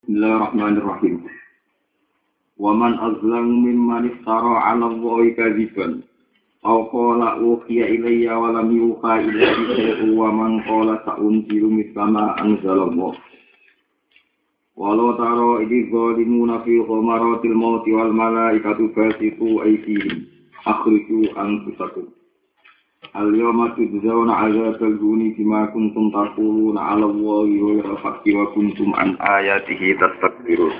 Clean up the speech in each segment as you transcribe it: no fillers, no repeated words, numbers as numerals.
Bismillahirrahmanirrahim. Wa man azlamu mimman iftara 'ala Allahi kadziban aw qala uhiya ilayya wa lam yuha ilayhi shay'un wa man qala sa'unzilu mithla ma anzalallah. Walau tara idh zalimuna fi ghamaratil mauti wal malaikatu basitu aydihim akhriju anfusakum. Al-yawma tujzauna 'adzabal huni bima kuntum taquluna 'ala Allahi ghayra haqqi wa kuntum an ayatihi tastakbirun.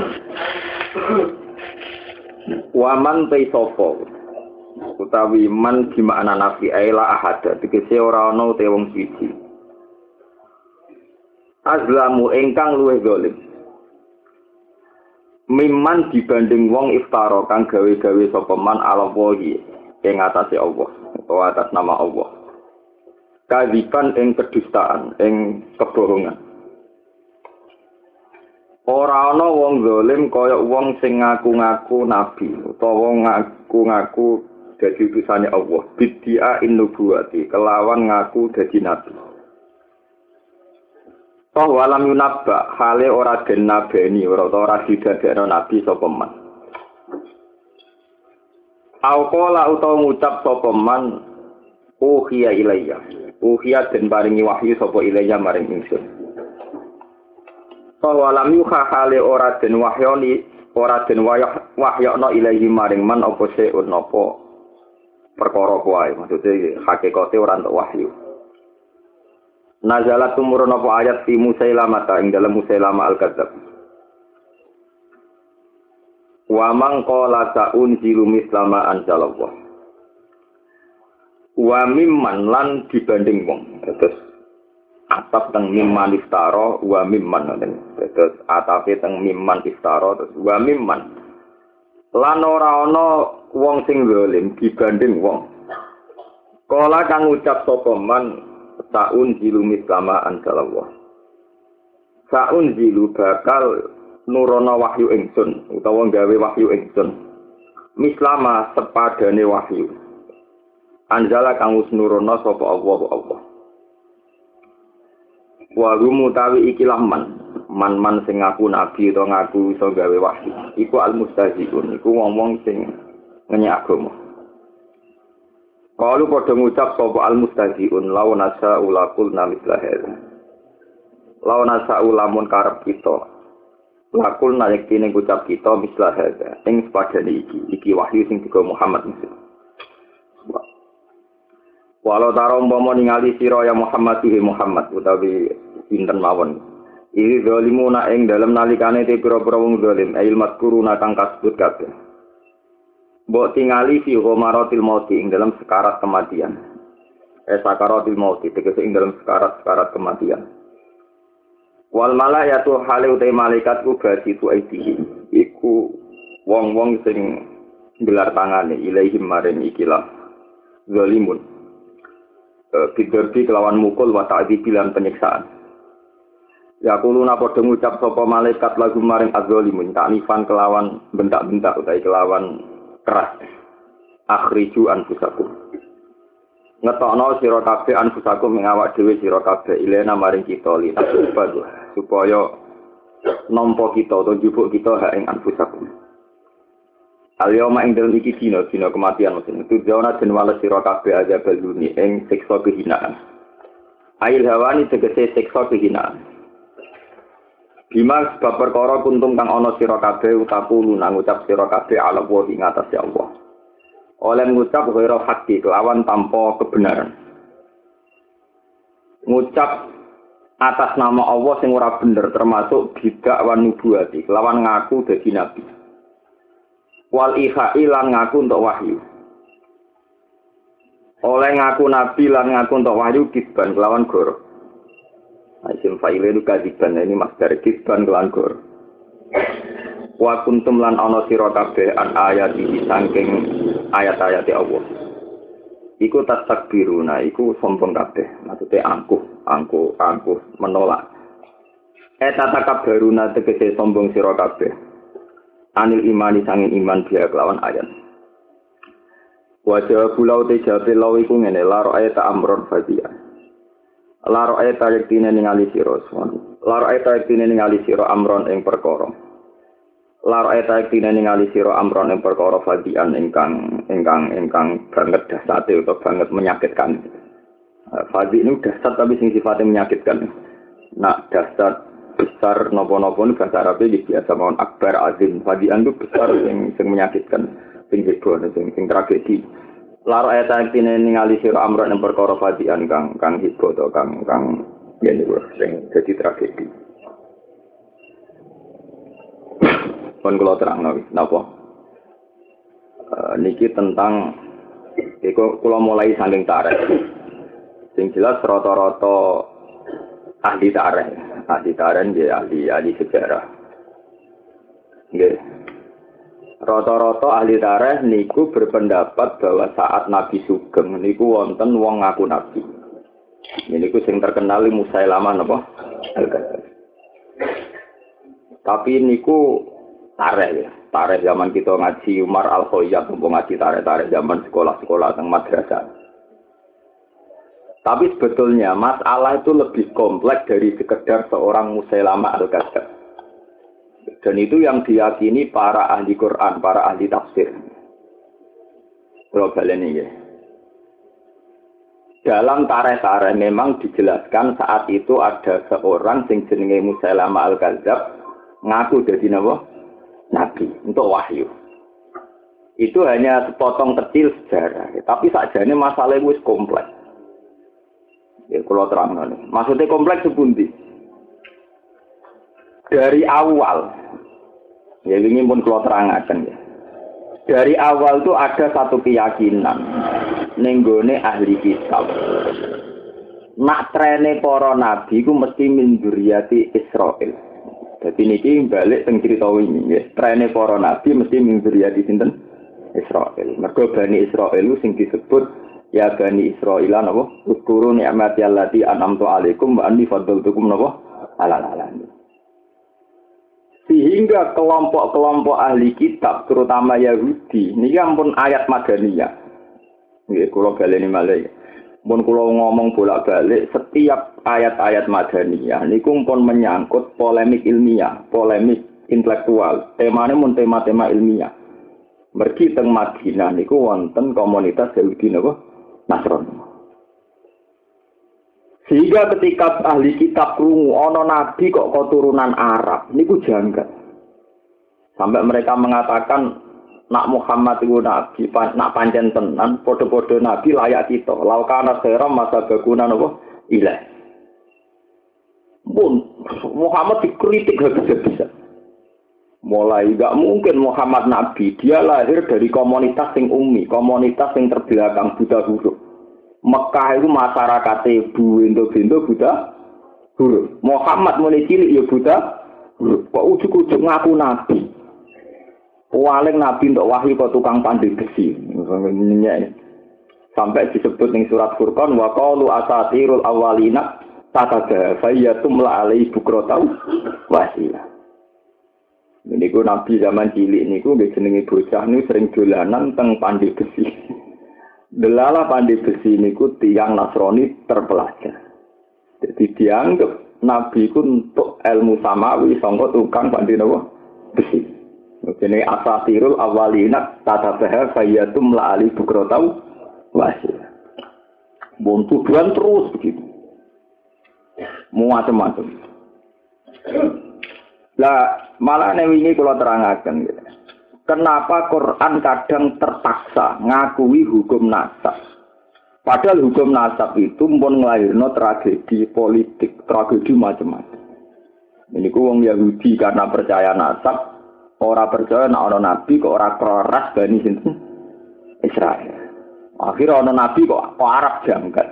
Wa man taisopo utawi man di makna nafi aila ahada tegese ora ana te wong siji. Azlamu ingkang luwih zalim. Mimman dibanding wong iftara kang gawe-gawe sapa man ala wahi ing atase Allah utawa atas nama Allah. Kadziban ing kedustaan, ing kebohongan. Ora ana wong zalim kaya wong sing ngaku-ngaku nabi utawa ngaku-ngaku dadi utusane Allah. Bid'a innubuwati kelawan ngaku dadi nabi. Toh walam yunabba hale ora den nabeni ora didadekno nabi sapa man. Auqala utawa ngucap sapa man uhiya ilayya. Uhiya den paringi wahyu sapa ilayya maring ingsun. Toh walam yuha hale ora den wahyoni ora den wahyakno ilayhi maring man apa seun napa perkara kuwi. Maksude hakikate ora entuk wahyu. Nazalat tumurun apa ayat fi Musailamah ing dalam Musailamah al-Kadzab. Wa man qala sa'unzilu mislama anzalallah. Wa mimman lan dibanding wong. Terus atap teng mimman iftara wa mimman ngoten. Terus atape teng mimman iftara terus wa mimman. Lan ora ana wong sing zalim dibanding wong. Kala kang ucap sapa man Sa'un zilu mislama anzalallah. Sa'un zilu bakal nurono wahyu ingsun utawa gawe wahyu ingsun. Mislama sepadane wahyu. Anzala kang wis nurono sapa Allah. Wa rumutawi ikilah man sing ngaku nabi utawa ngaku iso gawe wahyu. Iku al-mustahzi'un, iku wong-wong sing ngenyek agama. Kalau pada ngucap sapa al-mustahzi'un law nasa ulakul namithla hadza. Law nasa ulamun karep kita. Lakul nayektine ngucap kita mislah hadza. Ing sepadane iki wahyu sing digawa Muhammad mesti. Walau tara umpama ningali sira ya Muhammad Muhammad utawi pinten mawon. Iki zalimuna ing dalem nalikane te pira-pira wong zalim ail mazkuruna kang kasebut kabeh. Mbok tingali fi ghamaratil mauti ing dalam sekarat kematian. Sakaratil mauti tegese ing dalam sekarat kematian. Wal malaikatu hale uta malaikat ku basitu aidihim. Iku wong-wong sing gelar tangane ilaihim maring ikilah zalimun. Bidarbi kelawan mukul wa ta'dzibi lan penyiksaan. Ya kuluna padha ngucap sapa malaikat lagu maring azzalimun ta'nifan kelawan bentak-bentak utawi kelawan keras. Akhriju anfusakum. Ngetokno sira kabeh anfusakum ing awak dhewe sira kabeh ilena maring kita lina supaya nampa kita utawa njupuk kita hak ing anfusakum. Al-yawma ing dalem iki dina kematian mesti itu jawana den wales sira kabeh aja baluni ing siksa kehinaan. Ail hawani tegese siksa kehinaan. Bima sebab perkara kuntum kang ana sira kabeh utaku nang ngucap sira kabeh ala wa ing atase Allah. Oleh ngucap ghairu haqqi kelawan tanpa kebenaran. Ngucap atas nama Allah sing ora bener termasuk bidak wan nubuwati kelawan ngaku dadi nabi. Wal ihai lan ngaku untuk wahyu. Oleh ngaku nabi lan ngaku untuk wahyu kisban kelawan goro. Isim fa'ile itu kadziban ini masdar kisban kelan gor. Wa kuntum lan ana sira kabeh an ayat iki saking ayat-ayat Allah. Iku tastakbiruna iku sombong kabeh, maksude angkuh menolak. Tatakabbaruna tegese sombong sira kabeh. Anil imani sanging iman dia kelawan ayat. Wa jawabu law te jawabe law iku ngene la ra'ayta amron fadhiya. Laro eta yektine ningali sira laro eta yektine ningali sira amron ing perkara laro eta yektine ningali sira amron ing perkara fadian ingkang banget dasate utawa banget menyakitkan. Fadi ini dasar tapi sing sifatnya menyakitkan. Nah dasar besar nopo-nopo ini bahasa Arabnya biasa mohon akbar azim. Fadian itu besar yang menyakitkan, sing heboh, sing tragedi. Laro eta yektine ningali sira amron ing perkara fadian kang heboh to kang yen sing dadi tragedi. Pun kula terangno napa? Niki tentang iku kula mulai saking tarikh. Sing jelas rata-rata ahli tarikh nggih ahli sejarah. Nggih. Rata-rata ahli tarikh niku berpendapat bahwa saat Nabi Sugeng niku wonten wong ngaku nabi. Niku sing terkenal Musailamah napa? Al-Kadzdzab. Tapi niku tarikh ya. Tarikh zaman kita ngaji Umar Al-Khayyat ngaji tarikh zaman sekolah-sekolah teng madrasah. Tapi sebetulnya masalah itu lebih kompleks dari sekedar seorang Musailamah Al-Kadzdzab. Dan itu yang diyakini para ahli Quran, para ahli tafsir. Kalau baleni ya. Dalam tarikh-tarikh memang dijelaskan saat itu ada seorang sing jenenge Musailamah Al-Kadzdzab ngaku dadi napa? Nabi untuk wahyu. Itu hanya sepotong kecil sejarah, tapi sakjane masalahnya wis kompleks. Ya kalau terangno. Maksudnya kompleks sepundi? Dari awal, ya ini pun kalau terangkan ya. Dari awal itu ada satu keyakinan, nenggone ahli kitab. Nak trene para nabi ku mesti min dzurriyyati Israil. Jadi niki balik teng cerita wingi ya. Trene para nabi mesti min dzurriyyati sinten? Israil. Mergo Bani Israil sing disebut ya Bani Israilan apa? Uskuru ni'mati allati an'amtu 'alaikum wa anni faddaltukum napa? Alal alamin. Sehingga kelompok-kelompok ahli kitab, terutama Yahudi, ini ampun ayat Madaniyah. Nggih, kula baleni malih. Mun kula ngomong bolak-balik, setiap ayat-ayat Madaniyah niku pun menyangkut polemik ilmiah, polemik intelektual. Temane mun tema-tema ilmiah. Mergi teng Madinah niku wonten komunitas Yahudi napa? Nasrani. Sehingga ketika ahli kitab krungu ana nabi kok keturunan Arab niku janggal. Sampai mereka mengatakan nak Muhammad itu nabi, nak pancen tenan padha-padha nabi layak kita. Laukana khairam masa baguna napa? Ilah. Pun Muhammad dikritik habis-habisan. Mulai enggak mungkin Muhammad nabi, dia lahir dari komunitas sing ummi, komunitas sing terbelakang buta huruf. Mekah itu masyarakatnya buindo-bindo buta huruf. Muhammad mulai cilik ya buta huruf. Kok ujuk-ujuk ngaku nabi? Paling nabi untuk wahyu kok tukang pandai besi. Sampai disebut ning surat Furqan wa qalu asatirul awwalina tatagafayatum la alai bukrotau wasila. Niku nabi zaman cilik niku nggih jenenge bocah niku sering dolanan teng pandai besi. Delala pandai besi niku tiyang Nasrani terpelajar. Jadi dianggap nabi ku untuk ilmu samawi sangka tukang pandai napa besi. Jenenge asatirul awwalina tatabaha fayatum la ali bukrotau wasil. Bon tujuan terus begitu. Macam-macam. Lah malah wingi kula terangaken gitu. Kenapa Quran kadang terpaksa ngakui hukum nasab? Padahal hukum nasab itu pun ngelahirno tragedi politik, tragedi macam-macam. Ini ku wong Yahudi karena percaya nasab, ora percaya nek ana nabi kok ora keras Bani sinten Israel. Akhirnya ana nabi kok Arab janggal.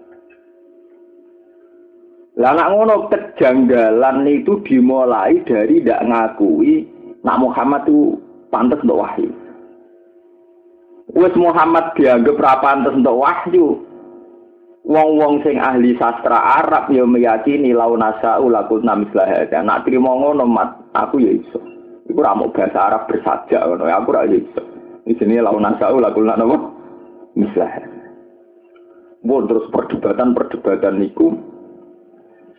Lah nek ngono kejanggalan itu dimulai dari ndak ngakui nak Muhammad itu pantas untuk wahyu. Wes Muhammad dianggap ra pantas untuk wahyu. Wong-wong sing ahli sastra Arab ya meyakini launasa ulaqulna mislah. Nek trimo ngono mat aku ya iso. Iku ra mau bahasa Arab bersajak ngono. Aku ra iso. Di sini launasa ulaqulna napa? Mislah. Terus perdebatan niku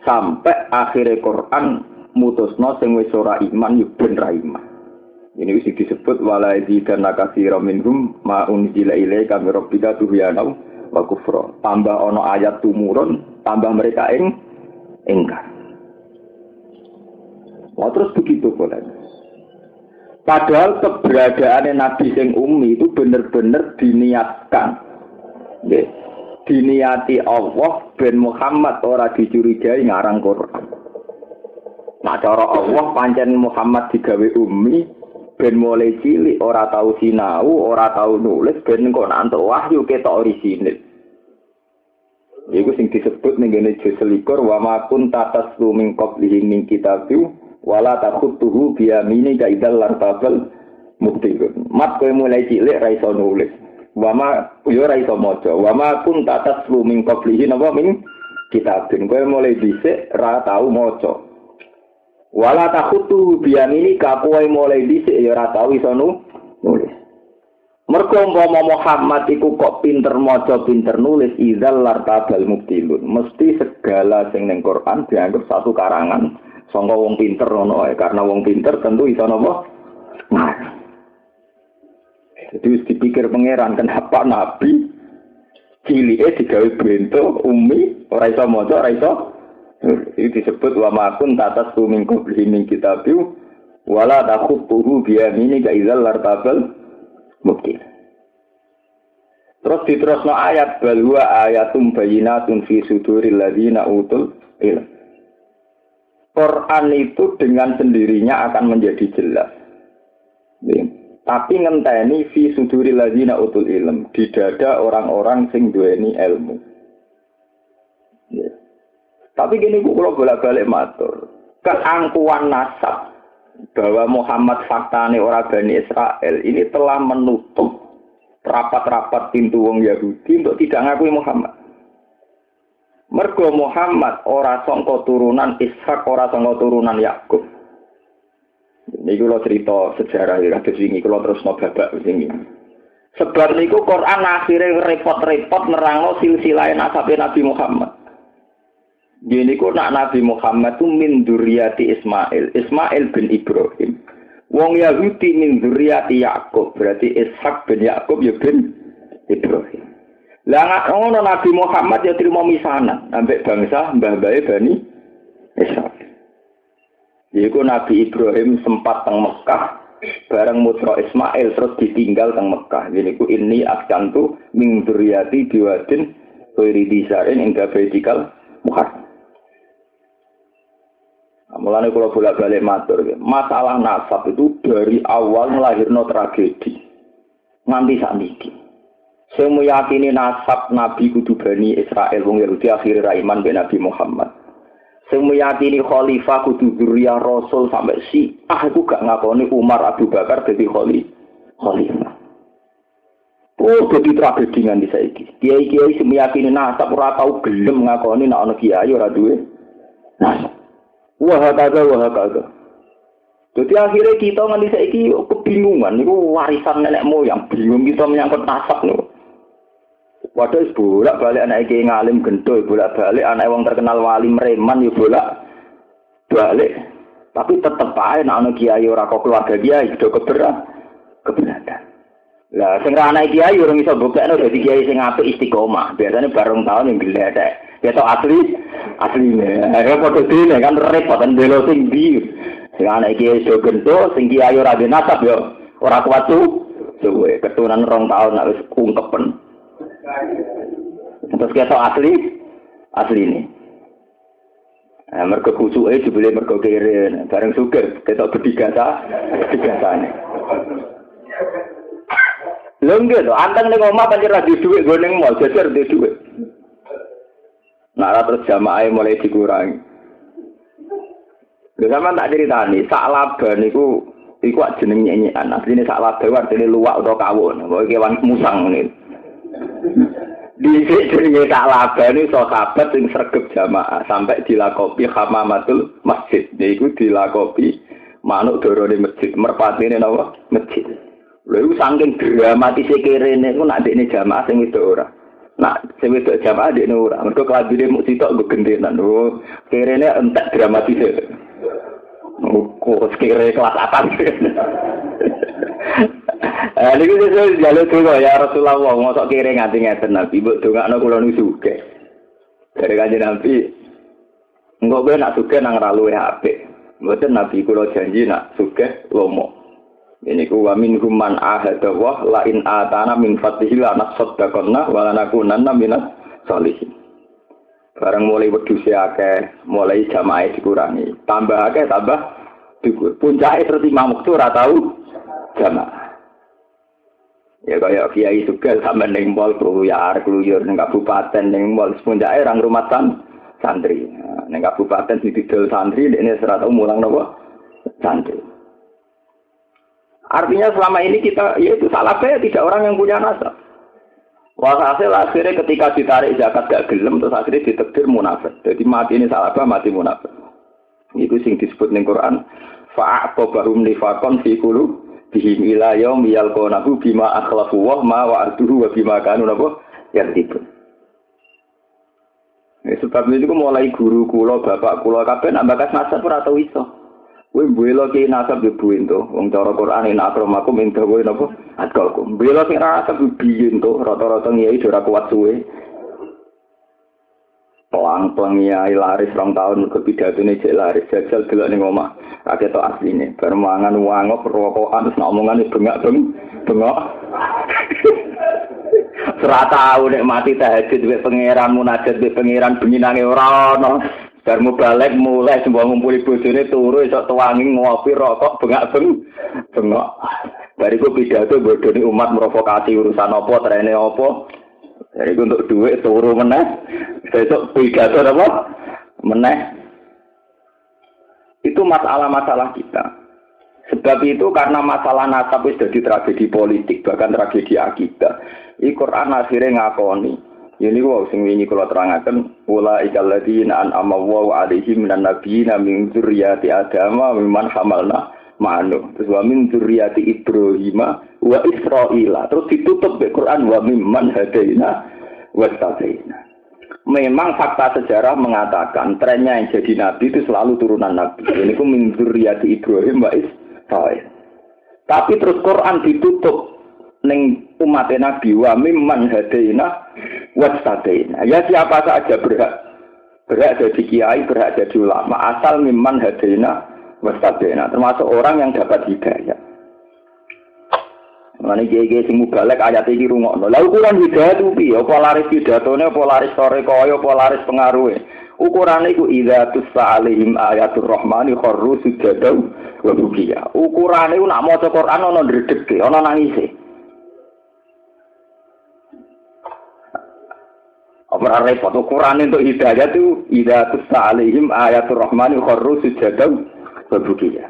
Sampai akhirnya Quran mutusno sing wis ora iman yo ben ra iman. Ini wis disebut wala yazidanna katsiran minhum ma unzila ilaika min rabbika tuhyana wa kufra. Tambah ana ayat tumurun, tambah mereka engkar. Wah, terus begitu boleh. Padahal keberadaan Nabi sing ummi itu benar-benar diniatkan. Nggih. Diniati Allah ben Muhammad ora dicurigai ngarang Quran. Nah cara Allah pancen Muhammad digawe ummi ben mulai cilik ora tau sinau, ora tau nulis ben kok nantuk wahyu ketok orisinil. Iku sing disebut ning ngene juz 21 wa ma kunta taslu min qablihi min kitabin wala takhutuhu bi yamini ka idzal lartabal mubtilun. Mat kowe mulai cilik ra iso nulis. Wa ma yo ra iso maca. Wa ma kunta taslu min qablihi napa min kitabin. Kowe mulai dhisik ra tau maca. Wala takhutu biyamini kapoe mulai dhisik ya ora tau iso nulis. Mergo umpama Muhammad iku kok pinter maca, pinter nulis idzal lartabal mubtilun. Mesti segala sing ning Quran dianggap satu karangan sangka wong pinter ngono ae. Karena wong pinter tentu iso napa? Ngarang. Jadi wis dipikir pangeran kenapa nabi cilike digawe bento umi ora iso maca, ora iso. Itu disebut wa ma kun tatas min qabli min kitabiu wala takhutuhu bi yamini ka idzal lartabal mubtil. Terus diterusno ayat bal huwa ayatum bayyinatun fi suduril ladzina utul ilm. Quran itu dengan sendirinya akan menjadi jelas. Tapi ngenteni fi suduril ladzina utul ilm, di dada orang-orang sing duweni ilmu. Tapi gini kalau bolak-balik matur, keangkuhan nasab bahwa Muhammad faktane orang Bani Israel ini telah menutup rapat-rapat pintu wong Yahudi untuk tidak ngakui Muhammad. Mergo Muhammad ora sangka turunan Ishak, ora sangka turunan Yakub. Ini kalau cerita sejarah ya, kados wingi kalau terus babak wingi. Sebab niku Quran akhirnya repot-repot nerangno silsilah nasabe Nabi Muhammad. Gini ku nak Nabi Muhammad tu min dzurriyyati Ismail bin Ibrahim. Wong Yahudi min dzurriyyati Yakub, berarti Ishak bin Yakub ya bin Ibrahim. Lah ngono Nabi Muhammad ya terima misanan ambek bangsa mbah-mbahe Bani Israil. Iku Nabi Ibrahim sempat teng Mekah bareng putra Ismail terus ditinggal teng Mekah. Gini ku ini askantu min dzurriyyati biwadin ghairi disarin inda baitikal muharram. Mulane kula bolak-balik matur, masalah nasab itu dari awal melahirno tragedi nganti sakniki. Sing meyakini nasab Nabi kudu Bani Israil wong Yahudi akhire ra iman be Nabi Muhammad. Sing meyakini khalifah kudu dzurriyyah Rasul sampai aku gak ngakoni Umar Abu Bakar dadi khalifah. Oh, jadi tragedi nganti saiki. Kiai-kiai sing meyakini nasab ora tau gelem ngakoni nek ana kiai ora duwe nasab. Wah kagak. Jadi akhirnya kita nganti saiki kebingungan. Niku warisan nenek moyang. Bingung kita menyangkut nasab niku. Waduh bolak balik anak kiai ngalim gento, bolak balik anak wong terkenal wali mereman yo bolak balik. Tapi tetep ae nek ana kiai ora kok keluarga kiai do keberatan. Lah sing ra anak kiai ora iso buktekno dadi kiai sing apik istiqomah. Biasane bareng tahun yang gledek. Ketok asline. Ayo padha dene kan repot kan belo sing ndi. Sing anak kiai do gento, sing kiai ora de nasab yo ora kuat suwe. Keturunan 2 tahun nek wis ungkepen. Terus ketok asli ini. Mergo kusuke dibeli mergo kere, bareng suger ketok bedigasa-bedigane. Lho nggih to, anteng ning omah pancen ra duwe dhuwit nggo ning mall, jajar duwe dhuwit. Nah, terus jamaah mulai dikurangi. Lha sampean tak critani, sak laba niku iku jeneng nyenyekan. Asline sak laba artine luwak utawa kawon, kok kewan musang ngene. Dhisik jenenge sak laba niku sahabat sing sregep jamaah sampai dilakopi hamamatul masjid. Yaiku dilakopi manuk dorone masjid, merpatine napa? Masjid. Lha iku saking dramatis kene niku nek dekne jamaah sing wedok ora. Nah, sing wedok jamaah dekne ora. Mergo kelambine mung sitok nggo gentenan. Oh, kirene entek dramatis. Kok kira kelas apa? Niku sesuk jaluk donga ya Rasulullah, mosok kira nganti ngeten Nabi, mbok dongakno kula nu sugih. Dari Kanjeng Nabi, engko kowe nak sugih nang ra luwih apik. Mboten Nabi kula janji nak sugih lomo. Ini ku wa minhum man ahada wa la in atana min fadlihi la nasaddaqanna wa lanakunanna minas sholihin. Barang mulai wedhus akeh, mulai jamaah dikurangi. Tambah akeh tambah dhuwur. Puncake terus imam waktu ora tau jamaah. Ya kaya kiai sugih sampe ning mall kluyur ning kabupaten ning mall puncake rang rumah santri. Ning kabupaten didol santri dekne ora tau mulang napa santri. Artinya selama ini kita, yaitu salafah tidak orang yang punya nasab. Walhasil akhirnya ketika ditarik zakat gak gelem, terus akhirnya ditakdir munafik. Jadi mati ini salafah, mati munafik. Itu sing disebut ning Quran. Fa'aqobahum nifakon fi qulubihim ila yaum yalqonahu bima akhlafu wa ma wa'aduhu wa bima kanu napa yaktibun. Sebab itu mulai guru kula, bapak kula kabeh nak bakas nasab ora tau iso. Kowe mbela ki nasab yo buin to. Wong cara Quran ina akramakum inda kowe napa? Atqakum. Mbela sing nasab biyen to, rata-rata ngiyai ora kuat suwe. Pelang-pelang ngiyai laris 2 tahun mergo pidatone cek laris, jajal delok ning omah. Ra ketok asline. Bar mangan wangok rokokan wis omongane bengak-bengok. Ora tau nek mati tahajud wek pangeran munajat wek pangeran bengi nange ora ono. Bar balik mulai semua ngumpuli bojone turu esuk tuwangi ngopi rokok bengak-bengok. Bariku pidato bodoni umat provokasi urusan apa trene apa. Bariku untuk duit turu meneh. Esuk pidato apa? Meneh. Itu masalah-masalah kita. Sebab itu karena masalah nasab wis dadi tragedi politik, bahkan tragedi akidah. Al-Qur'an akhirnya ngakoni. Ini kok sing wingi kula terangaken ula ikal ladina an'ama Allahu 'alaihim minan nabiyina min dzurriyyati Adam wa mimman hamalna ma'anu. Terus wa min dzurriyyati Ibrahim wa Israila. Terus ditutup be Quran wa mimman hadaina wastabaina. Memang fakta sejarah mengatakan trennya yang jadi nabi itu selalu turunan nabi. Ini ku min dzurriyyati Ibrahim wa Israil. Tapi terus Quran ditutup ning umat Nabi wa mimman hadaina wastabaina. Ya siapa saja berhak jadi kiai, berhak jadi ulama asal mimman hadaina wastabaina, termasuk orang yang dapat hidayah. Mane kiai-kiai sing mubalek ayat iki rungokno. Lah ukuran hidayah itu piye? Apa laris pidatone, apa laris sore kaya, apa laris pengaruhe? Ukurane iku idza tusa alaihim ayatur rahmani kharru sujadan wa bukiya. Ukurane nak maca Quran ana ndredege, ana nangise. Apa repot ukuran untuk hidayah itu idza tusa alaihim ayatur rahmani kharru sujadan wa bukiya.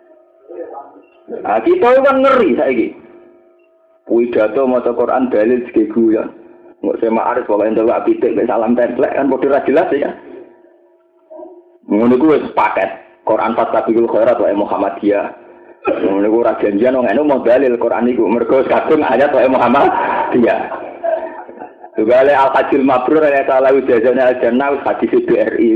Nah, kita kan ngeri saiki. Pidato maca Quran dalil segi guyon. Nggak sema aris pola entuk pitik mek salam templek kan padha ra jelas ya. Ngono ku wis paket. Quran Fatabikul Khairat wa Muhammadiyah. Ngono ku ora janjian wong anu mau dalil Quran iku mergo kadung ayat wa Muhammadiyah. Juga oleh Al-Hajjul Mabrur ya salah ujazanya al-jannah hadis BRI.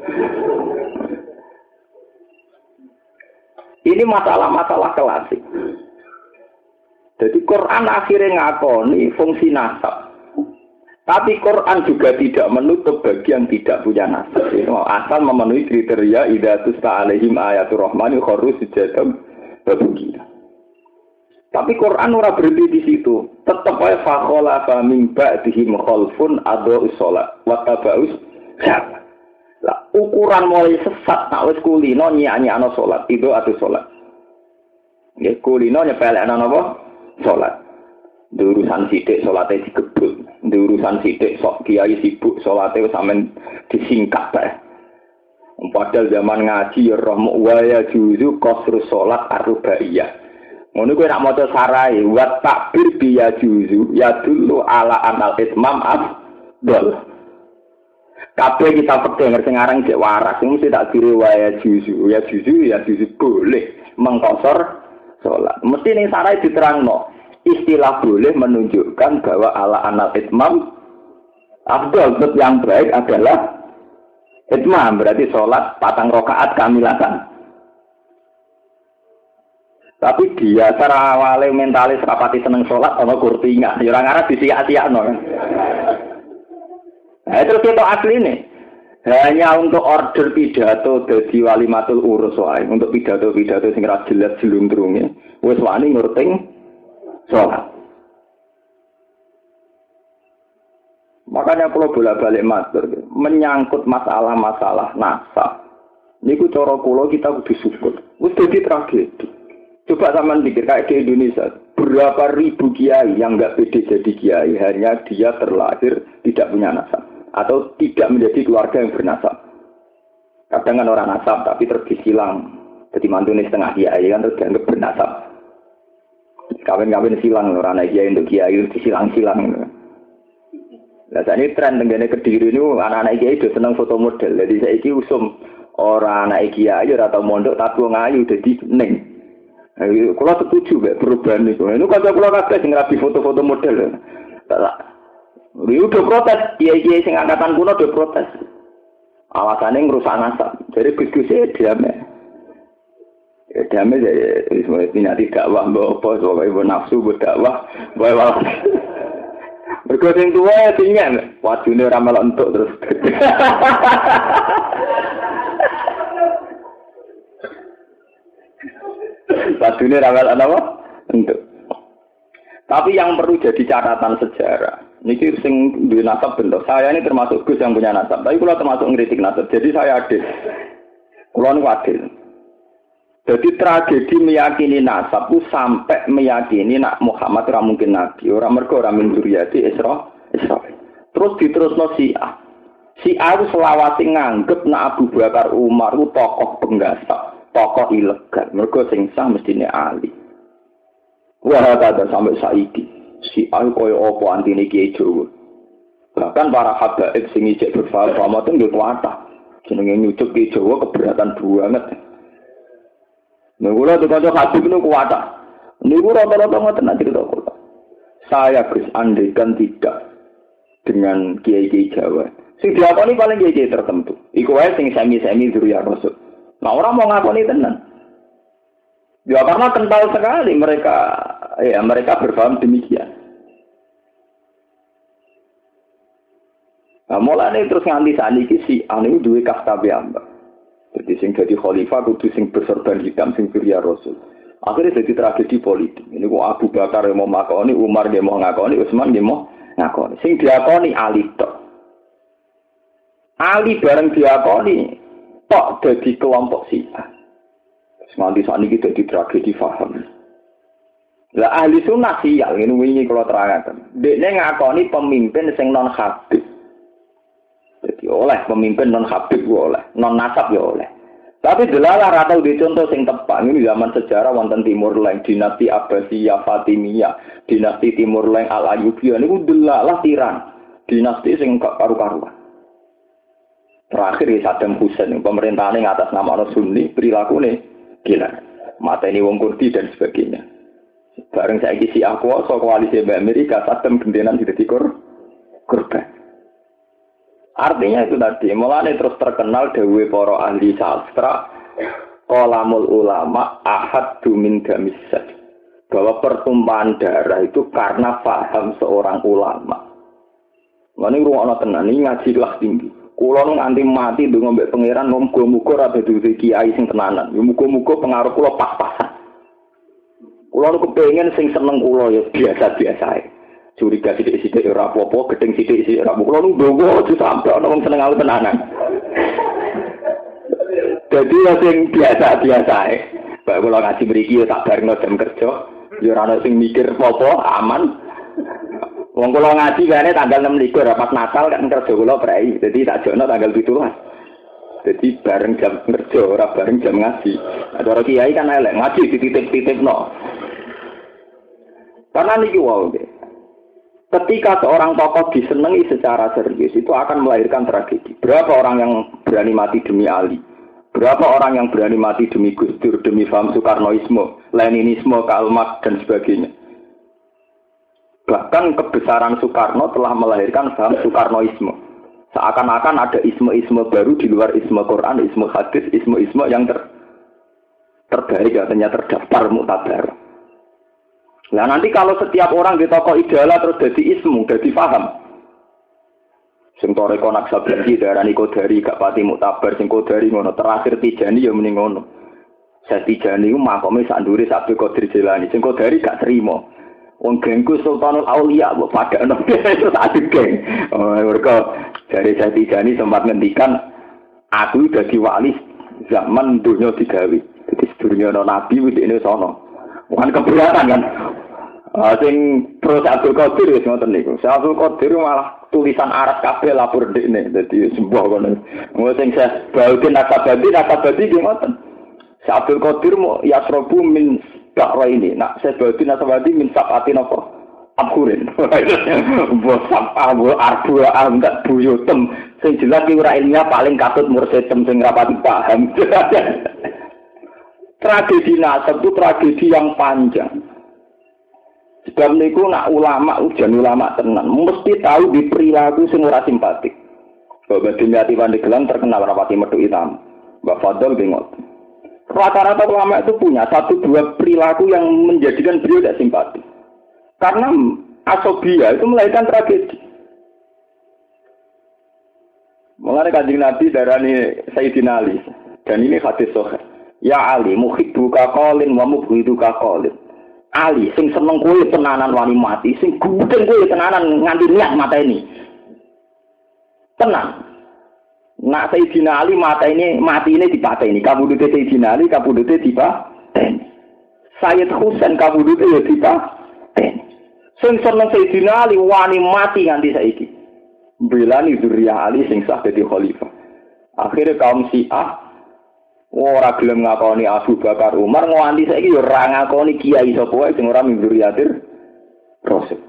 Ini masalah-masalah klasik. Jadi Quran akhirnya ngakoni fungsi nasab. Tapi Quran juga tidak menutup bagi yang tidak punya nasab. Asal memenuhi kriteria idza tusta alaihim ayatur rahmani kharru sujadan wa bukiya. Tapi Quran ora berhenti di situ. Tetap wae fakhola fa min ba'dihim khalfun adha'us shalah wa taba'us syahwat. Lah ukuran mulai sesat nak wis kulino nyanyi-ana salat, itu atu salat. Nggih kulino nyepelekno napa? Salat. Urusan sithik salate digebut. Urusan sithik sok kiai sibuk salate wis sampean disingkat bae. Padahal zaman ngaji ya rahmu wa ya juzu qasrus salat arba'iyah. Ngono kuwi nak maca sarai wa takbir bi ya juzu ya dulu ala anal itmam afdal. Kabeh kita pedhe ngerti ngarang cek waras mesti tak kira wa ya juzu ya juzu boleh mengkosor salat. Mesti ning sarai diterangno istilah boleh menunjukkan bahwa ala anal itmam Afdal yang baik adalah itmam, berarti sholat 4 rakaat kamilatan. Tapi dia cara awalnya mentalis rapati seneng sholat ana kurtinga, ya ora ngarep disiak-siakno kan. Nah, terus kita asli nih. Hanya untuk order pidato dadi walimatul urus wae, untuk pidato-pidato sing ra jelas jelundrunge. Wis wani ngerting sholat. Makanya kalau bolak-balik matur, menyangkut masalah-masalah nasab. Niku cara kula kita kudu syukur. Wis dadi tragedi. Coba sampean pikir kayak di Indonesia, berapa ribu kiai yang enggak pede jadi kiai, hanya dia terlahir tidak punya nasab atau tidak menjadi keluarga yang bernasab. Kadang kan orang nasab tapi terus disilang. Jadi mantune setengah kiai kan terus dianggap bernasab. Kawin-kawin silang orang anak kiai untuk kiai disilang-silang. Nah, saat ini tren tenggane Kediri ini anak-anak kiai itu senang foto model. Jadi saya ini usum orang anak kiai atau mondok tabu ngayu jadi neng. Kalau setuju perubahan itu. Ini kalau kabeh sing rapi foto-foto model. Dia udah protes, kiai-kiai sing angkatan kuno udah protes. Alasannya ngerusak nasab. Jadi gus-gusnya diam. Ya diam aja. Sebenarnya tidak dakwah mbak apa, soalnya ibu nafsu berdakwah, bawa. Mergo sing tuwa tinggal, wajune ora melok entuk terus. Wajune ora melok apa? Entuk. Tapi yang perlu jadi catatan sejarah, niki sing duwe nasab bentuk. Saya ini termasuk Gus yang punya nasab, tapi kula termasuk ngritik nasab. Jadi saya adil. Kula niku adil. Jadi tragedi meyakini nasab itu sampai meyakini nak Muhammad ora mungkin nabi, ora mergo ora min dzurriyyati Israil. Terus diterusno Syiah. Syiah itu selawase nganggep nak Abu Bakar Umar itu tokoh penggasak, tokoh ilegal. Mergo sing sah mestine Ali. Wah, ada sampai saiki. Syiah koyo apa antine Kiai Jawa. Bahkan para habaib sing ijek berfaham itu nggih kuatah. Jenenge nyucuk Kiai Jawa keberatan banget. Nggula tukang hadis niku kuat. Niku rata-rata ngoten nek cerita kula. Saya Gus andaikan tidak dengan kiai-kiai Jawa. Sing diakoni paling kiai tertentu. Iku wae sing semi-semi dzurriyyah Rasul. Nah, orang mau ngakoni tenan. Ya karena kental sekali mereka berpaham demikian. Nah, mulane terus nganti saniki si anu duwe kasta piyambak. Jadi sing jadi khalifah kudu sing bersorban hitam sing dzurriyyah Rasul. Akhirnya jadi tragedi politik. Ini kok Abu Bakar yang mau ngakoni, Umar yang mau ngakoni, Utsman yang mau ngakoni. Sing diakoni Ali tok. Ali bareng diakoni tok dadi kelompok Syiah. Semanti saat ini jadi tragedi faham. Lah ahli sunnah sial ngene wingi kula terangaken. Dekne ngakoni pemimpin sing non habib. Jadi oleh pemimpin non habib oleh, non nasab ya oleh. Tapi delalah ratau di contoh sing tepat ini zaman sejarah wonten Timur Leng, dinasti Abbasiyah, Fatimiyah, dinasti Timur Leng Al-Ayyubiyah niku delalah tiran. Dinasti sing gak karu-karuan. Terakhir Saddam Hussein pemerintahane ngatas nama Sunni, perilakune gila. Mateni wong Kurdi dan sebagainya. Bareng saiki Syiah kuwasa koalisi Amerika Saddam gentenan dadi korban. Artinya itu tadi, mulane terus terkenal dawuhe para ahli sastra, qalamul ulama ahaddu min damisad. Bahwa pertumpahan darah itu karena paham seorang ulama. Ngene ruwono tenan iki ngaji kelas tinggi. Kula nganti mati ndonga mbek pangeran muga-muga ra dadi kiai sing tenanan. Ya muga-muga pengaruh kula pas-pasan. Kula kepengin sing seneng kula ya biasa-biasa ae. Curiga sidik-sidik ora apa-apa, gedeng sidik-sidik ora apa-apa. Kulo ndonga aja sampe ana wong seneng aku tenanan. Dadi sing biasa-biasa ae. Bae kula ngaji mriki ya tak barengno jam kerja, ya ora ana sing mikir apa-apa, aman. Wong kula ngaji kene tanggal 26 pas Natal kan kerja kula prei. Dadi tak jono tanggal 17. Jadi bareng jam kerja, ora bareng jam ngaji. Cara kiai kan elek ngaji dititip-titipno. Karena niki wae. Ketika seorang tokoh disenangi secara serius, itu akan melahirkan tragedi. Berapa orang yang berani mati demi Ali? Berapa orang yang berani mati demi Gus Dur, demi paham Soekarnoisme, Leninisme, Karl Marx, dan sebagainya? Bahkan kebesaran Soekarno telah melahirkan paham Soekarnoisme. Seakan-akan ada isme-isme baru di luar isme Quran, isme hadis, isme-isme yang terbaik katanya terdaftar muktabar. Nah nanti kalau setiap orang di tokoh idola terus jadi ismu, jadi paham. Sing toreko Naksabandi darani Kodari gak pati muktabar, sing Kodari ngono, terakhir Tijani ya muni ngono. Saya Tijani ku makome sak ndure Abdul Qadir Jilani, sing Kodari gak trimo. Wong gengku Sultanul Aulia mbok padakno terus aduk geng. Mergo dari saya Tijani sempat ngendikan aku dadi wali zaman dunia digawe. Dadi sedurunge ana nabi wis dene sono. Bukan keberatan kan. Sing terus Abdul Qadir wis ngoten niku. Abdul Qadir malah tulisan Arab kabeh lapor dekne. Dadi sembuh kono. Wong sing saya Baudin Nakabadi ki ngoten. Abdul Qadir mau yasrobu min bakra ini. Nak saya Baudin Nakabadi min sabatin apa? Abhurin. Mbok sampah mbok arbu enggak buyutem. Sing jelas ki ora ilmiah paling katut mursidem sing rapati paham. Tragedi nasab itu tragedi yang panjang. Sebab niku nak ulama ujian ulama tenan mesti tahu di perilaku sing ora simpatik. Bapak Dimyati Pandeglang terkenal rapati medhuk hitam. Mbak Fadl bingung. Rata-rata ulama itu punya satu dua perilaku yang menjadikan beliau tidak simpatik. Karena asobia itu melahirkan tragedi. Mulai Kanjeng Nabi darani Sayyidina Ali dan ini hadis sahih. Ya Ali, muhibbuka qalin wa mubghiduka qalin. Ali, sing seneng kowe tenanan wani mati, sing gudeng kowe tenanan nganti niat mateni. Tenang. Nak Sayyidina Ali mati ini dipateni. Kabudute Sayyidina Ali, kabudute dipateni. Sayyid Husain kabudute ya dipateni. Sing seneng Sayyidina Ali wani mati nganti saiki. Belani dzurriyyah Ali sing sah dadi khalifah. Akhire kaum Syiah ora gelem ngakoni Abu Bakar Umar nganti saiki yo ora ngakoni kiai sapa wae sing ora mingguriatir Rasul.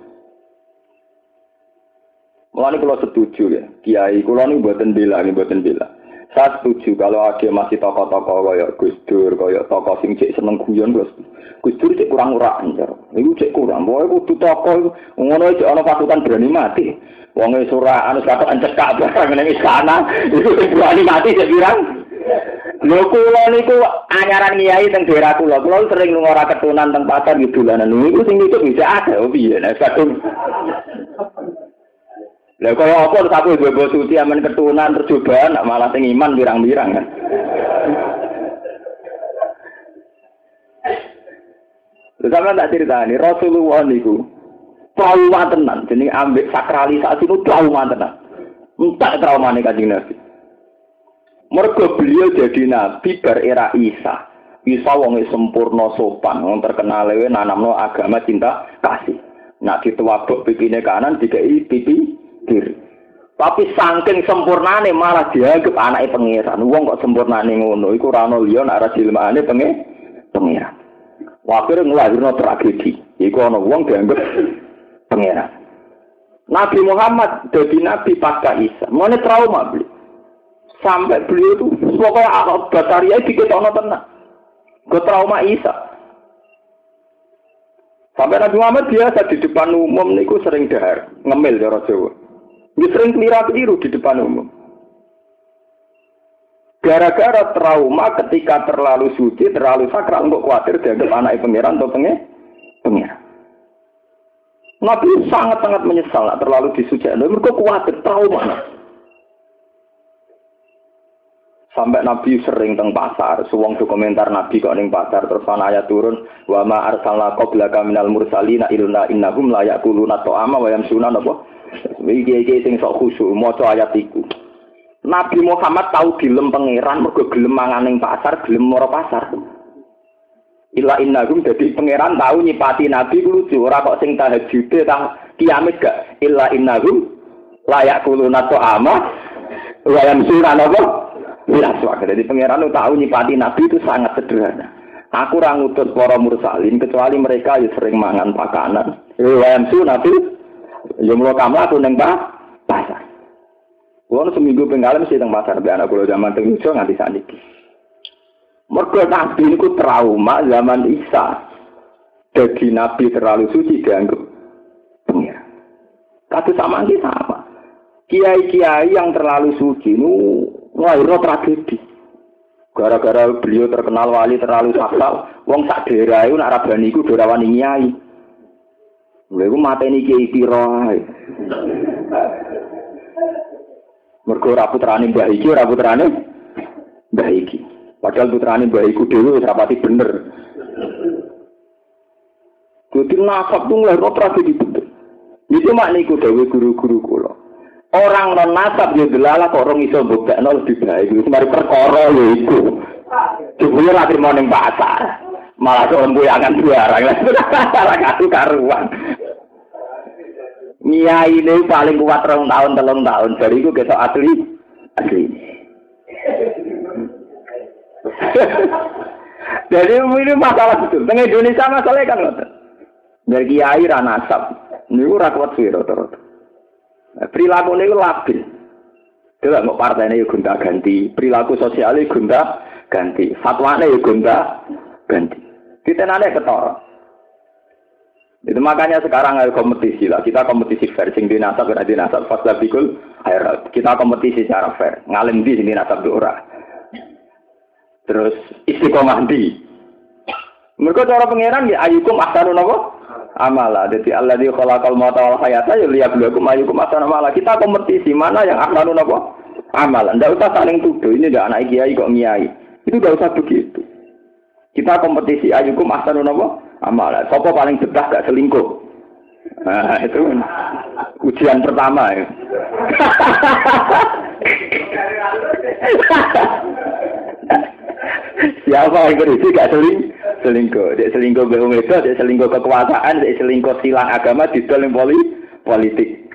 Mulane kula setuju ya, kiai kula niku mboten bela. Saya setuju kalau ada masih tokoh-tokoh kaya Gus Dur, kaya tokoh sing cek seneng guyon Gus Dur cek kurang urakan jar. Niku cek kurang. Pokoke kudu tokoh ngono cek ana pasukan berani mati. Wong wis ora anu kata encekak barang ning istana, iku berani mati cek pirang. Lho kula niku anyaran kiai teng daerah kula sering lunga ora ketunan teng pasar gitu dolanan niku sing itu bisa ada piye nek kadung. Lah kaya apa terus aku mbok suci amen ketunan tercobaan malah sing iman pirang-pirang kan. Lha sampeyan tak critani Rasulullah niku trauma tenan jenenge ambek sakralisasi itu trauma tenan. Entek traumane Kanjeng Nabi. Mergo beliau jadi nabi bar era Isa. Isa wong sempurna sopan, wong terkenal lewe nanamno agama cinta kasih. Nak dituwabuk pipine kanan dikai pipi kiri. Tapi saking sempurnane malah dianggap anake pangeran. Wong kok sempurnane ngono iku ora ono liya nek ora dilemaane pangeran. Wakire nglahirno tragedi. Iku ana wong dianggap pangeran. Nabi Muhammad dadi nabi pasca Isa. Mone trauma beliau. Sampai beliau itu pokoknya akal bataria diketokno tenan. Ke trauma Isa. Sampai Nabi Muhammad biasa di depan umum niku sering dahar, ngemil cara Jawa. Dia sering keliru di depan umum. Gara-gara trauma ketika terlalu suci, terlalu sakral, untuk khawatir dianggap anak pangeran atau pangeran. Nabi sangat-sangat menyesal terlalu disucikan. Mereka khawatir trauma. Sampai Nabi sering teng pasar, suwong komentar Nabi kok ning pasar terus ana ayat turun wa ma arsalna qablaka minal mursalina illa innahum la yaquluna ta'ama wa yamsuna apa iki sing sok khusyuk maca ayat iku. Nabi Muhammad tahu dilem pangeran mergo gelem mangan ning pasar, gelem mara pasar. Illa innahum dadi pangeran tahu nyipati Nabi ku lucu ora kok sing tahajude tah kiamat gak illa innahum la yaquluna ta'ama wa yamsuna apa. Ya, jadi pangeran tahu nyipati Nabi itu sangat sederhana. Aku ora ngutus para mursalin kecuali mereka yang sering mangan pakanan. Wayamsu Nabi, yo mulo kamla aku ning pasar. Kulo seminggu pengalaman mesti teng pasar be anak kulo zaman teng Yogyakarta nganti saniki. Mergo Nabi niku trauma zaman Isa. Jadi Nabi terlalu suci dianggap pengiran. Kata sama ini sama. Kiai-kiai yang terlalu suci nu lahirno tragedi. Gara-gara beliau terkenal wali terlalu sakral, wong sak daerah iku nak rabani iku do rawani nyai. Lha iku mateni kiai pira ae. Mergo ora putrane mbah iki, ora putrane mbah iki. Padahal putrane mbah iku dhewe wis rapati bener. Jadi nasab itu lahirno tragedi betul. Itu makniku dewe guru-guru kula. Orang non nasab yo delala kok orang iso mbuktekno lebih baik. Iku mari perkara lho iku. Jebule ra trimo ning pasar. Malah kok embuyangan barang. Ora karu-karuan. Nyai ini paling kuat 2 tahun, 3 tahun. Dari iku ketok asli. Jadi ini masalah betul. Teng Indonesia masalahnya kan ngoten. Dari kiai ra nasab. Niku ora kuat suwe rata-rata. Perilaku niku labil. Delok kok partene yo gonta-ganti, perilaku sosiale gonta-ganti, fatwane yo gonta-ganti. Ditenane ketara. Itu makanya sekarang ada kompetisi lah. Kita kompetisi fair sing di nasab ora di nasab fasabikul khairat. Kita kompetisi secara fair. Ngalim di sini nasab ora. Terus istiqomah di. Mergo cara pangeran ya ayyukum ahsanu napa? Amala. Jadi alladzi khalaqal mauta wal hayata liyabluwakum ayyukum ahsanu amala. Kita kompetisi mana yang ahsanu napa? Amal. Ndak usah saling tuduh. Ini ndak anak kiai kok ngiyai. Itu ndak usah begitu. Kita kompetisi ayyukum ahsanu napa? Amal. Siapa paling betah gak selingkuh? Nah, itu ujian pertama ya. Siapa yang berisi gak selingkuh? Dia selingkuh beruang itu, dia selingkuh kekuasaan, dia selingkuh silang agama di dalam politik.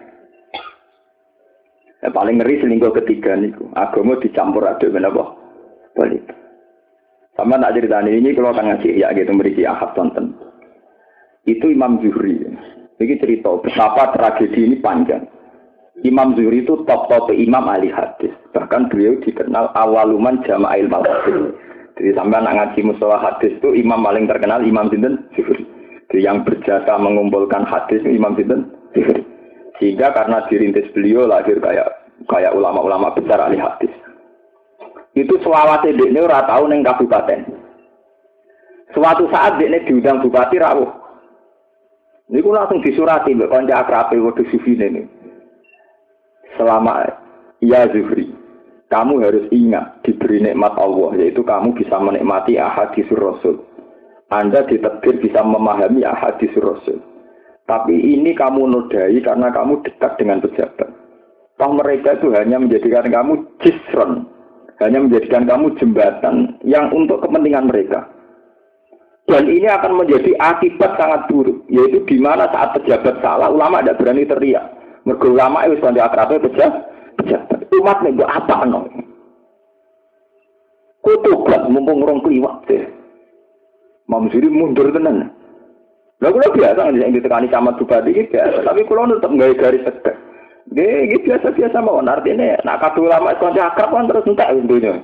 Yang paling ngeri selingkuh ketiga niku. Agama dicampur aduk menapa? Politik. Sama tak ceritanya ini kalau akan ngaji ya gitu berisi ahad tonton. Itu Imam Zuhri. Ini cerita betapa tragedi ini panjang. Imam Zuhri itu top imam ahli hadis. Bahkan beliau dikenal awaluman jama'il hadis. Jadi sampai anak ngaji mustalah hadis itu imam paling terkenal Imam sinten Zuhri. Jadi yang berjasa mengumpulkan hadis Imam sinten Zuhri. Sehingga karena dirintis beliau lahir kayak ulama-ulama besar ahli hadis. Itu selawase dekne ora tau ning kabupaten. Suatu saat dekne diundang bupati rawuh. Niku langsung disurati mbek kanca akrabe wedhus sufine niku. Selama ya Zuhri, kamu harus ingat diberi nikmat Allah, yaitu kamu bisa menikmati ahaditsur Rasul. Anda ditakdir bisa memahami ahaditsur Rasul. Tapi ini kamu nodai karena kamu dekat dengan pejabat. Toh mereka itu hanya menjadikan kamu jisron, hanya menjadikan kamu jembatan yang untuk kepentingan mereka. Dan ini akan menjadi akibat sangat buruk, yaitu di mana saat pejabat salah, ulama tidak berani teriak. Mergo ulama itu sampai akrabnya pejabat. Umat nih apa no? Kutugat mumpung orang kliwat deh. Imam Zuhri mundur tenan. Lah kula biasa yang ditekani camat bupati iki biasa, tapi kula tetep gawe garis tegak. Nggih, biasa-biasa mawon. Artine nek kadung ulama kanca akrab kan terus entek dunya.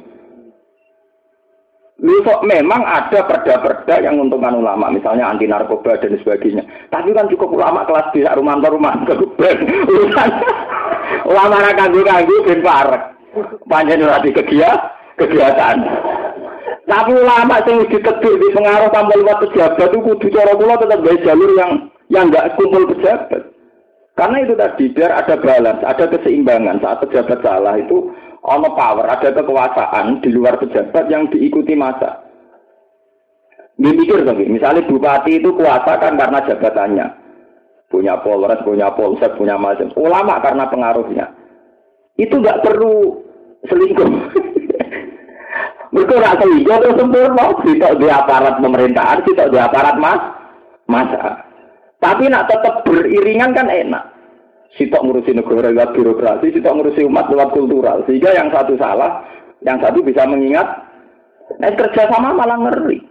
Kok memang ada perda-perda yang menguntungkan ulama, misalnya anti narkoba dan sebagainya. Tapi kan cukup ulama kelas B, rumah keguben. Ulama ra kanggo ben parek. Panjen ora kegiatan. Tapi ulama sing ditegur di pengaruh tanpa lewat pejabat itu kudu cara kula tetap gawe jalur yang enggak kumpul pejabat. Karena itu tadi biar ada balance, ada keseimbangan saat pejabat salah itu ono power, ada kekuasaan di luar pejabat yang diikuti massa. Dipikir lagi, misalnya bupati itu kuasa kan karena jabatannya, punya polres, punya polsek, punya macam. Ulama karena pengaruhnya, itu nggak perlu selingkuh. Mereka nggak selingkuh itu sempurna, tidak di aparat pemerintahan, tidak di aparat massa. Tapi nak tetap beriringan kan enak. Sitok ngurusi negara lewat birokrasi, sitok ngurusi umat lewat kultural. Sehingga yang satu salah, yang satu bisa mengingat. Nah, kerjasama malah ngeri.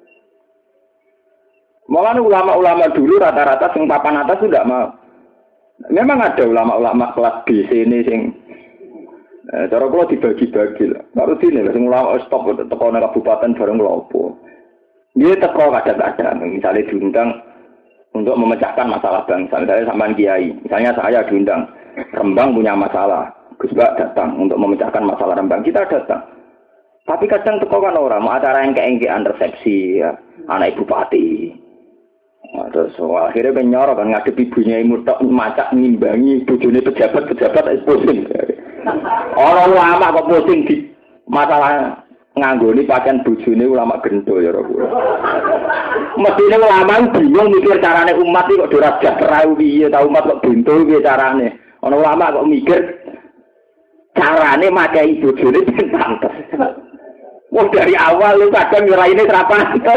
Malah ulama-ulama dulu rata-rata sing papan atas sudah mau. Memang ada ulama-ulama kelas B sini sing cara kula dibagi-bagi lah. Baru sini lah sing ulama stop teko nang kabupaten bareng klopo. Dia teko kadang-kadang misalnya diundang untuk memecahkan masalah bangsa. Misalnya sampean kiai, misalnya saya diundang, Rembang punya masalah, Gus Bak datang untuk memecahkan masalah Rembang, kita datang. Tapi kadang teko kan orang mau acara yang keengkean resepsi ya, anak ibu bupati. Terus akhirnya penyorok kan ngadep ibunya mutok macak ngimbangi bojone pejabat-pejabat pusing. Orang lama kok pusing di masalah nganggoni pakaian bojone ulama gendo ya ora. Mestine ulama bingung mikir carane umat iki kok ora sejahtera piye ta umat kok bento piye carane. Ana ulama kok mikir carane makai bojone ben pantes. Wong dari awal lu kadang ngiraine ora pantes.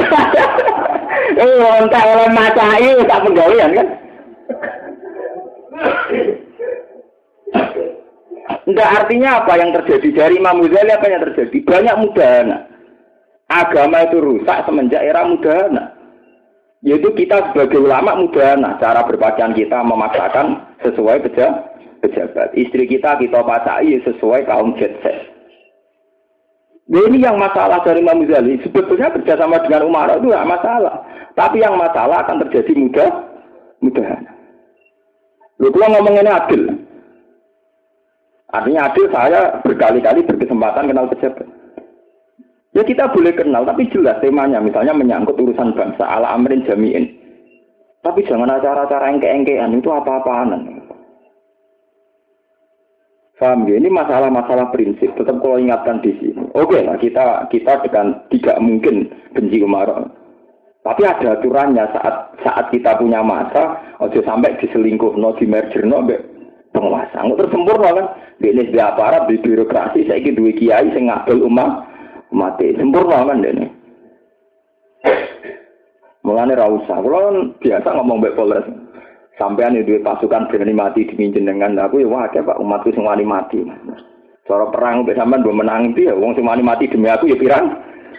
Entek oleh macai tak penggawean kan. Enggak, artinya apa yang terjadi dari Imam Ghazali, apa yang terjadi? Banyak mudahana. Agama itu rusak semenjak era mudahana. Yaitu kita sebagai ulama mudahana. Cara berpakaian kita memaksakan sesuai pejabat. Istri kita pacai sesuai kaum jet set. Nah, ini yang masalah dari Imam Ghazali. Sebetulnya kerjasama dengan Umar itu tidak masalah. Tapi yang masalah akan terjadi mudahana. Lalu kalau ngomongin adil. Artinya adil saya berkali-kali berkesempatan kenal pejabat. Ya kita boleh kenal, tapi jelas temanya. Misalnya menyangkut urusan bangsa, ala amrin jami'in. Tapi jangan acara-acara yang keengkean, itu apa-apaan. Paham ya? Ini masalah-masalah prinsip. Tetap kalau ingatkan di sini. Oke lah, kita dengan tidak mungkin benci Umar. Tapi ada aturannya saat kita punya masa, ojo sampai diselingkuh, di merger, penguasa. Nggak tersempurna kan? Ini di aparat, di birokrasi, saya ingin dua kiai, saya ngadol umat. Sempurna kan ini. Mulanya rausah. Kalau biasa ngomong baik Polres. Sampean itu pasukan berani mati diminjen dengan aku, ya wah Pak, umatku sing wani mati. Cara perang mbek sampean do menang itu ya wong sing wani mati demi aku ya pirang.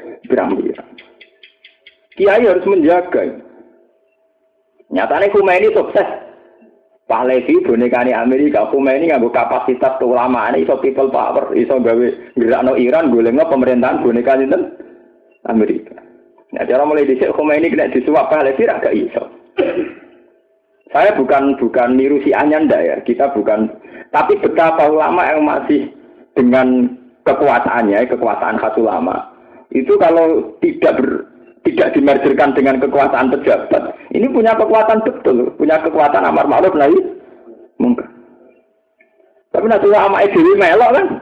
Kiai harus menjaga. Nyatane Khomeini sukses. Pahlavi bonekane Amerika, Khomeini nganggo kapasitas keulamaan iso people power, iso gawe gerakno Iran golekno pemerintahan boneka sinten Amerika. Nah, cara mulai dhisik Khomeini kena disuap Pahlavi ra gak iso. Saya bukan niru si Anyanda ya, kita bukan. Tapi betapa ulama yang masih dengan kekuasaannya, kekuasaan khas ulama, itu kalau tidak dimergerkan dengan kekuasaan pejabat, ini punya kekuatan betul, punya kekuatan amar ma'ruf nahi mungkar. Tapi nanti ulama dewi melok kan,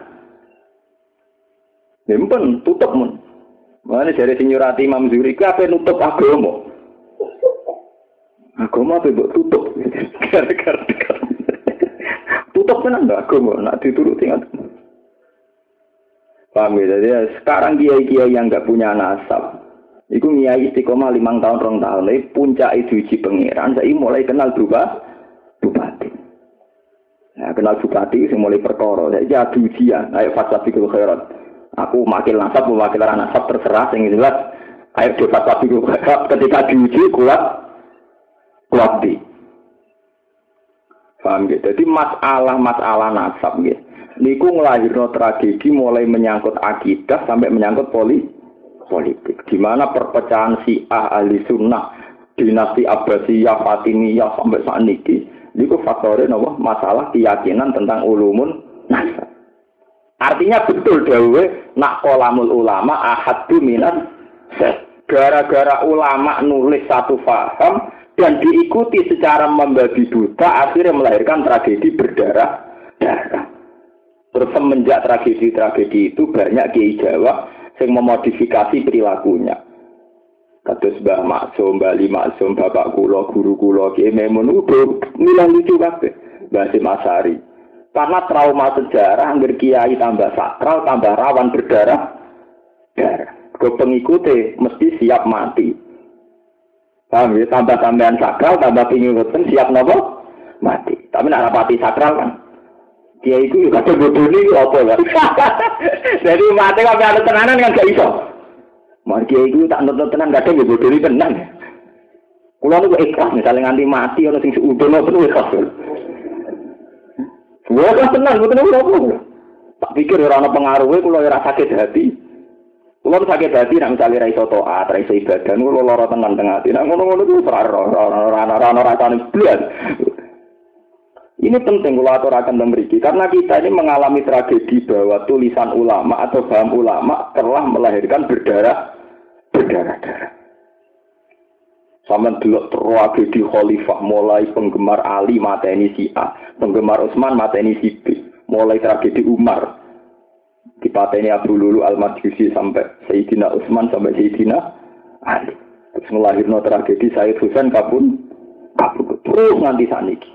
nyimpen tutup mun. Mana dari sinyurati Imam Zuhri, apa nutup agama? Agama apa buat tutup? Gara-gara tutup kan anda agama, nak dituruti kan? Paham ya? Jadi sekarang kiai-kiai yang nggak punya nasab, itu kiai istiqomah 5 tahun 2 tahun, ini puncak itu uji pengiran. Saya mulai kenal bupati. Nah, kenal bupati, saya mulai perkara. Saya jadi ujian, ayo fasafikul khairat. Aku makil nasab, mewakil nasab terserah, yang jelas. Ayo fasafikul khairat. Ketika diuji kuat di. Paham gitu. Jadi masalah nasab gitu. Niku ngelahirno tragedi mulai menyangkut akidah sampai menyangkut politik. Di mana perpecahan Syiah ahli sunnah, dinasti Abbasiyah, Fatimiyah sampai saat niki. Niku faktornya napa? Masalah keyakinan tentang ulumun nasab. Artinya betul dawe nak qalamul ulama ahaddu minan gara-gara ulama nulis satu faham dan diikuti secara membabi buta, akhirnya melahirkan tragedi berdarah-darah. Terus semenjak tragedi-tragedi itu banyak kiai Jawa yang memodifikasi perilakunya. Kados Mbah Maksum, Mbah Ali Maksum, bapak kula, guru kula, Kiai Memun udah milang lucu kabeh. Mbah Hasyim Asy'ari. Karena trauma sejarah, angger kiai tambah sakral, tambah rawan berdarah-darah. Ke pengikutnya mesti siap mati. Paham ya? Tambah tambahan sakral, tambah pengikutnya siap nopo mati. Tapi nak rapati sakral kan, dia itu juga ada bodoh ini apa kan? Jadi mati kalau ada tenanan kan gak iso. Mari dia itu tak nonton tenan gak ada bodoh ini tenan. Kalau itu ikhlas misalnya nganti mati orang sing seudon apa itu ikhlas. Semua kan tenang, betul apa? Tak pikir orang pengaruhnya kalau rasa sakit hati. Kulo sakit hati nek misale ra iso taat, ra iso ibadah, kulo lara tenan teng ati. Nek ngono-ngono ku ora rasane blas. Ini penting kalau aturakan memiliki karena kita ini mengalami tragedi bahwa tulisan ulama atau paham ulama telah melahirkan berdarah. Sama delok tragedi khalifah mulai penggemar Ali mateni si A, penggemar Utsman mateni si B, mulai tragedi Umar dipateni Abu Lulu Al-Majusi sampai Sayyidina Utsman sampai Sayyidina Ali. Terus melahirkan tragedi Sayyid Husain kabun terus nganti saniki.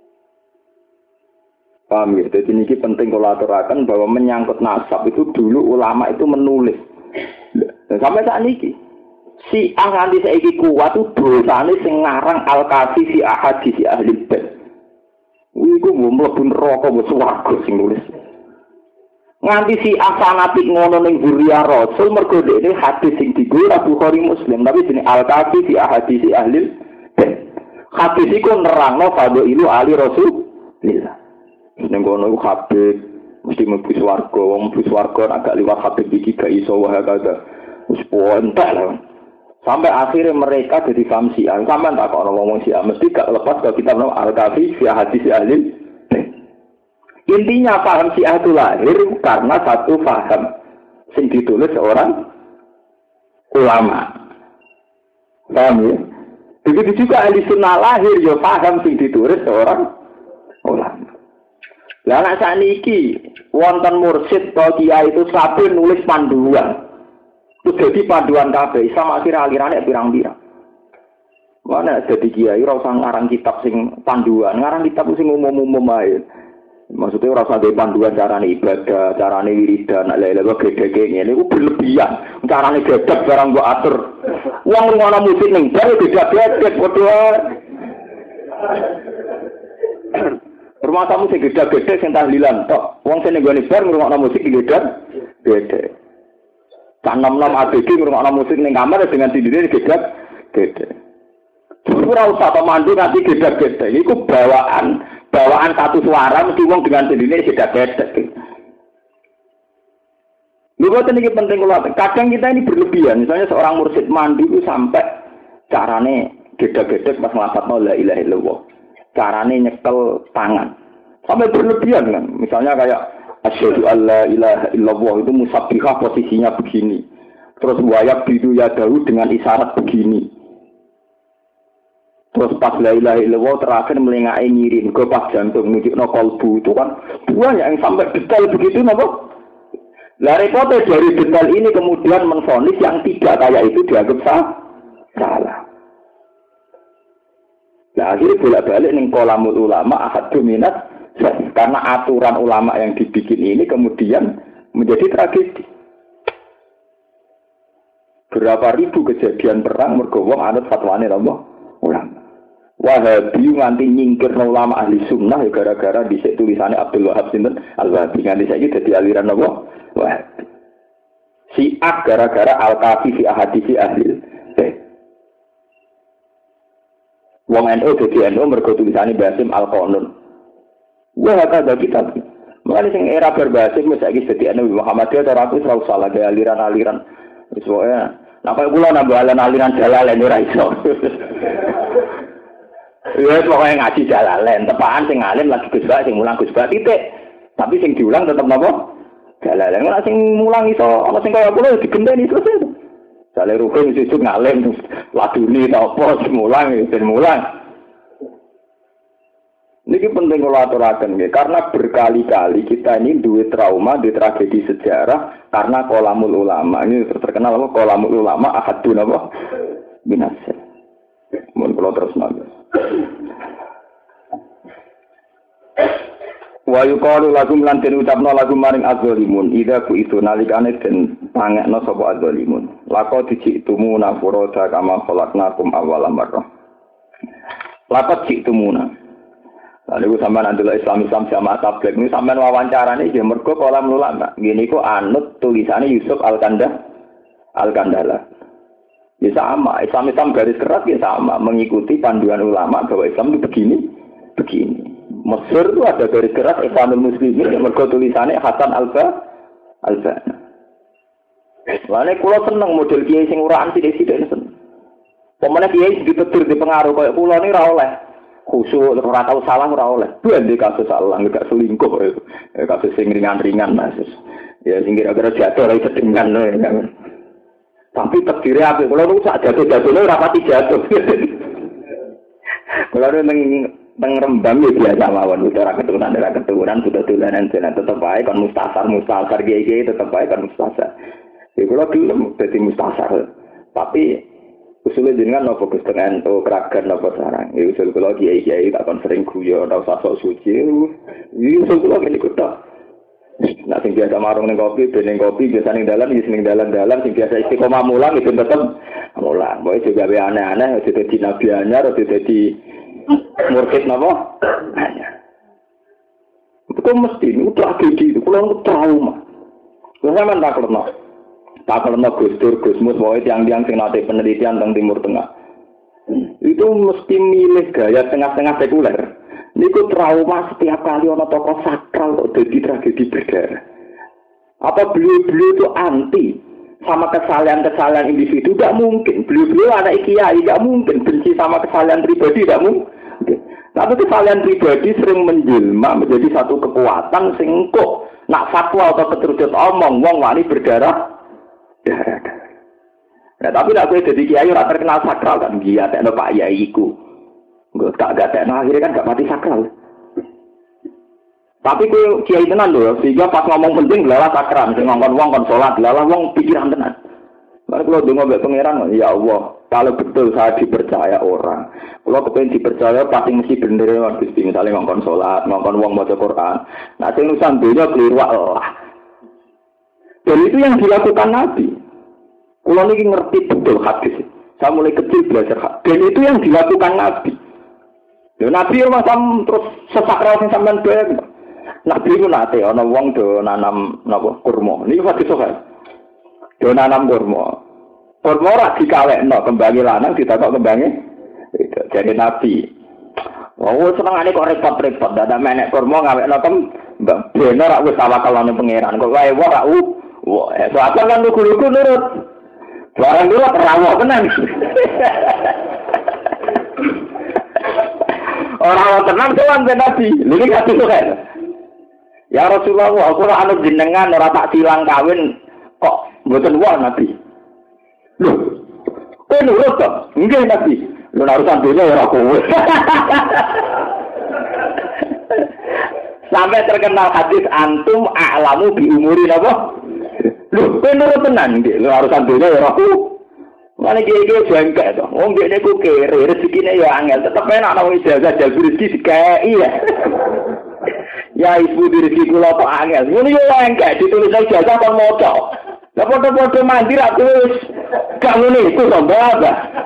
Paham ya? Jadi ini penting kalau aturakan bahwa menyangkut nasab itu dulu ulama itu menulis. Dan sampai saat ini si nganti saiki kuat itu dosane sing ngarang Al-Kafi fi ahadits ahli bait. Iku mlebu neraka wis swarga sing nulis. Nganti si fanatik ngono ning Buria Rasul mergo dhekne hadis sing digo Bukhari Muslim tapi jenenge Al-Kafi fi ahadits ahli bait. Hadis iku nerangno fadhailu ali Rasulillah. Ning kono iku Habib mesti mlebu swarga, wong mlebu swarga agak liwat Habib iki gak iso wae kagak. Wis pontek lah. Sampai akhirnya mereka jadi paham Syiah. Sampai tak kok ngomong Syiah mesti gak lepas kalau kita nama Al-Kafi fi hadits ahli. Intinya paham Syiah itu lahir karena satu paham sing ditulis seorang ulama. Paham ya? Begitu juga ahli sunnah lahir ya paham sing ditulis seorang ulama. Lah nek saniki wonten mursyid atau kiai itu sampai nulis panduan. Itu jadi panduan kabeh sama akhir alirane pirang-pirang. Mana jadi kiai ora usah ngarang kitab sing panduan, ngarang kitab sing umum-umum ae. Maksudnya ora usah panduan carane ibadah, carane wiridan, lha-lha gede-gede ngene iku berlebihan. Carane gedek barang mbok atur. Wong ngono musik ning bar gedhe-gedhe padha. Rumah tamu sing gede-gede sing tahlilan tok. Wong sing nggone bar ngrungokno musik gede-gede. Kan nom-nom ABG ngrungokno musik ning kamar dengan sendiri gede-gede. Ora usah pemandu nanti gede-gede. Iku bawaan satu suara mesti wong dengan sendiri gede-gede. Lha boten iki penting kula. Kadang kita ini berlebihan. Misalnya seorang mursyid mandi itu sampai carane gede-gede pas nglafadzno la ilaha illallah. Carane nyekel tangan sampai berlebihan kan, misalnya kayak asyhadu alla ilaha illallah itu musabbihah posisinya begini, terus wayak bidu yadahu dengan isyarat begini, terus pas la ilaha illallah terakhir melengae ngirim ke pas jantung nunjukno kolbu itu kan banyak yang sampai detail begitu napa. Lah repotnya dari detail ini kemudian menvonis yang tidak kayak itu dianggap salah. Nah, akhirnya bolak-balik ning kolamul ulama ahadu minat karena aturan ulama yang dibikin ini kemudian menjadi tragedi. Berapa ribu kejadian perang mergo wong anut fatwane ulama. Wahabi nganti nyingkir ulama ahli sunnah ya gara-gara dhisik tulisane Abdul Wahab sinten Al-Wahabi nganti saiki dadi aliran apa? Wahabi. Syiah gara-gara Al-Kafi fi ahadits ahli. Wong NU dadi NU mergo tulisane Basim Al-Qanun. Wah kada kitab. Mulane sing era berbasim wis saiki dadi NU Muhammadiyah ora aku ora usah lagi aliran-aliran. Wis wae. Napa kula nambah aliran Jalalain ora iso. Ya pokoke ngaji Jalalain, tepaan sing alim lagi Gus Bak sing mulang Gus Bak titik. Tapi sing diulang tetep napa? Jalalain. Ora sing mulang iso ana sing kaya kula digenteni terus. Sale rukun sesuk ngalim laduni ta apa semulang semulang. Niki penting kula aturaken nggih karena berkali-kali kita ini duwe trauma di tragedi sejarah karena kolamul ulama. Ini terkenal apa kolamul ulama ahadun apa binasa. Mun kula terus nang. Wa yuqalu lakum lan den ucapno lagu maring azzalimun idza ku itu nalikane den pangekno sapa azzalimun laqad ji'tumuna furada kama khalaqnakum awwala marrah laqad ji'tumuna lalu sampean andelok Islam jamaah tabligh niku sampean wawancarane nggih mergo kolam ulama ngene iku anut tulisane Yusuf Al-Kandala ya sama Islam garis keras ya sama mengikuti panduan ulama bahwa Islam itu begini Mesir itu ada garis keras Ikhwanul Muslimin yang mergo tulisannya Hasan Al-Banna. Lane kula seneng model kiai sing uraan sithik-sithik seneng. Pemene kiai ditetir di pengaruh kaya kula ni ora oleh. Khusuk ora tau salah ora oleh. Bukan di kasus salah enggak selingkuh kasus sing ringan-ringan Mas. Ya sing kira-kira jatuh ora sedengan lho. Tapi terdiri apik kula niku sak jatuh-jatuhne ora pati jatuh. Kula nang Rembang ya biasa mawon ora keturunan sudah dolanan tetep wae kon mustasar kiai tetep wae kon mustasar. Ya kula gelem dadi mustasar. Tapi usulnya jenengan nopo Gus Teng ento keragan nopo sarang. Ya usul kula kiai tak kon sering guyon ora usah sok suci. Iki usul kula ngene kok. Nah sing biasa marung ning kopi biasa ning dalan sing biasa istiqomah mulang itu tetep mulang. Boy juga be aneh-aneh aja dadi nabi anyar aja dadi murtid napa? Itu mesti itu tragedi itu kula trauma. Kula sampean taklerno Gus Dur, Gus Mus, wae tiang-tiang sing nate penelitian tentang Timur Tengah. Itu mesti milih gaya tengah-tengah sekuler. Niku trauma setiap kali ana tokoh sakral kok dadi tragedi berdarah. Apa beliau-beliau itu anti sama kesalahan-kesalahan individu? Tidak mungkin. Beliau-beliau anak kiai, tidak mungkin. Benci sama kesalahan pribadi, tidak mungkin. Tapi kesalahan pribadi sering menjelma menjadi satu kekuatan sing kok nak fatwa atau keterucut omong wong wani berdarah. Nah, tapi nak kowe dadi kiai ora terkenal sakral kan dia tekno Pak Yai iku. Enggak tekno akhirnya kan gak mati sakral. Tapi kowe kiai tenan lho, sehingga pas ngomong penting lalah sakral, sing ngongkon wong kon salat, lalah wong pikiran tenan. Mari kula ndonga mbek pangeran, ya Allah, kalau betul saya dipercaya orang, kula kepengin dipercaya pasti mesti bener ya Gusti, misale ngongkon salat, ngongkon wong maca Quran. Nah, sing urusan donya kliru Allah. Dan itu yang dilakukan Nabi. Kula niki ngerti betul hadis. Saya mulai kecil belajar hadis. Dan itu yang dilakukan Nabi. Ya Nabi macam terus sesakral sing sampean bayang. Nabi ku nate ana wong do nanam napa kurma. Niki hadis sok. Do nanam kurma. Kurma ora dikawekno kembange lanang ditakok kembange. Jadi Nabi. Wong senengane kok repot-repot dadak menek kurma ngawekno kembang. Bener rak wis tawakalane pangeran. Kok wae ora wah, soalnya kan lugu-lugu nurut. Barang dulu terawak tenan. Orang tenang tuan Nabi. Ini gak itu kan? Ya Rasulullah, aku ora anut jenengan ora tak silang kawin kok mboten wae Nabi. Lho. Kowe nurut to? Nggih Nabi. Lho urusan dunya ora kowe. Sampai terkenal hadis antum a'lamu bi umuri napa? Lho, kowe nurut tenan nggih. Lho urusan dunya ya ora aku. Mane iki jengkel to. Wong dekne ku kere, rezekine ya angel, tetep enak ana ijazah jalur rezeki dikai ya. Ya ibu rezeki kula kok angel. Ngono yo engke ditulis ijazah kon maca. Lah padha-padha mandi ra wis gak ngene iku to Mbak.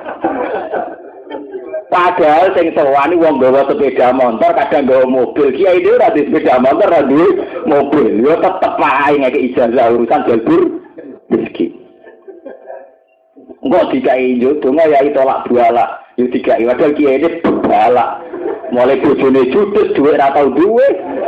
Padahal sing sewani wong gawa sepeda motor, kadang gawa mobil. Kiai dhewe ora di sepeda motor, ora duwe mobil. Yo tetep wae ngeke ijazah urusan jalur rezeki. Enggak dikai yo donga yai tolak buala. Yo dikai padahal kiai ini balak. Mulai bojone judes duwe ora tau duwe.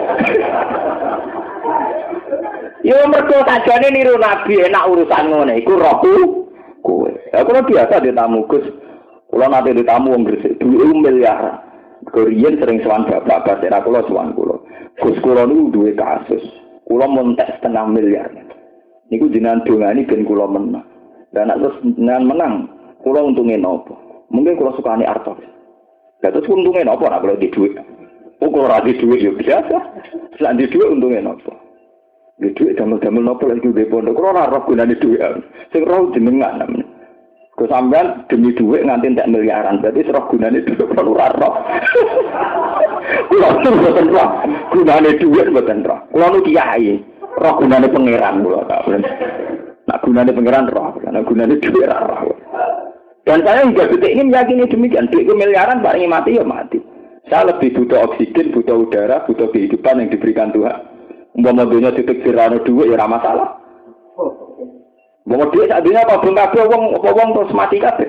Yo mergo sajane niru Nabi enak urusan ngene iku rohku kowe. Aku biasa ditamu Gus. Kula nate ditamu wong Gresik duwe miliar. Korean sering sowan bapak era kula sowan kula. Gus kula niku duwe kasus. Kula montek 0,5 miliar. Niku jenengan dongani ben kula menang. Dan nek terus jenengan menang, kula untunge napa? Mungkin kula sukani artos. Lah terus untunge napa nek kula di dhuwit? Oh kula ora di dhuwit yo biasa. Lah di dhuwit untunge napa? Di dhuwit damel-damel napa lagi di pondok kula ora roh gunane dhuwit. Sing roh jenengan namanya. Kau sampean demi dhuwit nganti entek miliaran, berarti serah gunane dhuwit kula ora roh. Kula mboten roh. Gunane dhuwit mboten roh. Kula nu kiai, roh gunane pangeran kula tak. Nak gunane pangeran roh, nak gunane dhuwit roh. Dan saya juga detik ini meyakini demikian. Dhuwit miliaran paling mati ya mati. Saya lebih butuh oksigen, butuh udara, butuh kehidupan yang diberikan Tuhan. Umpama dunia titik sirano dhuwit ya ora masalah. Umpama dhuwit sak dunia apa belum kabeh wong terus mati kabeh.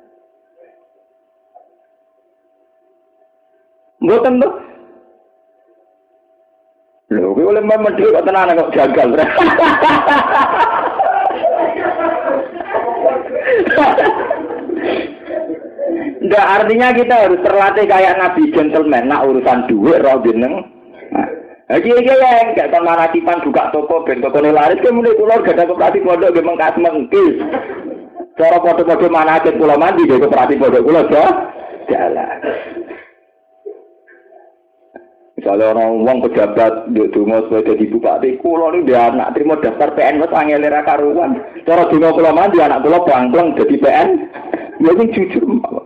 Mboten lho. Lho, kowe oleh memang dhuwit kok tenan kok jagal. Nggak, artinya kita harus terlatih kayak Nabi gentleman. Nah urusan duit roh jeneng. Lagi ya enggak kon manakipan buka toko ben tokone laris ke mulai kula gak ada koperasi pondok ge mengkas mengkis. Cara padha-padha manakit kula mandi ge koperasi pondok kula jalan. Misalnya orang wong pejabat nduk donga supaya dadi bupati, kula niku dia anak trimo daftar PN wis angel ra karuan. Cara donga kula mandi anak kula bangkleng dadi PN. Ya sing jujur.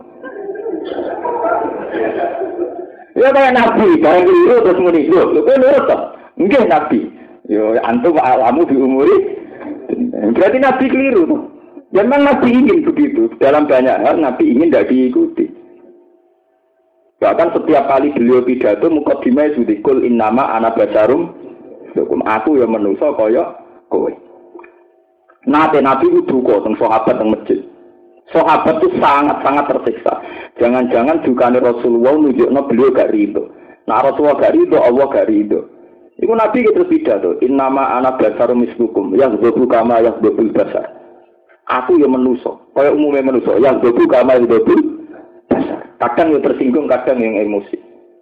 Ya kayak Nabi, barang keliru terus muni, lho kowe nurut to? Nggih Nabi. Yo antum alamu di umuri. Berarti Nabi keliru tuh. Memang Nabi ingin begitu. Dalam banyak hal Nabi ingin tidak diikuti. Bahkan setiap kali beliau pidato mukadimah sudikul innama ana basarum hukum aku yang manusa kaya kowe. Nate Nabi itu duka teng sahabat teng masjid. Sahabat itu sangat-sangat tersiksa. Jangan-jangan dukane Rasulullah nunjukno beliau gak rido. Nah Rasulullah gak rido, Allah gak rido. Iku Nabi terus pidato, innama ana basarum mislukum yaghdabu kama yaghdabul basar. Aku yang manusa, kaya umumnya manusa, yaghdabu kama yaghdabul basar. Kadang yang tersinggung, kadang yang emosi.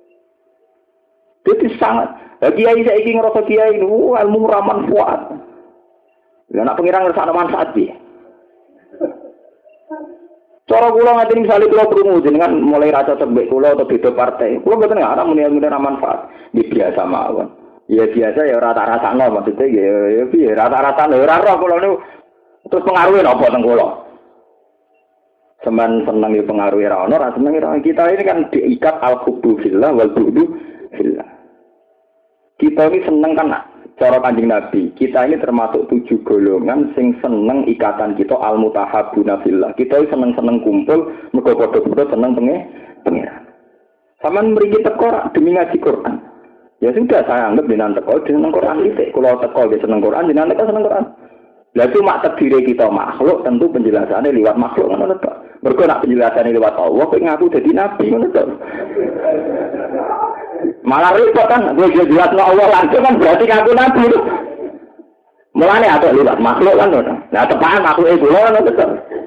Itu sangat. Kiai saya ingin ngerasa kiai ini, ilmu raman kuat. Ya nak pengirang ngerasa manfaat dia. Cara kula ngaten misale kula krungu jenengan mulai rasa cembek kula atau beda partai. Kula mboten ngarep muni-muni ra manfaat. Di biasa mawon. Ya biasa ya ora tak rasakno maksudnya ya piye rata-rata ora roh kula niku terus pengaruhe napa teng kula. Semen seneng ya pengaruhe ra ono, ra seneng ra kita ini kan diikat al-hubbu fillah wal bughdu fillah. Kita ini seneng kan cara Kanjeng Nabi, kita ini termasuk 7 golongan sing seneng ikatan kita al-mutahabbuna fillah. Kita seneng-seneng kumpul mergo padha-padha seneng pengiran. Saman mriki teko demi ngaji Quran. Ya sudah saya anggap jenengan teko seneng Quran titik. Kalau teko ge seneng Quran, jenengan teko seneng Quran. Lah cuma takdire kita makhluk, tentu penjelasannya lewat makhluk ngono to. Mergo nek penjelasannya lewat Allah kok ngaku dadi nabi ngono to. Malah repot kan, gue jelas Allah langsung kan berarti ngaku nabi. Mulane ada lewat makhluk kan ngono. Nah tepan makhluk itu ngono to.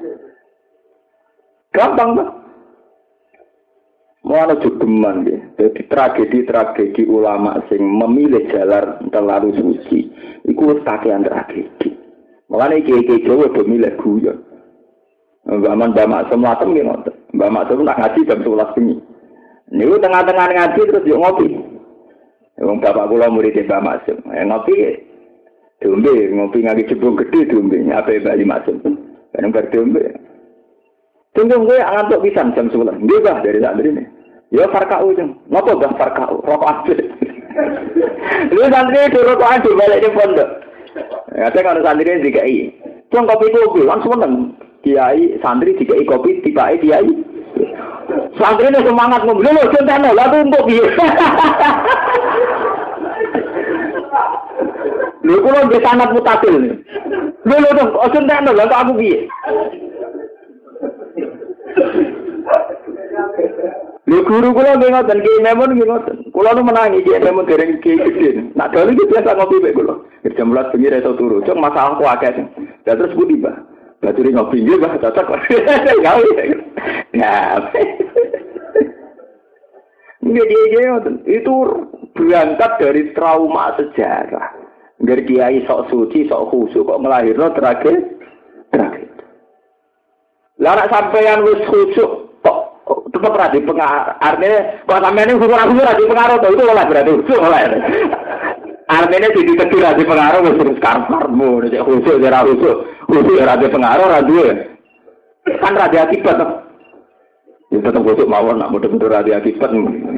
Gampang to. Mulane jogeman nggih. Dadi tragedi-tragedi ulama sing memilih jalan terlalu suci, iku wis kakean tragedi. Mulane kiai-kiai Jawa do milih guyon. Mbak Maksum latem nggih ngoten. Mbak Maksum nak ngaji jam 11 bengi. Niku tengah-tengah ngaji terus yo ngopi. Wong bapak kula murid Mbak Maksum. Ngopi diombe, ngopi ngaji jebong gedhe diombe, ape Mbak Maksum. Kan bar diombe. Tunggu gue ngantuk pisan jam 11. Nggih Bah dari santri ini. Ya farkau jeng. Napa Bah farkau? Rokok aja. Lu santri itu rokok aja balik di pondok. Kata kalau santri dikai. Cung kopi kopi langsung meneng. Kiai santri dikai kopi tibae kiai. Santri ini semangat ngomong. Lho contohnya lalu untuk piye. Lho kula di sanad mutasil. Lho dong contohnya lalu aku piye. Lho guru kula nggih ngoten, Ki Memun nggih ngoten. Kula nu menangi Ki Memun dereng Ki Gedhe. Nak dalu iki biasa ngopi mek kula. Jam 11 bengi ra iso turu. Cuk masalah ku akeh. Lah terus budi, Mbah. Baturi ngopi nggih, Mbah, cocok. Gawe. Ya. Itu berangkat dari trauma sejarah. Dari kiai sok suci, sok khusyuk kok melahirno tragedi. Lah nek sampeyan wis khusyuk tetap berarti pengaruh. Artinya kalau sampai ini hukum berarti pengaruh itu oleh berarti khusus oleh. Artinya jadi kecil pengaruh terus karparmu, jadi khusus berarti pengaruh radio. Kan radio akibat. Ya tetap khusus mawon nak mudah-mudah radio akibat.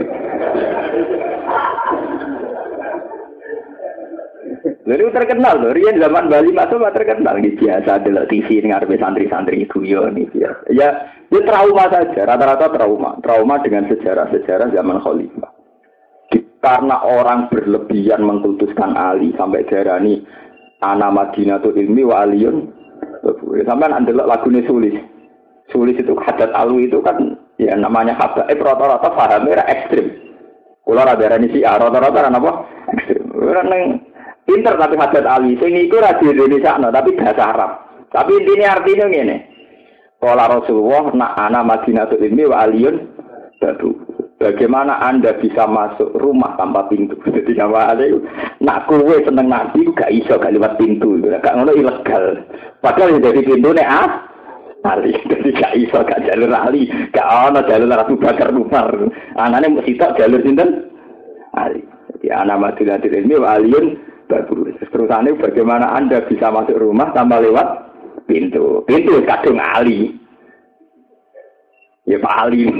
Jadi terkenal loh, Rian zaman Bali masuk terkenal gitu biasa delok TV ngarepe santri-santri guyon iki ya. Ya trauma saja, rata-rata trauma dengan sejarah-sejarah zaman Khalifah. Karena orang berlebihan mengkultuskan Ali sampai darani ana Madinatul Ilmi wa Aliyun. Sampai ndelok lagune Sulis. Sulis itu hadat alwi itu kan ya namanya habaib rata-rata pahamnya ekstrim. Kula ra darani si rata-rata kan apa? Ekstrim. Ora nang pinter tapi hadat alwi sing iku ra di Indonesia no, tapi bahasa Arab. Tapi intinya artinya ngene. Qala Rasulullah nak ana Madinatul Ilmi wa aliyun babu. Bagaimana Anda bisa masuk rumah tanpa pintu? Jadi awalnya nak kowe seneng Nabi gak iso gak lewat pintu. Gak ngono ilegal. Padahal dari pintu nek ali. Jadi gak iso gak jalur ali. Gak ono jalur Abu Bakar Umar. Anane mesti tok jalur sinten? Ali. Jadi ana Madinatul Ilmi wa aliyun babu. Terusane bagaimana Anda bisa masuk rumah tanpa lewat pintu? Pintu kadung ali. Ya Pak Ali.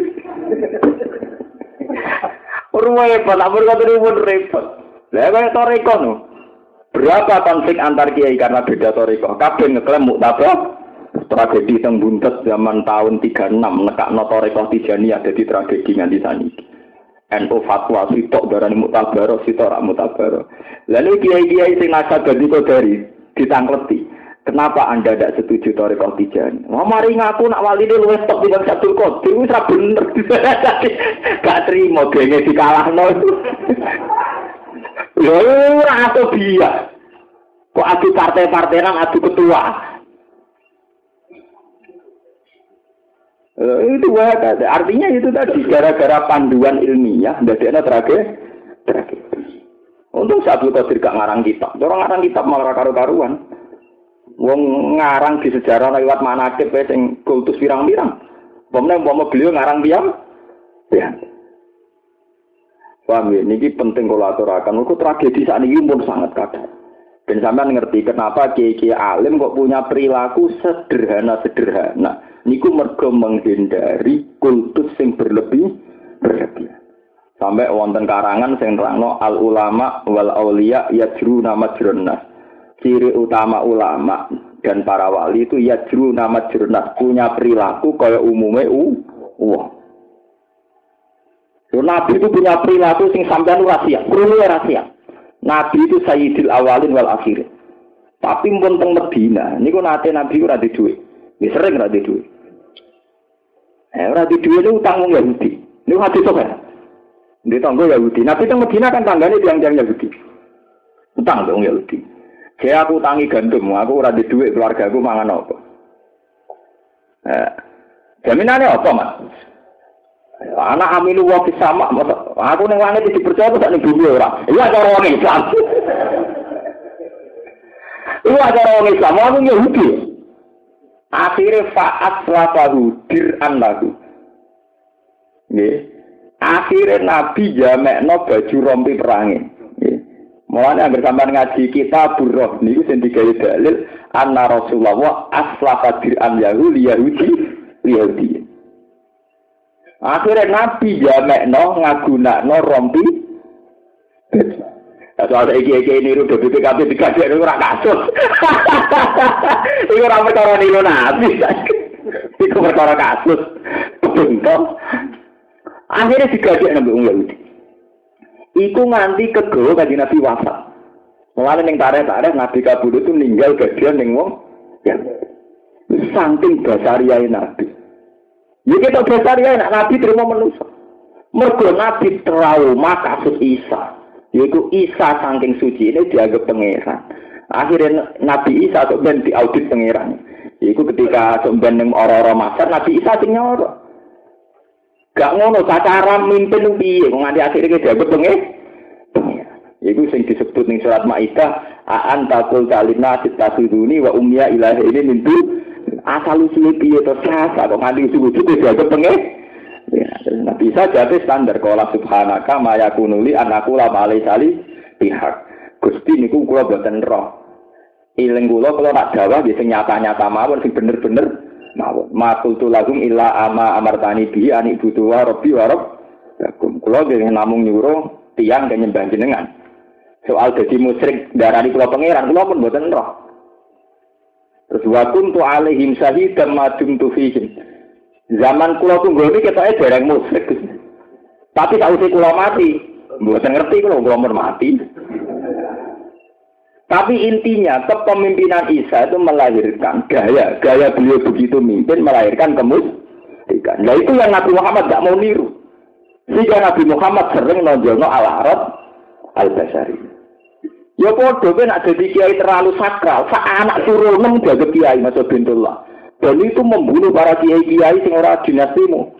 Repot, ampun kata pun repot. Lah kaya toriko no. Berapa konflik antar kiai karena beda toriko? Kabeh ngeklaim muktabah tragedi teng buntet zaman tahun 36 nekakno toriko Tijaniyah dadi tragedi nganti saniki. NU fatwa sitok darani muktabaro sitok rak muktabaro. Lalu kiai-kiai sing nasab dadi kodari ditangkleti. Kenapa Anda tidak setuju Thariqah Tijaniyah? Wah, mari ngaku nak wali ini luwes tok tidak Abdul Qadir, itu tidak bener. Gak terima, gengnya dikalahno. Loh, atau dia. Kok adu partai-partaian, adu ketua. Itu artinya itu tadi, gara-gara panduan ilmiah, dadeknya tragedi. Untung Abdul Qadir gak ngarang kitab. Orang ngarang kitab malah karu-karuan. Wong ngarang di sejarah lewat manaqib sing kultus pirang-pirang. Umpama beliau ngarang piyam. Ya. Paham ya, niki penting kula aturaken. Iku tragedi sakniki pun sangat kadang. Ben sampean ngerti kenapa kiai-kiai alim kok punya perilaku sederhana. Niku mergo menghindari kultus sing berlebihan. Sampai wonten karangan sing nerangno al ulama wal auliya yajruna majrun nas. Ciri utama ulama dan para wali itu yajru nama jurnat punya perilaku kaya umumnya wong. Nabi itu punya perilaku sing sampean rahasia, rahasia. Nabi itu sayyidil awalin wal akhirin. Tapi pun teng Medina, niku nate Nabi ora di dhuwit. Wis sering ora di dhuwit. Ora di dhuwit itu utang wong Yahudi. Niku hadis kok. Di tanggo Yahudi. Nabi teng Medina kan tanggane tiang-tiang Yahudi. Utang wong Yahudi. Kayak aku tangi gandum, aku ora di duit keluarga aku mangan apa? Jaminannya apa, Mas? Anak amilu wa sama, aku ning langit dipercaya kok ning bumi ora. Iya cara wong Islam. Iya cara wong Islam, aku Yahudi. Akhire fa'at lafahu dir'an lagu. Nggih. Akhire Nabi jamekno baju rompi perange. Mulane anggere sampean ngaji kitab Burroh niku sing digawe dalil anna Rasulullah aslafa dir'an Yahudi. Akhirnya Nabi jamekno ngagunakno rompi. Soal iki-iki niru BPKB dikasih ora kasus. Iku ora perkara niru Nabi. Iku perkara kasus. Bentuk. Akhirnya digawe nang Yahudi. Iku nganti kegawa kanjeng Nabi wafat. Mulane ning tarikh Nabi kabudut itu meninggal bagian ning wong ya. Saking basariyae Nabi. Ya kita basariyae Nabi terima manusa. Mergo Nabi trauma kasus Isa. Yaitu Isa saking suci ini dianggap pangeran. Akhirnya Nabi Isa kok ben diaudit pangeran. Iku ketika sampeyan ning ora-ora Masar Nabi Isa sing nyoro. Gak ngono cara mimpin piye nganti akhire dianggap pangeran. Iku sing disebut ning surat Maidah anta qul talina tasuduni wa ummiya ilahi ini mintu asal usul piye to sasa kok nganti usul dianggap pangeran. Ya, Nabi Isa jate standar qala subhanaka ma yakunuli anaku la alai sali pihak. Gusti niku kula boten roh. Iling kula nak dawuh nggih sing nyata-nyata mawon sing bener-bener mawon. Ma qultu lahum illa ama amartani bi ani butu wa rabbi wa rabbakum. Kula nggih namung nyuruh tiyang kang nyembah jenengan. Soal dadi musyrik darani kula pangeran kula pun boten roh. Terus wa kuntu alaihim syahidan ma dumtu fihim. Zaman kula tunggu iki ketoke dereng musyrik. Tapi sausé kula mati, mboten ngerti kula mun mati. Tapi intinya kepemimpinan Isa itu melahirkan gaya beliau begitu mimpin melahirkan kemusyrikan. Nah itu yang Nabi Muhammad tidak mau niru. Sehingga Nabi Muhammad sering nonjolno al-Arab al-Basari. Ya podo ben nak dadi kiai terlalu sakral, sak anak suruh nang jaga kiai Mas Bintullah. Dan itu membunuh para kiai-kiai sing ora dinastimu.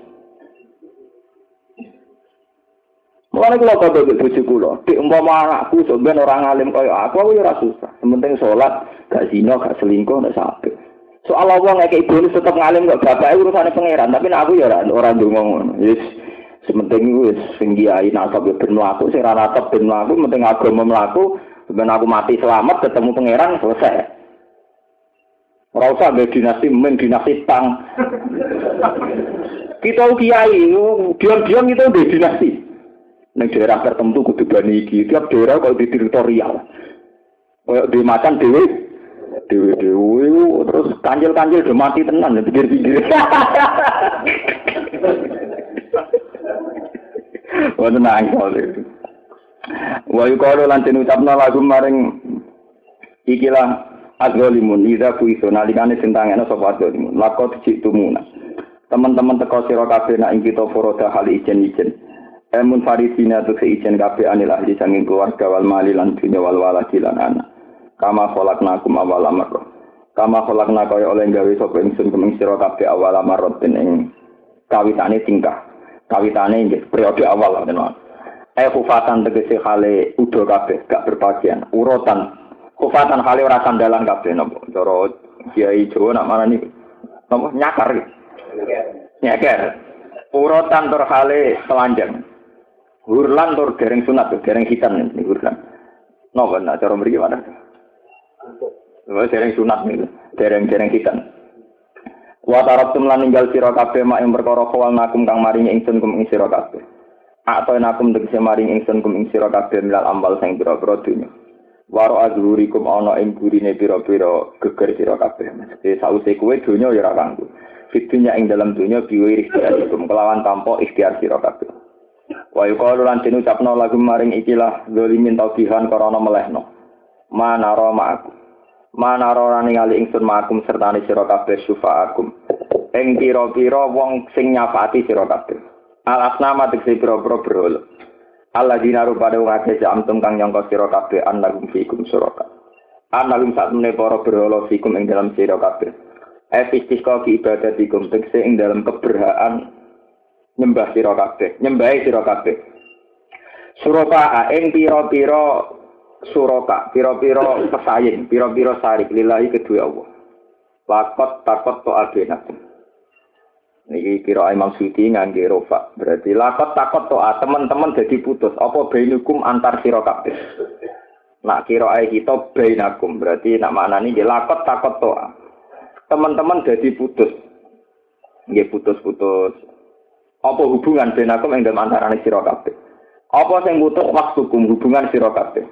Mulane kula padha mbek bojo kula, dik umpama anakku sampeyan ora ngalim kaya aku ya ora susah. Sementing salat, gak zina, gak selingkuh, nek sampe. Soal wong ngekek ibune tetep ngalim kok bapake urusane pangeran, tapi nek aku ya ora ndonga ngono. Wis sementing wis sing kiai nasab ben mlaku, sing ora nasab ben mlaku, penting agama mlaku, ben aku mati selamat ketemu pangeran selesai. Ora usah mbek dinasti men dinasti tang. Kita kiai, diam-diam kita udah dinasti. Ning daerah tertentu kudu bani iki, tiap daerah kok di teritorial. Kayak di macan dhewe terus kanjil-kanjil do mati tenan di pinggir-pinggir. Wonten nang kene. Wa yuqalu lan den ucapna lagu maring ikilah adzalimun idza kuiso nalikane sentangane sapa adzalimun lakot citumuna. Teman-teman teko sira kabeh nak ing kita foroda hal ijen-ijen. Emun faridina tu seijen kabeh anil ahli sanging keluarga wal mali lan dunya wal waladi lan anak. Kama khalaqnakum awal amr. Kama khalaqna kaya oleh gawe sapa ingsun kumeng sira kabeh awal amr ing kawitane tingkah. Kawitane nggih periode awal tenan. Kufatan tegese hale udo kabeh gak berbagian. Urutan kufatan hale ora sandalan kabeh napa. Cara kiai Jawa nak marani napa nyakar. Nyakar. Urutan tur hale telanjang. Hurlan tur dereng sunat, dereng hitan nih hurlan. Napa nak cara mriki mana? Wah dereng sunat nih, dereng hitan. Wa tarabtum lan ninggal sira kabeh mak ing perkara kawal nakum kang maringi ingsun kum ing sira kabeh. Atau nakum tegese maring ingsun kum ing sira kabeh milal ambal sing pira-pira dunya. Waro azhurikum ana ing burine pira-pira geger sira kabeh. Mesti sause kowe dunya ya ora kanggo. Fitunya ing dalam dunya biwiri ikhtiarikum kelawan tanpa ikhtiar sira kabeh. Wa yuqalu lan den ucapna lagu maring ikilah zalimin taubihan karana melehno. Manara ma'akum. Manara ningali ingsun ma'akum sertane sira kabeh syufa'akum. Ing pira-pira wong sing nyafaati sira kabeh. Al-asnama tegese pira-pira berhala. Alladzina rubada wong akeh amtum kang nyangka sira kabeh annahum fikum suraka. Annahum satune para berhala fikum ing dalam sira kabeh. Efistiqa ki ibadatikum tegese ing dalam keberhaan nyembah sira kabeh, nyembahi sira kabeh. Suraka ing pira-pira suraka, pira-pira pesaing, pira-pira sarik lillahi kedue Allah. Lakot takot to abenat. Niki kira Imam Suyuti ngangge rofa. Berarti lakot takot to teman-teman dadi putus apa bainukum antar sira kabeh. Nak kira kita bainakum berarti nak maknane nggih lakot takot to. Teman-teman dadi putus. Nggih putus-putus. Apa hubungan benakum ing dalem antarané sira kabeh? Apa sing putus waktukum hubungan sira kabeh?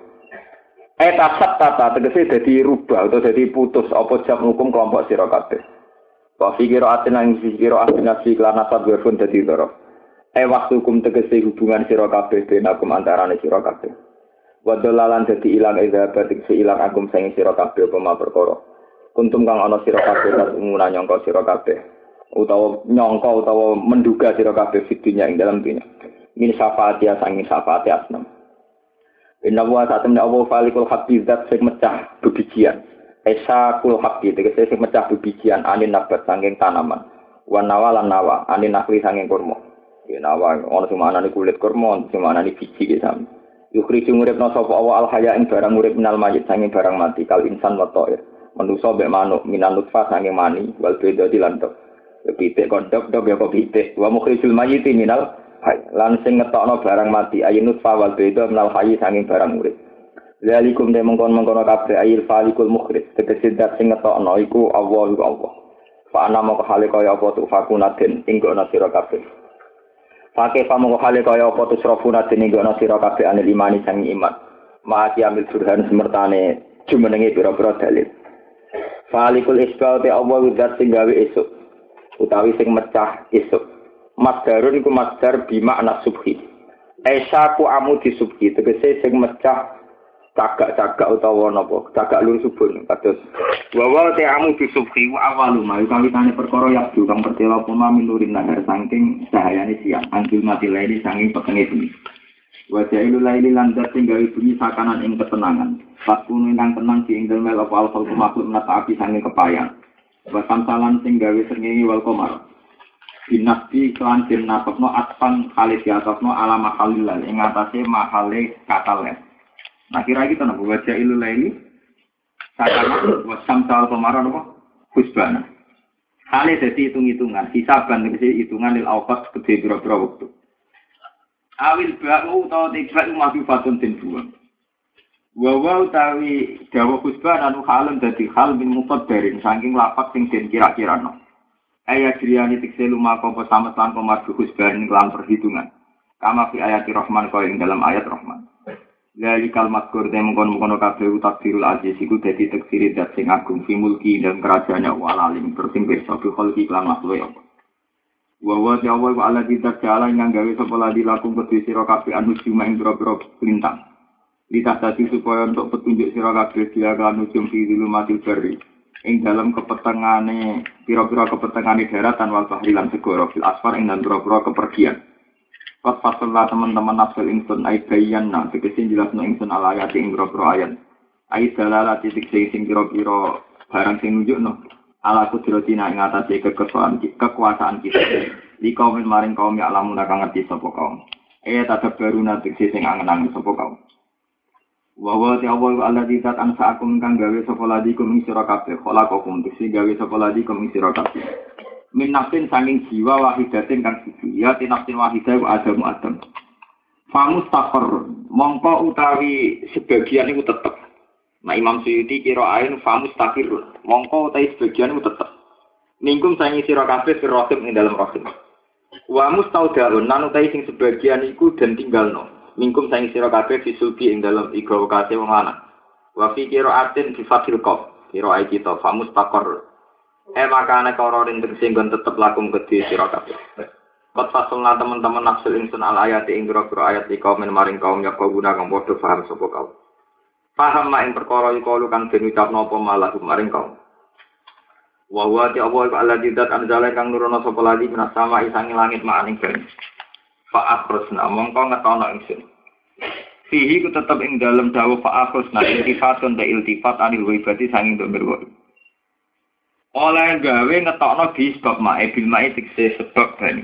Tasat tata tegese dadi rubah atau dadi putus apa jam hukum kelompok sira kabeh. Wa fikira atin lan fikira atinasi lan asad werfun dadi doro. Waktukum tegese hubungan sira kabeh benakum antarané sira kabeh. Wa dalalan dadi ilang idzabat tegese ilang akum sing sira kabeh apa perkara. Kuntum kang ana sira kabeh lan umuna nyangka sira kabeh. Utawa nyangka utawa menduga sira kabeh fidunya ing dalam dunya min syafaati sanging syafaati asnam inna wa satamna Allah falikul haqqi zat sing mecah bebijian esa kul haqqi tegese sing mecah bebijian anin nabat sanging tanaman wan nawalan nawa anin nakli sanging kurma ya nawa ana sing manane kulit kurma sing manane biji ki sam yukhriju nguripna sapa Allah al haya ing barang urip minal mayit sanging barang mati kal insan wa ta'ir manusa mek manuk minan nutfah sanging mani wal beda dilantok pitik kondok dok ya kok pitik wa mukhrijul mayyiti minal hayy lan sing ngetokno barang mati ayinut fawal beda minal hayy sanging barang urip zalikum de mongkon-mongkon kabeh ayil falikul mukhrij tegese dat sing ngetokno iku Allah fa ana moko hale kaya apa tu fakunaden ing gono sira kabeh Pakai pamoko hale kaya apa tu srafuna den ing gono sira kabeh anil imani sanging iman maati ambil surhan semertane jumenenge pira-pira dalil falikul isbal te Allah widat sing gawe esuk utawi sing mecah esuk masdarun iku masdar bimakna subhi aisaku amudi subhi tegese sing mecah cagak-cagak utawa napa cagak lur subuh kados wa te amudi subhi wa awalu ma kawitane perkara yabdu kang pertela puna minurin nahar saking cahayane siang anjul mati laili saking petenge bumi wa jailu laili lan dat sing gawe bumi sakanan ing ketenangan fakune nang tenang di ing dalem apa al-khalqu makhluk menata api saking kepayang Wasam salan sing gawe srengenge wal qamar. Binasti kelan den nasabno atpan kali diatasno ala mahalilal ing atase mahale katalen. Nah kira kita napa baca ilul laili sakana wasam sal qamar napa husbana. Hale dadi hitung-hitungan, hisaban tegese hitungan lil awqat gede pira-pira wektu. Awil ba'u utawa tiba umatu fatun den buang. Wa utawi dawa husbana anu halem dadi hal min muqaddarin saking lapak sing den kira-kirano. Ayat riyani tikse lumaka apa samet lan komardu husban kelan perhitungan. Kama fi ayat Rahman kaya ing dalam ayat Rahman. Lali kalimat kur dem mengkono kabeh takdirul aziz iku dadi takdir dat sing agung fi mulki dan kerajaannya walalim bersing pirsa bi kholqi lan makhluk ya. Wa ta'ala wa ala kita jala ingkang gawe sapa ladi lakum kedhe sira kabeh anu cuma ing pira-pira lintang. Ditastati supaya untuk petunjuk sira kabeh dia kan ujung fi zulumatil bari. Ing dalam kepetengane pira-pira kepetengane daratan wal bahri lan segara fil asfar ing dalem pira-pira kepergian. Pas fasallah teman-teman nafsul ingsun ay bayyana tegese jelasno ingsun ala ayat ing pira-pira ayat. Ay dalala titik sing pira-pira barang sing nunjukno ala kudratina ing atase kekuasaan kita. Li kaum maring kaum ya lamun kang ngerti sapa kaum. Tadabbaruna tegese sing angen-angen sapa kaum. Wa wa ta'awwal alladzi ta'anfa'akum kang gawe sapa ladikum ing sira kabeh khalaqakum tegese gawe sapa ladikum ing sira kabeh. Min nafsin saking jiwa wahidatin kang siji ya tinafsin wahidah wa adam. Famustaqar mongko utawi sebagian iku tetep. Nah Imam Suyuti kira ain famustaqir mongko utawi sebagian iku tetep. Mingkum saking sira kabeh firrohim ing dalam rohim. Wa mustaudaun lan utawi sing sebagian iku den tinggalno. Mingkum saking sira kabeh fisulbi ing dalam igawa kase wong lanang. Wa fi qira'atin bi fathil qaf. Kira ai kita famustaqar makane kororin tersinggon tetep lakum kedhi sira kabeh. Kot fasulna teman-teman nafsul ingsun al ayat ing pira-pira ayat iki kaum maring kaum ya guna kang padha paham sapa kaum. Paham mak ing perkara iku kan den ucapno apa malah maring kaum. Wa wa ta Allah alladzi dat anzala kang nurono sapa lagi minas sama isangi langit mak ing ben. Fa akhrusna mongko ngetono ingsun. Fihi ku tetep ing dalem dawuh fa akhrusna iltifatun ta iltifat anil waibati sanging untuk berwa. Oleh gawe ngetokno di sebab mae bil mae tikse sebab bani.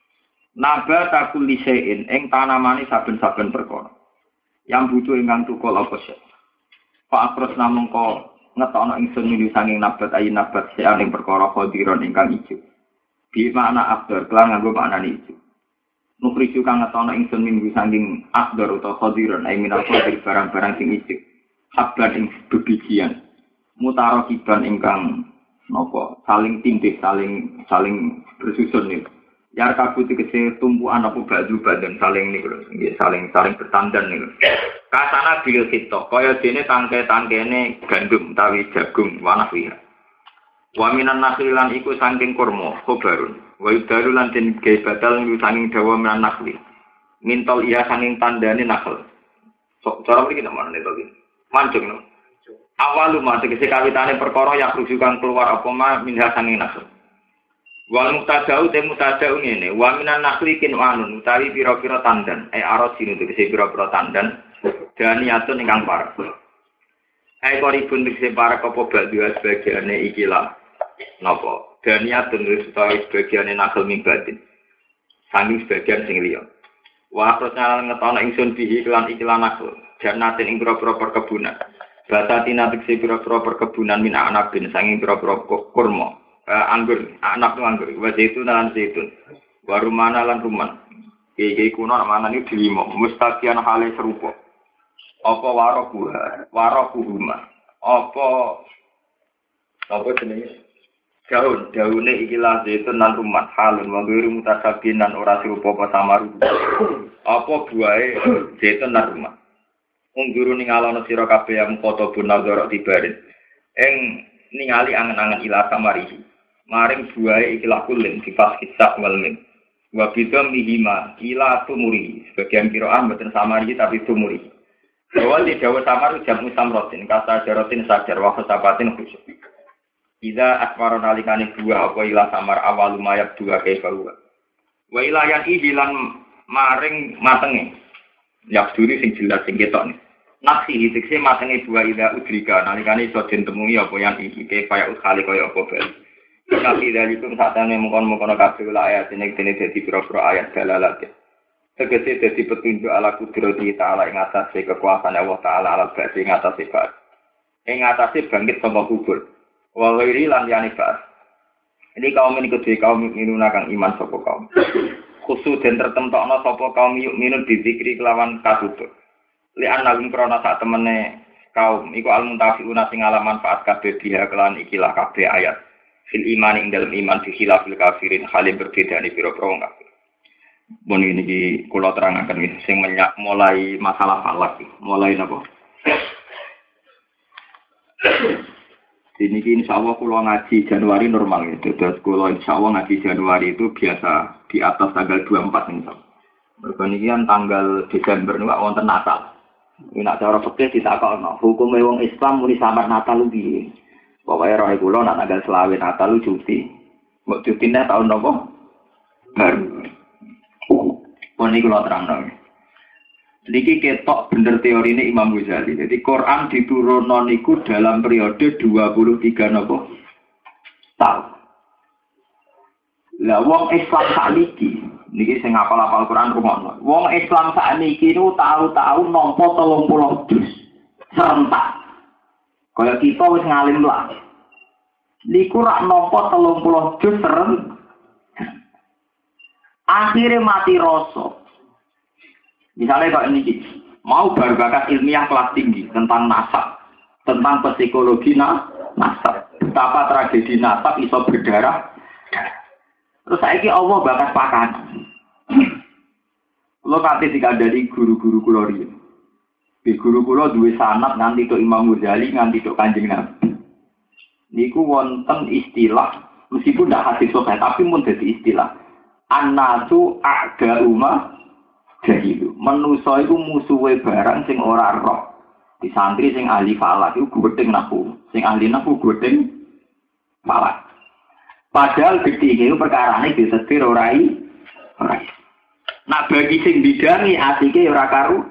Nabata kulli syai'in ing tanamane saben-saben perkara. Yang butuh ingkang tukul apa sih? Pak Akros namung ko ngetokno ingsun mili sanging nabat ayin nabat sean ing perkara khadiron ingkang ijo. Bi makna akdar kelan nganggo makna ijo. Nukriju kang ngetokno ingsun mili sanging akdar utawa khadiron ay minal khadir barang-barang sing ijo. Habban ing bebijian. Mutarokiban ingkang napa saling tindih saling bersusun niku yar kabut tegese tumpuan apa baju badan saling niku nggih saling bertandan niku kasana bil kita kaya dene tangke-tangkene gandum utawi jagung wanahwi wa minan nakhlilan iku saking kurma khobarun wa yudalu lan den gawe batal niku saking dawa minan nakhli mintol iya saking tandane nakhl sok cara mriki namane to iki mancung no awalu ma tegese kawitane perkara yang rujukan keluar apa ma minha saking nasab. Wal mutadau te mutadau ngene, wa minan nakhlikin wanun utawi pira-pira tandan, arosin tegese pira-pira tandan daniatun ingkang parek. Koribun tegese parek apa badhe sebagiane ikilah napa? Daniatun utawi sebagiane nakhl mimbatin. Sami sebagian sing liya. Wa prosnal ngetono ingsun bihi kelan ikilah nakhl, jannatin ing pira-pira perkebunan. Basatina tegese pira-pira perkebunan min anabin sanging pira-pira kurma anggur anak anggur wa zaitun lan zaitun warumana lan ruman iki kuno mana iki dilimo mustaqian hale serupa apa warokuhuma apa jenenge daune iki la zaitun lan ruman halun wa ghairi mutasabinan ora serupa apa samaru apa buahe zaitun lan ruman ungguru ningalono sira kabeh yang foto bunazara tibarin ing ningali angen-angen ila samarihi maring buahe ikilah kulin difas kisah walmin wa bidam mihima ila tumuri sebagian qiraah mboten samarihi tapi tumuri bahwa di Jawa samar jamu samrotin kata jarotin sajar wa sabatin khusyuk ida asmara nalikane dua apa ila samar awal lumayab dua kaifa wa ila yang ibilan maring matenge yak duri sing jelas sing ketok Nafsi dikse matenge dua ida udrika nalikane iso den temui apa yang iki kaya ukhali kaya apa bel. Tapi dari itu satane mongkon-mongkon kabeh ayat ini dene dadi pira-pira ayat dalalat. Tegese dadi petunjuk ala kudrati ta'ala ing atase kekuasaan Allah taala ala ba'si ing atase ba'at. Ing atase bangkit saka kubur. Wa ghairi lan yani ba'at. Ini kaum ini kedhe kaum minuna kang iman sapa kaum. Khusus den tertentokno sapa kaum minun dizikri kelawan katutur. Li annahum krana sak temene kaum iku al-muntafiuna sing ala manfaat kabeh dia kelan ikilah kabeh ayat fil iman ing dalem iman fi khilafil kafirin halim berbeda ni pira-pira wong kafir. Mun iki kula terangaken iki sing mulai masalah falak mulai napa? Ini insyaallah kula ngaji Januari normal gitu. Terus kula insyaallah ngaji Januari itu biasa di atas tanggal 24 insyaallah. Mergo niki kan tanggal Desember niku wonten Natal. Nek cara fikih ditakokno, hukume wong Islam muni samar Natal piye? Pokoke roh kula nek tanggal 20 Natal cuti. Mbok cutine tahun napa? Baru. Poni kula terangno. Niki ketok bener teorine Imam Ghazali. Jadi Quran diturunno niku dalam periode 23 napa? Tahun. Lah wong Islam sakniki niki sing ngapal-apal Quran rumono. Wong Islam sakniki niku tahu-tahu nampa 30 juz serentak. Kaya kita wis ngalim lah. Niku rak nampa 30 juz serentak. Akhirnya mati rasa. Misalnya kalau ini mau berbakat ilmiah kelas tinggi tentang nasab, tentang psikologi nasab, betapa tragedi nasab iso berdarah. Terus saiki Allah bakas pakan. Kulo kate dikandani guru-guru kula riyen. Guru kula duwe sanad nganti tok Imam Ghazali nganti tok Kanjeng Nabi. Niku wonten istilah meskipun ndak hadis sahih tapi mun dadi istilah. An-nasu a'da'uma jahilu. Manusa iku musuhe barang sing ora roh. Di santri sing ahli falak iku gething nahu. Sing ahli nahu gething falak. Padahal gedhe iku perkarane disetir ora ora. Nak bagi sing bidangi asike ora karu.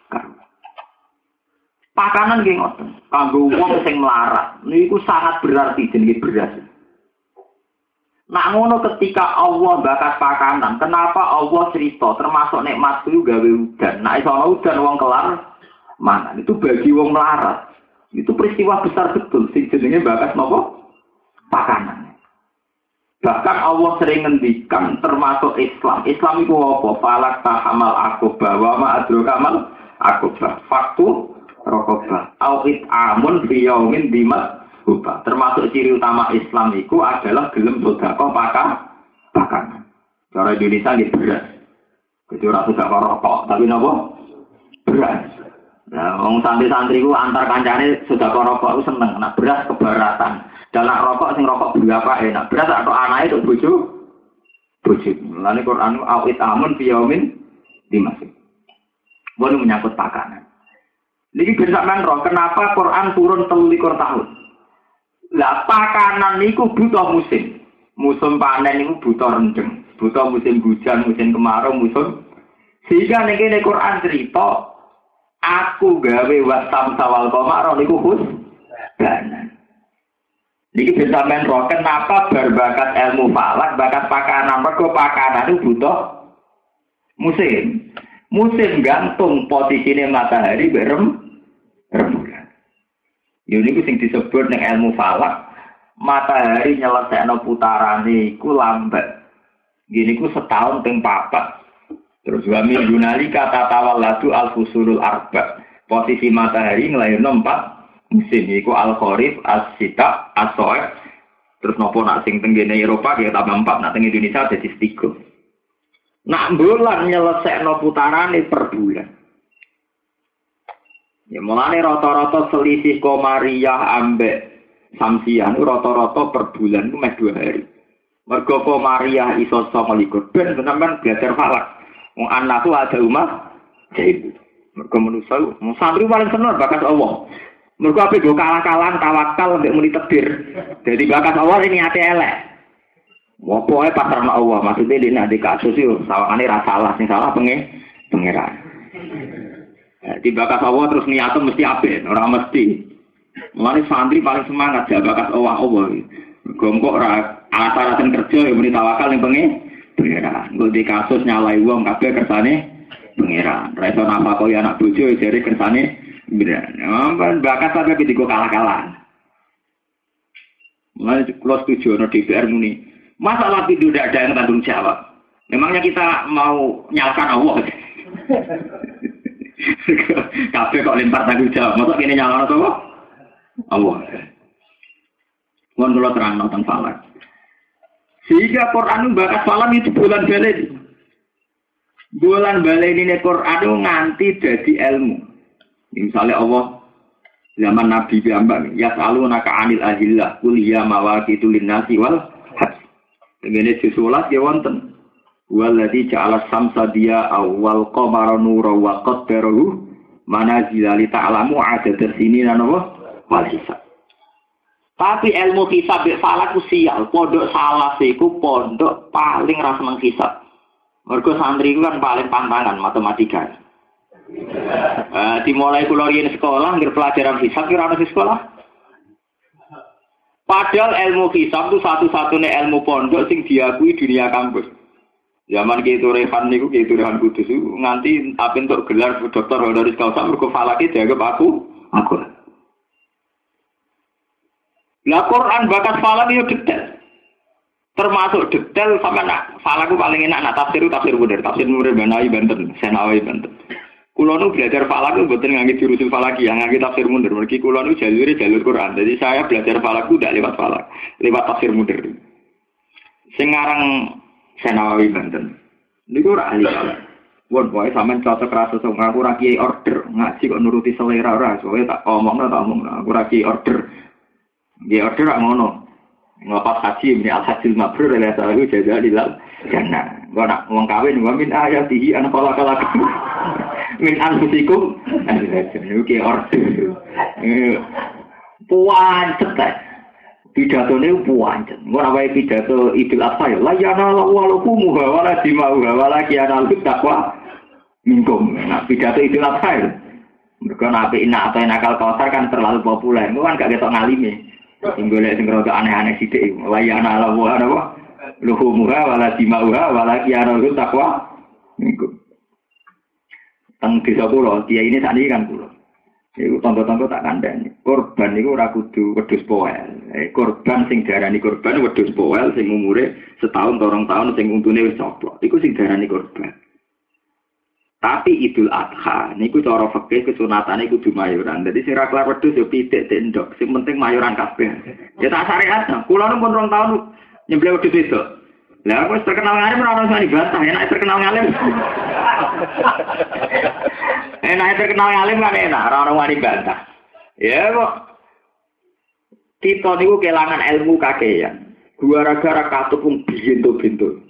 Pakanan nggih ngoten. Kanggo wong sing melarat niku sangat berarti jenenge beras. Nak ngono ketika Allah bakas pakanan, kenapa Allah cerita termasuk nikmat itu gawe udan. Nak iso udan wong kelar mana? Itu bagi wong melarat. Itu peristiwa besar betul sing jenenge bakas napa? Pakanan. Bahkan Allah sering ngendikan termasuk Islam. Islam itu apa? Falak tahamal akobah wa ma adrokamal akobah. Faktu rokobah. Awit amun biyaumin dimat. Termasuk ciri utama Islam itu adalah gelem sedekah pakan. Cara Indonesia ini beras. Jadi ora sedekah rokok, tapi napa? Beras. Nah, wong santri-santri ku antar kancane sedekah rokok ku seneng, nek beras keberatan. Dalam rokok sing rokok berapa enak. Beras atau anake tok bojo. Mulane Quran awit amun biyaumin dimasih. Bono menyangkut pakanan. Niki sampean roh kenapa Quran turun 23 tahun? Lah pakanan niku butuh musim. Musim panen niku butuh rendeng. Butuh musim hujan, musim kemarau, musim. Sehingga nek Quran cerita aku gawe wasam sawal qamar niku husbanan. Niki bisa men roh kenapa berbakat ilmu falak, bakat pakanan, mergo pakanan itu butuh musim. Musim gantung posisine matahari berem rembulan. Ini sing disebut ning ilmu falak, matahari nyelesekno putarane iku lambat. Gini ku setahun ping 4. Terus wa min yunalika tatawalladu al-fusulul arba. Posisi matahari nglairno 4 musim iku al-kharif, as-sita, as-soif. Terus napa nak sing tenggene Eropa ya tambah 4, nak teng Indonesia dadi 3. Nak bulan nyelesekno putarane per bulan. Ya mulane rata-rata selisih Komariah ambek Samsiah itu rata-rata per bulan itu meh 2 hari. Mergo Komariah iso 29 ben sampean belajar falak. Wong anak tuh ada umah jadi mergo manusa wong santri paling seneng bakas Allah. Mergo ape go kalah-kalahan tawakal mbek muni tebir. Jadi bakas Allah ini ate elek. Wopoe pasrahna Allah maksudnya dene nek kasus yo sawangane ra salah sing salah pengeran. Di bakas Allah terus niatnya mesti apik, ora mesti. Mulane santri paling semangat ya bakas Allah. Gongkok ora alat-alatan kerja yang muni tawakal ning pengeran. Nggo di kasus nyalai wong kabeh kersane pengeran. Ra iso nafakoi anak bojo jare kersane pengeran. Ampun bakas sampe digo kalah-kalah. Mulane kula setuju ana DPR muni. Masalah itu tidak ada yang tanggung jawab. Memangnya kita mau nyalakan Allah? Kabeh kok lempar tanggung jawab. Masa kene nyalakan apa? Allah. Mohon kula terang nonton falak. Sehingga Quran bakas falam itu bulan balik. Bulan balik ini Quran itu nganti jadi ilmu. Misalnya Allah zaman Nabi Muhammad yas'alunaka 'anil ahillah qul ya mawaqitu lin-nasi wal hajj. Ngene disulat ya wonten. Wallazi ja'ala samsa dia awal qamara nura wa qaddarahu manazila li ta'lamu 'adada sinina wal hisab. Tapi ilmu hisab falak ku sial, pondok salah iku pondok paling ras menghisab. Mergo santri kan paling pantangan matematika. Dimulai kula riyen sekolah ngger pelajaran hisab kira ana di sekolah. Padahal ilmu hisab itu satu-satunya ilmu pondok sing diakui dunia kampus. Zaman gitu Rehan niku gitu Rehan Kudus nganti tapi untuk gelar dokter honoris causa mergo falake dianggap aku. Lah Quran bakat falak yo detail. Termasuk detail sampai nak falak paling enak nak tafsir bener, tafsir Murid Banawi Banten, Senawi Banten. Kulo nu belajar falak itu mboten ngangge jurusul falaki, yang ngangge tafsir mundur. Mergi kulo nu jalur Quran. Jadi saya belajar falak itu tidak lewat falak, lewat tafsir mundur. Sing aran Senawi Banten. Niku ora ahli falak. Wong wae sampean cocok rasa sok aku ora kiai order, ngaji kok nuruti selera ora, soalé tak omongno aku ora kiai order. Kiai order ora ngono. Ngapa haji ini al-hajil mabrur adalah salah jaga di dalam jannah. Gua nak wong kawin gua min ayatihi ana falakalakum. Min anfusikum oke order puancet pidatone puancet ora wae pidato Idul Adha ya la yana lawalukum wala dimauha wala kiana taqwa minkum nah pidato Idul Adha mergo apik nak atau nakal kosar kan terlalu populer itu kan gak ketok ngalime sing golek sing rada aneh-aneh sithik la yana lawalukum wala dimauha wala kiana taqwa minkum. Teng desa kula, kiai ini sakniki kan kula. Iku tangga-tangga tak kandhani. Korban niku ora kudu wedhus poel. Korban sing diarani korban wedhus poel sing umure setahun atau 2 tahun sing untune wis coplok. Iku sing diarani korban. Tapi Idul Adha niku cara fikih kesunatane kudu mayoran. Dadi sing ra kelar wedhus yo pitik tendok. Sing penting mayoran kabeh. Ya tak syariat. Kula nu pun 2 tahun nyembelih wedhus itu. Lah aku terkenal ngalim ora ono sing bantah, enak terkenal ngalim. Enak terkenal ngalim kan enak, ora ono wani bantah. Ya kok kita niku kelangan ilmu kakean. Gara-gara katupung bintu-bintu.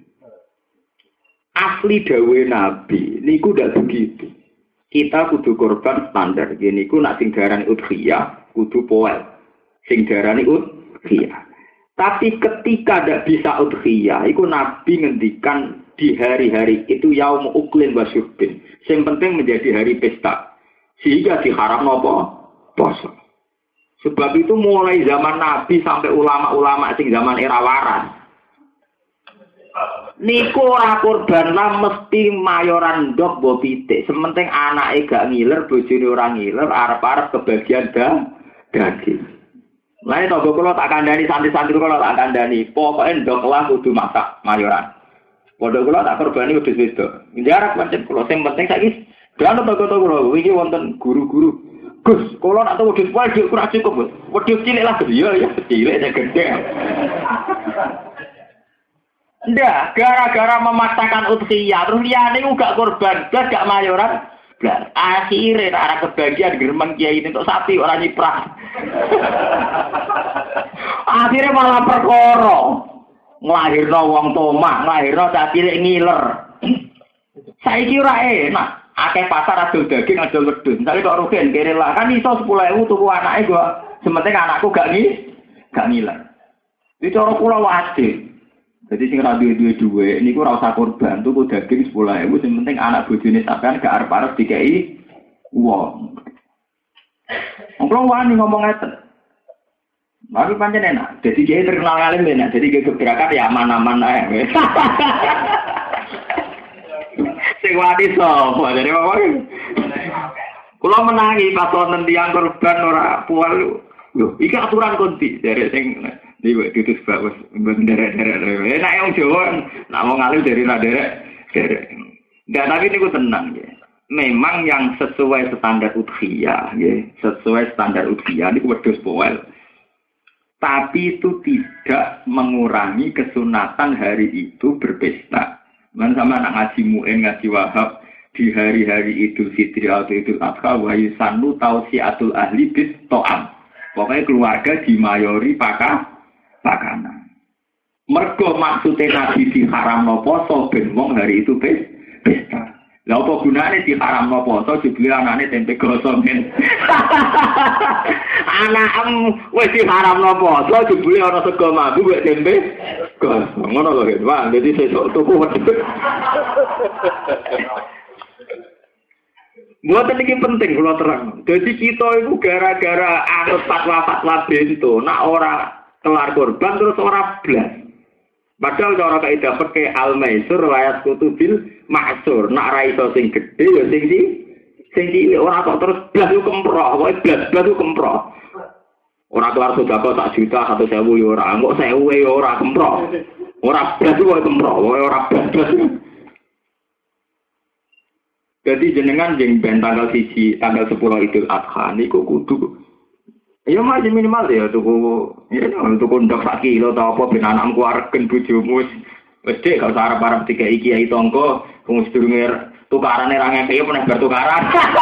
Asli dawe Nabi niku ndak begitu. Kita kudu korban standar. Gini ku nak sing darani udhiyah kudu poel. Sing darani udhiyah. Tapi ketika tidak bisa udhiyah, itu Nabi ngendikan di hari-hari itu yaum uklin wa syurbin. Yang penting menjadi hari pesta. Sehingga diharam apa? Poso. Sebab itu mulai zaman Nabi sampai ulama-ulama sing zaman era waras. Niku ora kurban lah mesti mayoran ndok mbok pitik. Sementing anake gak ngiler, bojone ora ngiler, arep-arep kebagian daging. Lain toko kalau tak kandani santri-santri kalau tak kandani, pokoknya ndok lah kudu masak mayoran. Pondok kalau tak korbani wedhus wedok. Jarak pancen kalau sing penting saiki kan toko-toko lho iki wonten guru-guru. Gus, kalau nak tahu wedhus wae ora cukup, wedhus cilik lah ya cilik ya gede. Ndak, gara-gara memaksakan udhiyah terus liyane gak korban, gak mayoran. Blas, akhirnya arah kebagian geremeng kiai ini untuk sapi orang nyiprah. Akhirnya malah perkara nglahirno wong tomah, nglahirno cah cilik ngiler. Saiki ora enak, akeh pasar adol daging adol wedhus. Misale kok rugen kene lah kan iso 10.000 tuku anake gua. Sementing anakku gak ngiler. Iki cara kula wajib. Jadi sing ra duwe niku ora usah korban tuku daging 10.000 sing penting anak bojone sampean gak arep-arep dikeki Wong. Kalau wani ngomong ngeten. Tapi pancen enak. Jadi kiai terkenal alim enak. Jadi kiai gebrakan ya aman-aman ae. Sing wani sapa? Jadi apa? Kula menangi pas wonten tiyang korban ora pual. Lho, iki aturan konti dari sing niku ditus bagus derek-derek. Enak yang Jawa, nak wong alim dari derek. Enggak, tapi niku tenang ya. Memang yang sesuai standar udhiyah, ya, sesuai standar udhiyah ini wedhus poel. Tapi itu tidak mengurangi kesunatan hari itu berpesta. Man sama anak ngaji mu'in, ngaji wahab di hari-hari Idul Fitri atau Idul Adha wa yusannu tausiatul ahli bis to'am. Pokoknya keluarga dimayori pakanan. Mergo maksudnya Nabi diharamno poso ben wong hari itu pesta. Lah apa gunane diharamno poso dibeli anane tempe gosong men. Anakmu wis diharamno poso dibeli ana sego mambu wek tempe gosong. Ngono lho kan. Wah, dadi sesuk tuku. Buat ini penting kalau terang. Jadi kita itu gara-gara anut fatwa-fatwa bento, nak ora kelar korban terus ora blas. Padahal cara kaidah pakai al-maisur layas kutubil maksur. Nak ra iso sing gedhe ya sing cilik ora kok terus blas yo kemproh, pokoke blas yo kemproh. Ora kelar sedekah sak juta 1.000 yo ora, kok 1.000 yo ora kemproh. Ora blas yo kemproh, pokoke ora blas. Jadi jenengan jeng ben tanggal 10 Idul Adha niku kudu ya masih minimal ya tuku ndok sak kilo ta apa ben anakmu kuwaregen bojomu wis dek gak usah arep-arep dikai kiai tangga wong sedurunge tukarane ra ngekeki meneh bar tukaran.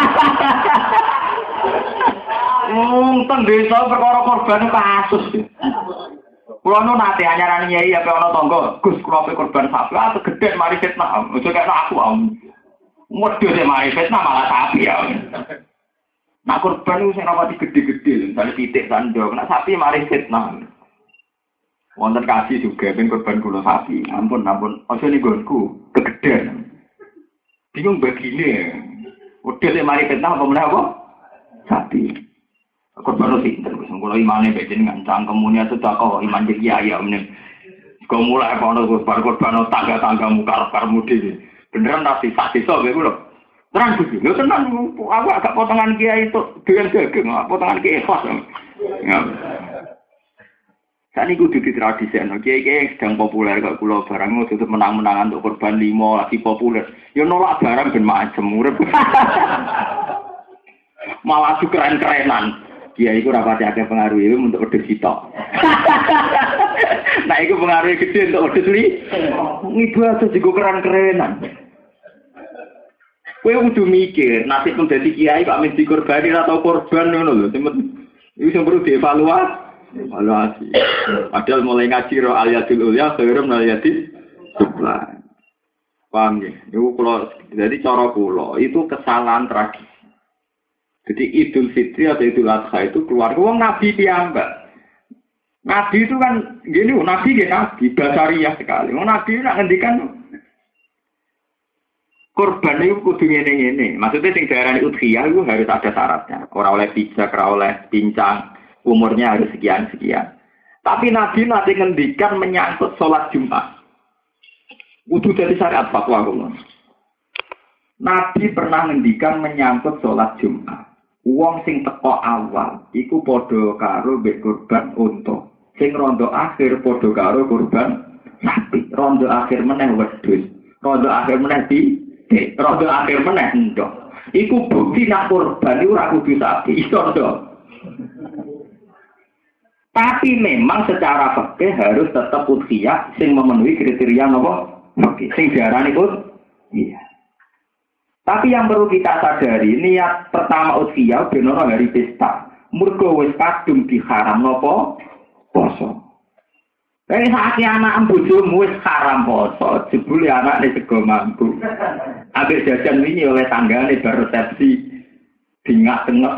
Teng desa perkara korban kasus. Kulo nu nate anyarane kiai ape ana tangga, Gus kula ape korban sapi atau gedhe mari fitnah. Ojo kaya aku modho sing mari fitnah malah sapi ya. Nak korban itu sing rapati gede-gede, misalnya titik sandok, nak sapi mari fitnah. Wonten kasih juga, ben korban kula sapi. Ampun, ojo nih gonku, kegedean. Bingung begini. Udah sing mari fitnah apa meneh apa? Sapi. Korban itu pinter, kalau imannya beda dengan cangkemunya sudah kok iman jadi ayah meneh. Kau mulai kono korban tangga muka mudi. Beneran nasi saksi so, begitu loh. Terang juga, nggak tenang. Aku agak potongan kiai itu dengan daging, potongan kiai ikhlas. Saat ini kudu di tradisi, kiai yang sedang populer kalau pulau barang itu menang-menangan untuk korban 5 lagi populer. Ya nolak barang ben macam murah. Malah juga keren-kerenan. Kiai itu rapati ada pengaruh itu untuk order sitok. Nah itu pengaruh gede untuk order li. Ibadah juga keren-kerenan. Kowe kudu mikir, nasib menjadi kiai kok mesti dikorbani atau korban ngono lho. Iku sing perlu dievaluasi. Padahal mulai ngaji ro al-yadul ulya khairum min al-yadis sufla. Paham ya? Iku kula jadi cara kula itu kesalahan tragis. Jadi Idul Fitri atau Idul Adha itu keluar wong nabi piyambak. Nabi itu kan gini, nabi basariyah sekali. Wong nabi nak ngendikan korban itu kudu ngene-ngene. Maksudnya sing diarani udhiyah itu harus ada syaratnya. Ora oleh pijak, ora oleh pincang, umurnya harus sekian-sekian. Tapi Nabi nanti ngendikan menyangkut sholat Jumat. Kudu jadi syariat fatwa kula. Nabi pernah ngendikan menyangkut sholat Jumat. Wong sing teko awal iku padha karo mbek korban unta. Sing rondo akhir padha karo korban sapi. Rondo akhir meneh wedhus. Rondo akhir meneh rodo akhir meneh ndok. Iku bukti nak korban iku ora kudu sapi, iso ndok. Tapi memang secara fikih harus tetap udhiyah sing memenuhi kriteria napa? Fikih. Sing diarani iya. Tapi yang perlu kita sadari, niat pertama udhiyah ben ora hari pesta. Mergo wis kadung diharam napa? Poso. Tapi saat anak bojomu wis haram poso, jebule anake sego mampu. Ambek jajan wingi oleh tanggane bar resepsi dingak-tengok.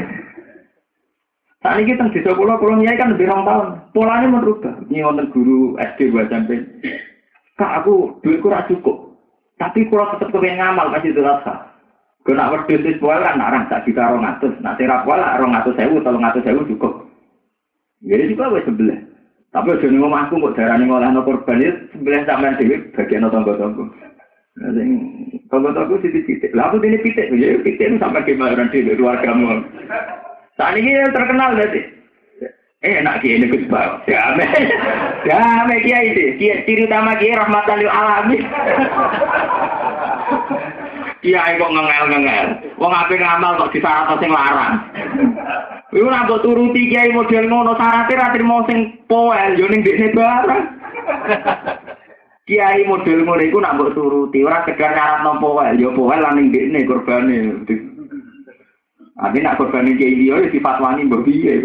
Saat ini kita di sekolah nyai kan lebih 2 tahun. Polanya merubah. Ini wonten guru SD 2 sampai. Kak aku duitku ora cukup. Tapi kalau tetap kepengen ngamal kasih terasa. Kau nak wedhus wis poel kan narang sak juta 200. Nak sira poel 200.000, 300.000 cukup. Jadi juga wis sebelah. Tapi aja ning omahku kok darane ngolehno korban iki sebelah sampean dhewe bagian tangga-tangga. Sing tangga-tangga sithik-sithik. Lah aku dene pitik, ya pitik sampai kemaran dhewe keluargamu. Saat ini terkenal berarti. Enak kiai ini Gus Bau. Damai kiai itu. Ciri utama kiai rahmatan lil alamin. Kiai kok ngengel-ngengel. Wong ape ngamal kok disyarat sing larang. Iku nek mbok turuti kiai model ngono syaraté ra trimo sing poel yo ning dekne barang. Kiai model ngono iku nek mbok turuti ora sekedar syarat poel yo poel lan ning dekne korbane. Ade nak korbane kiai liya difatwani mbok piye.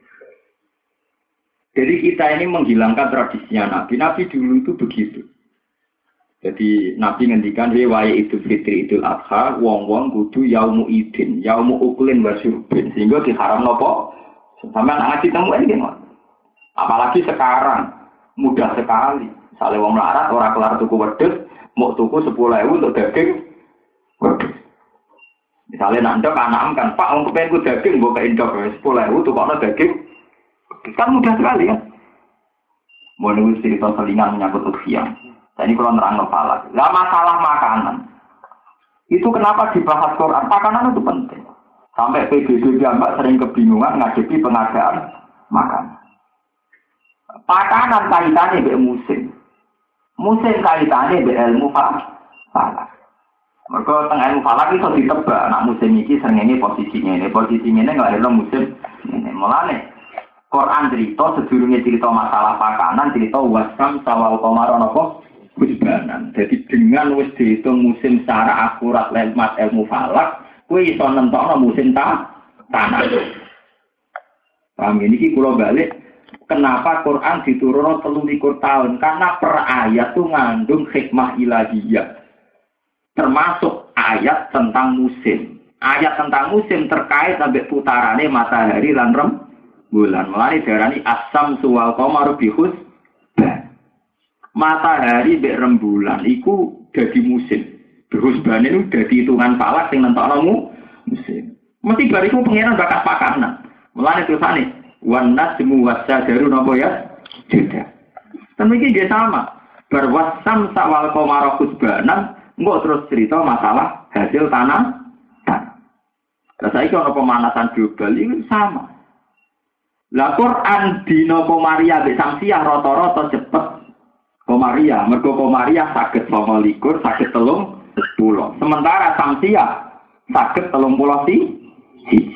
Jadi kita ini menghilangkan tradisinya Nabi. Nabi dulu itu begitu. Jadi Nabi ngendikan waya Idul Fitri Idul Adha wong-wong kudu yaumu idin, yaumu uklin wa syurbin sehingga diharam nopo sampean ngaji temu iki apalagi sekarang mudah sekali. Misalnya wong melarat ora kelar tuku wedhus, mau tuku 10.000 untuk daging wedhus. Misalnya nandok anak kan, Pak wong kepen ku daging mbok kei ndok 10.000 tukokno daging. Kan mudah sekali kan. Mau nunggu cerita selingan menyangkut ujian. Ini kalau nerang kepala. Gak masalah makanan. Itu kenapa dibahas Quran? Makanan itu penting. Sampai PBB Mbak sering kebingungan ngadepi pengadaan makanan. Makanan kaitannya dengan musim. Musim kaitannya dengan ilmu falak. Mereka tengah ilmu falak itu ditebak. Nak musim ini sering ini posisinya ini. Posisinya ini nggak ada musim ini. Mulane Quran cerita sedurunge cerita masalah makanan cerita wasam sawal qamar napa husbanan. Jadi dengan wis dihitung musim secara akurat lewat ilmu falak, kowe iso nentokno musim tanah. Paham ini kula balik kenapa Quran diturunno 23 tahun? Karena per ayat itu ngandung hikmah ilahiyah. Termasuk ayat tentang musim. Ayat tentang musim terkait sampai putarane matahari lan bulan. Mulane diarani asam wal qamar bihus. Matahari mbek rembulan iku dadi musim. Berhusban itu dadi hitungan falak sing nentokno musim. Mesti bariku pengenan bakat pakanan. Mulane tulisane wan nasmu wasyajaru napa ya? Tidak. Tapi iki dia sama. Berwasam sawal qamar husbanan engko terus cerita masalah hasil tanah. Lah saiki ana pemanasan global iki sama. Lah Quran dina Komariah mbek Samsiah rata-rata cepet. Komariah, mergo Komariah saged 29, saged 30. Sementara Samsiah saged 30 siji.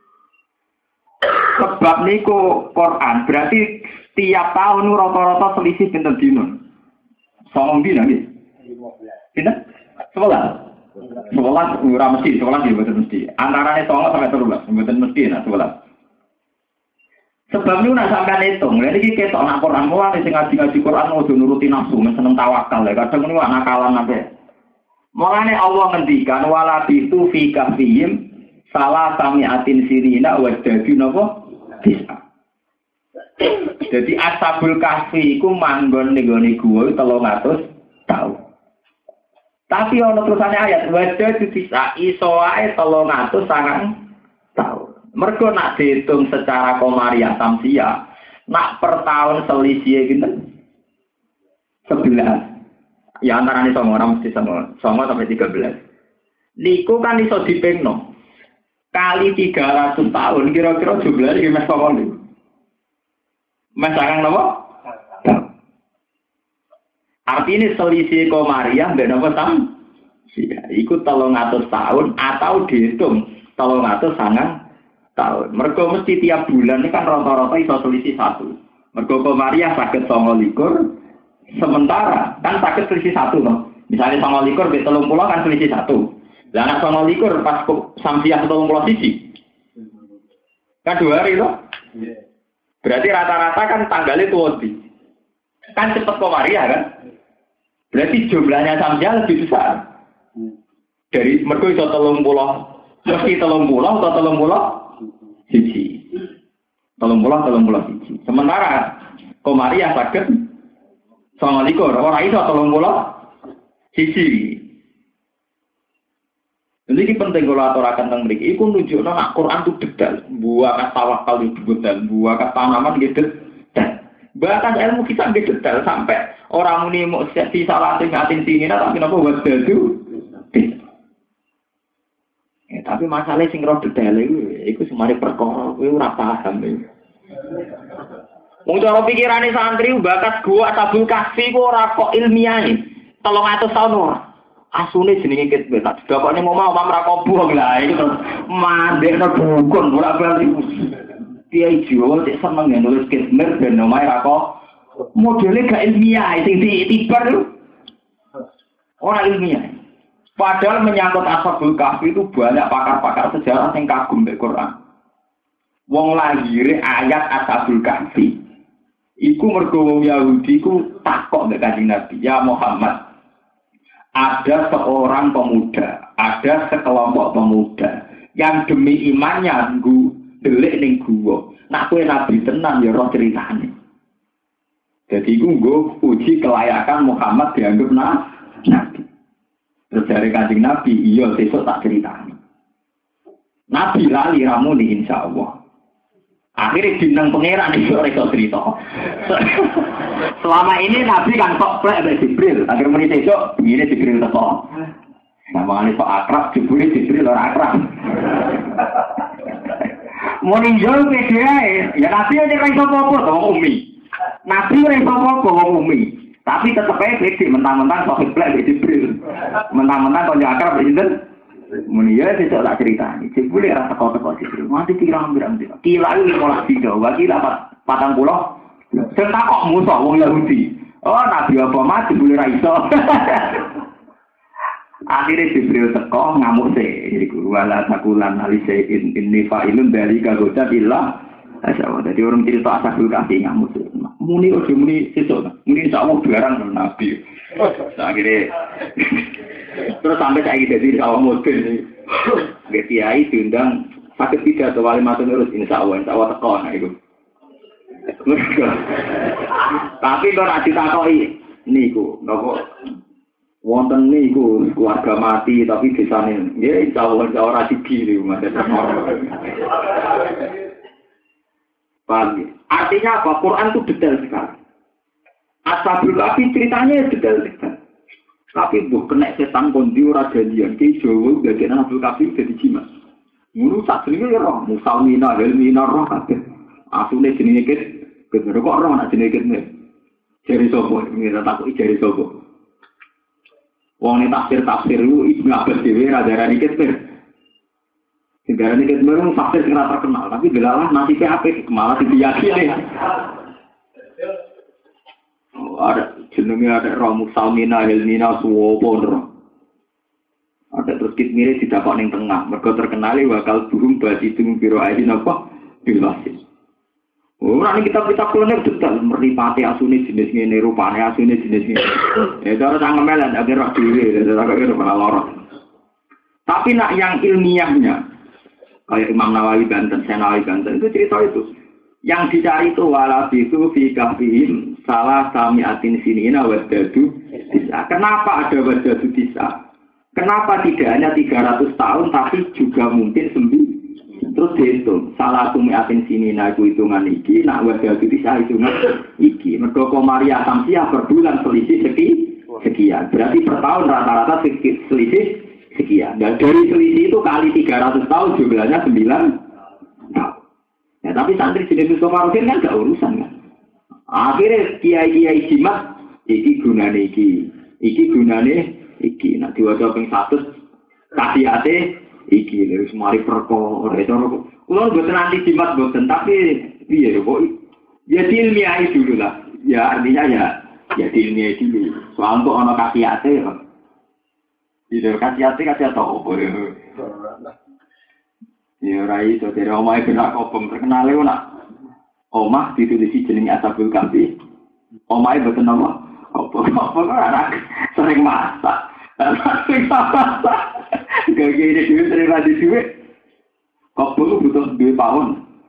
Sebab niku Quran berarti tiap tahun rata-rata selisih pinten dina? 9 dina nggih. Pinten? 11. 11 ora mesti, 11 ya mboten mesti. Antarane 9 sampai 13, mboten mesti nak 11. Sebab itu nak sampai hitung, jadi kita nak Quran mulai sing ngaji Quran mau nuruti nafsu, seneng tawakal ya. Kadang ini wak nakalan nabe. Mulane Allah ngendikan wala bitu fi kahfihim salah samiatin sirina wadadi napa bisa. Jadi ashabul kahfi iku manggon ning gone gua 300 tahun. Tapi ana terusane ayat wadadi bisa iso ae 300 tahun. Mergo nak dihitung secara Komariah Samsiah, nak per tahun selisih gitu 11. Ya antarane 9 mesti 9 sampai 13. Niku kan iso dipengno. Kali 300 tahun kira-kira jumlahnya iki mes pawon niku. Mes sarang napa? Artinya selisih Komariah mbek napa Samsiah. Iku 300 tahun atau dihitung 300 tahun. Mergo mesti tiap bulan ini kan rata-rata iso selisih 1. Mergo Komariah saged 29, sementara kan saged selisih 1 toh. Misalnya 29 mbek 30 kan selisih 1. Lah nek 29 pas Samsiah 31. Kan 2 hari toh? Berarti rata-rata kan tanggalnya tuh kan cepet Komariah kan? Berarti jumlahnya Samsiah lebih besar. Dari mergo iso 30 mesti 30 atau 30 siji. 30 siji. Sementara Komariah saged 29 ora iso 30 siji. Jadi ini penting kalau aturakan tentang mereka. Iku nunjukno nak Quran itu detail. Buah tawakal itu detail. Buah tanaman gitu detail. Bahkan ilmu kita gitu detail sampai orang muni mau si salah ngatin tinggi tapi kenapa buat itu? Tapi masalahnya sing roh detail itu semari perkara. Itu ora paham itu. Wong cara pikirane santri bakat gua tabul kasih kok ora kok ilmiah nih. 300 tahun ora. Asune jenenge ket tak didakone mau ra kobuh lah iki terus mandekno dukun ora bali. Kiai Jawa cek seneng nulis kismer ben omahe ra kok modele gak ilmiah sing ditibar ora ilmiah. Padahal menyangkut Ashabul Kahfi itu banyak pakar-pakar sejarah yang kagum mbek Quran. Wong lahire ayat Ashabul Kahfi. Iku mergo wong Yahudi ku takok mbek Kanjeng Nabi, "Ya Muhammad, ada seorang pemuda, ada sekelompok pemuda yang demi imannya delik ning guwa. Nak kowe nabi tenan ya roh ceritane." Jadi iku nggo uji kelayakan Muhammad dianggap nabi. Terus dari Kanjeng Nabi, iya sesuk tak ceritani. Nabi lali ramuni insyaallah. Akhirnya bintang pangeran itu rekor cerita. Selama ini Nabi kan kok plek mbek Jibril. Akhir muni besok ngene Jibril teko. Namane kok akrab Jibril ora akrab. Muni yo PDAE, ya Nabi ora iso apa-apa to wong umi. Nabi ora iso apa-apa wong umi. Tapi tetep ae pede mentang-mentang kok plek mbek Jibril. Mentang-mentang kok akrab mbek sinten? Muni ya sesuk tak critani. Jibril ora teko-teko Jibril. Mati pirang-pirang dina. Kila iki malah video, wakil 40. Sing takok musuh wong Yahudi. Oh, Nabi apa mati boleh ra iso. Akhirnya Jibril teko ngamuk sih. Iku wala takulan alise inni fa'ilun dari kagoda billah. Asyawah. Jadi orang cerita Ashabul Kahfi ngamuk sih. Muni ojo muni sesuk. Muni insyaallah barang Nabi. Akhirnya terus sampai saya jadi awam model nih, kiai diundang sakit tidak atau wali matun urus insya Allah teko nah itu. Tapi kalau nanti takoi niku, nopo wonten niku keluarga mati tapi desane, ya insya Allah rajiki nih mas. Paham? Artinya apa? Quran itu detail sekali. Ashabul Kahfi ceritanya detail sekali. Tapi buh kena setan kondi ora janjian ki Jawa dadi Ashabul Kahfi dadi jimat. Mulu sak jenenge roh, musalmina, helmina roh kabeh. Asune jenenge kit, kok roh ana jenenge kit. Jari sapa? Ngira takok jari sapa. Wong nek tafsir lu Ibnu Abbas dhewe ra darani kit. Sing darani kit merung tafsir sing ra terkenal, tapi delalah nasibe apik malah diyakini. Ada jenenge ada roh musalmina helmina suwopon roh. Ada terus kit mirip didapat ning tengah. Mergo terkenali bakal burung basi tung biro aidin apa? Bilasis. Ora ning kitab-kitab kulone detail meripati asune jenis ngene, rupane asune jenis ngene. Ya cara sangemelan ada roh dhewe, ada kok ora lorot. Tapi nak yang ilmiahnya kayak Imam Nawawi Banten, Senawi Banten itu cerita itu. Yang dicari itu wala itu fi kahfihim salah samiatin sinina wadadu bisa. Kenapa ada wadadu bisa? Kenapa tidak hanya 300 tahun tapi juga mungkin 9? Terus dihitung salah samiatin sinina itu hitungan iki, nak wadadu bisa hitungan iki. Mergo Maria Samsiah per bulan selisih sekian. Berarti per tahun rata-rata selisih sekian. Dan dari selisih itu kali 300 tahun jumlahnya 9 tahun. Ya, tapi santri jenis Mustafa Rufin kan gak urusan kan. Akhirnya kiai-kiai jimat, iki gunane iki. Nah diwaca ping 100 kasihate iki lho semari perkara itu. Kulo mboten anti jimat mboten, tapi piye kok ya ilmiah dulu lah. Ya artinya ya ilmiah dulu. Soal kok ana kasihate ya. Tidak kasihate apa ya. Ya ora iso dari omahe benak kopong terkenale ora. Omah ditulisi jenenge Ashabul Kahfi. Omahe boten apa? Kopong ora sering masak. Sering masak. Gak-gak dhewe sering radi dhewe. Kopong butuh 2 tahun.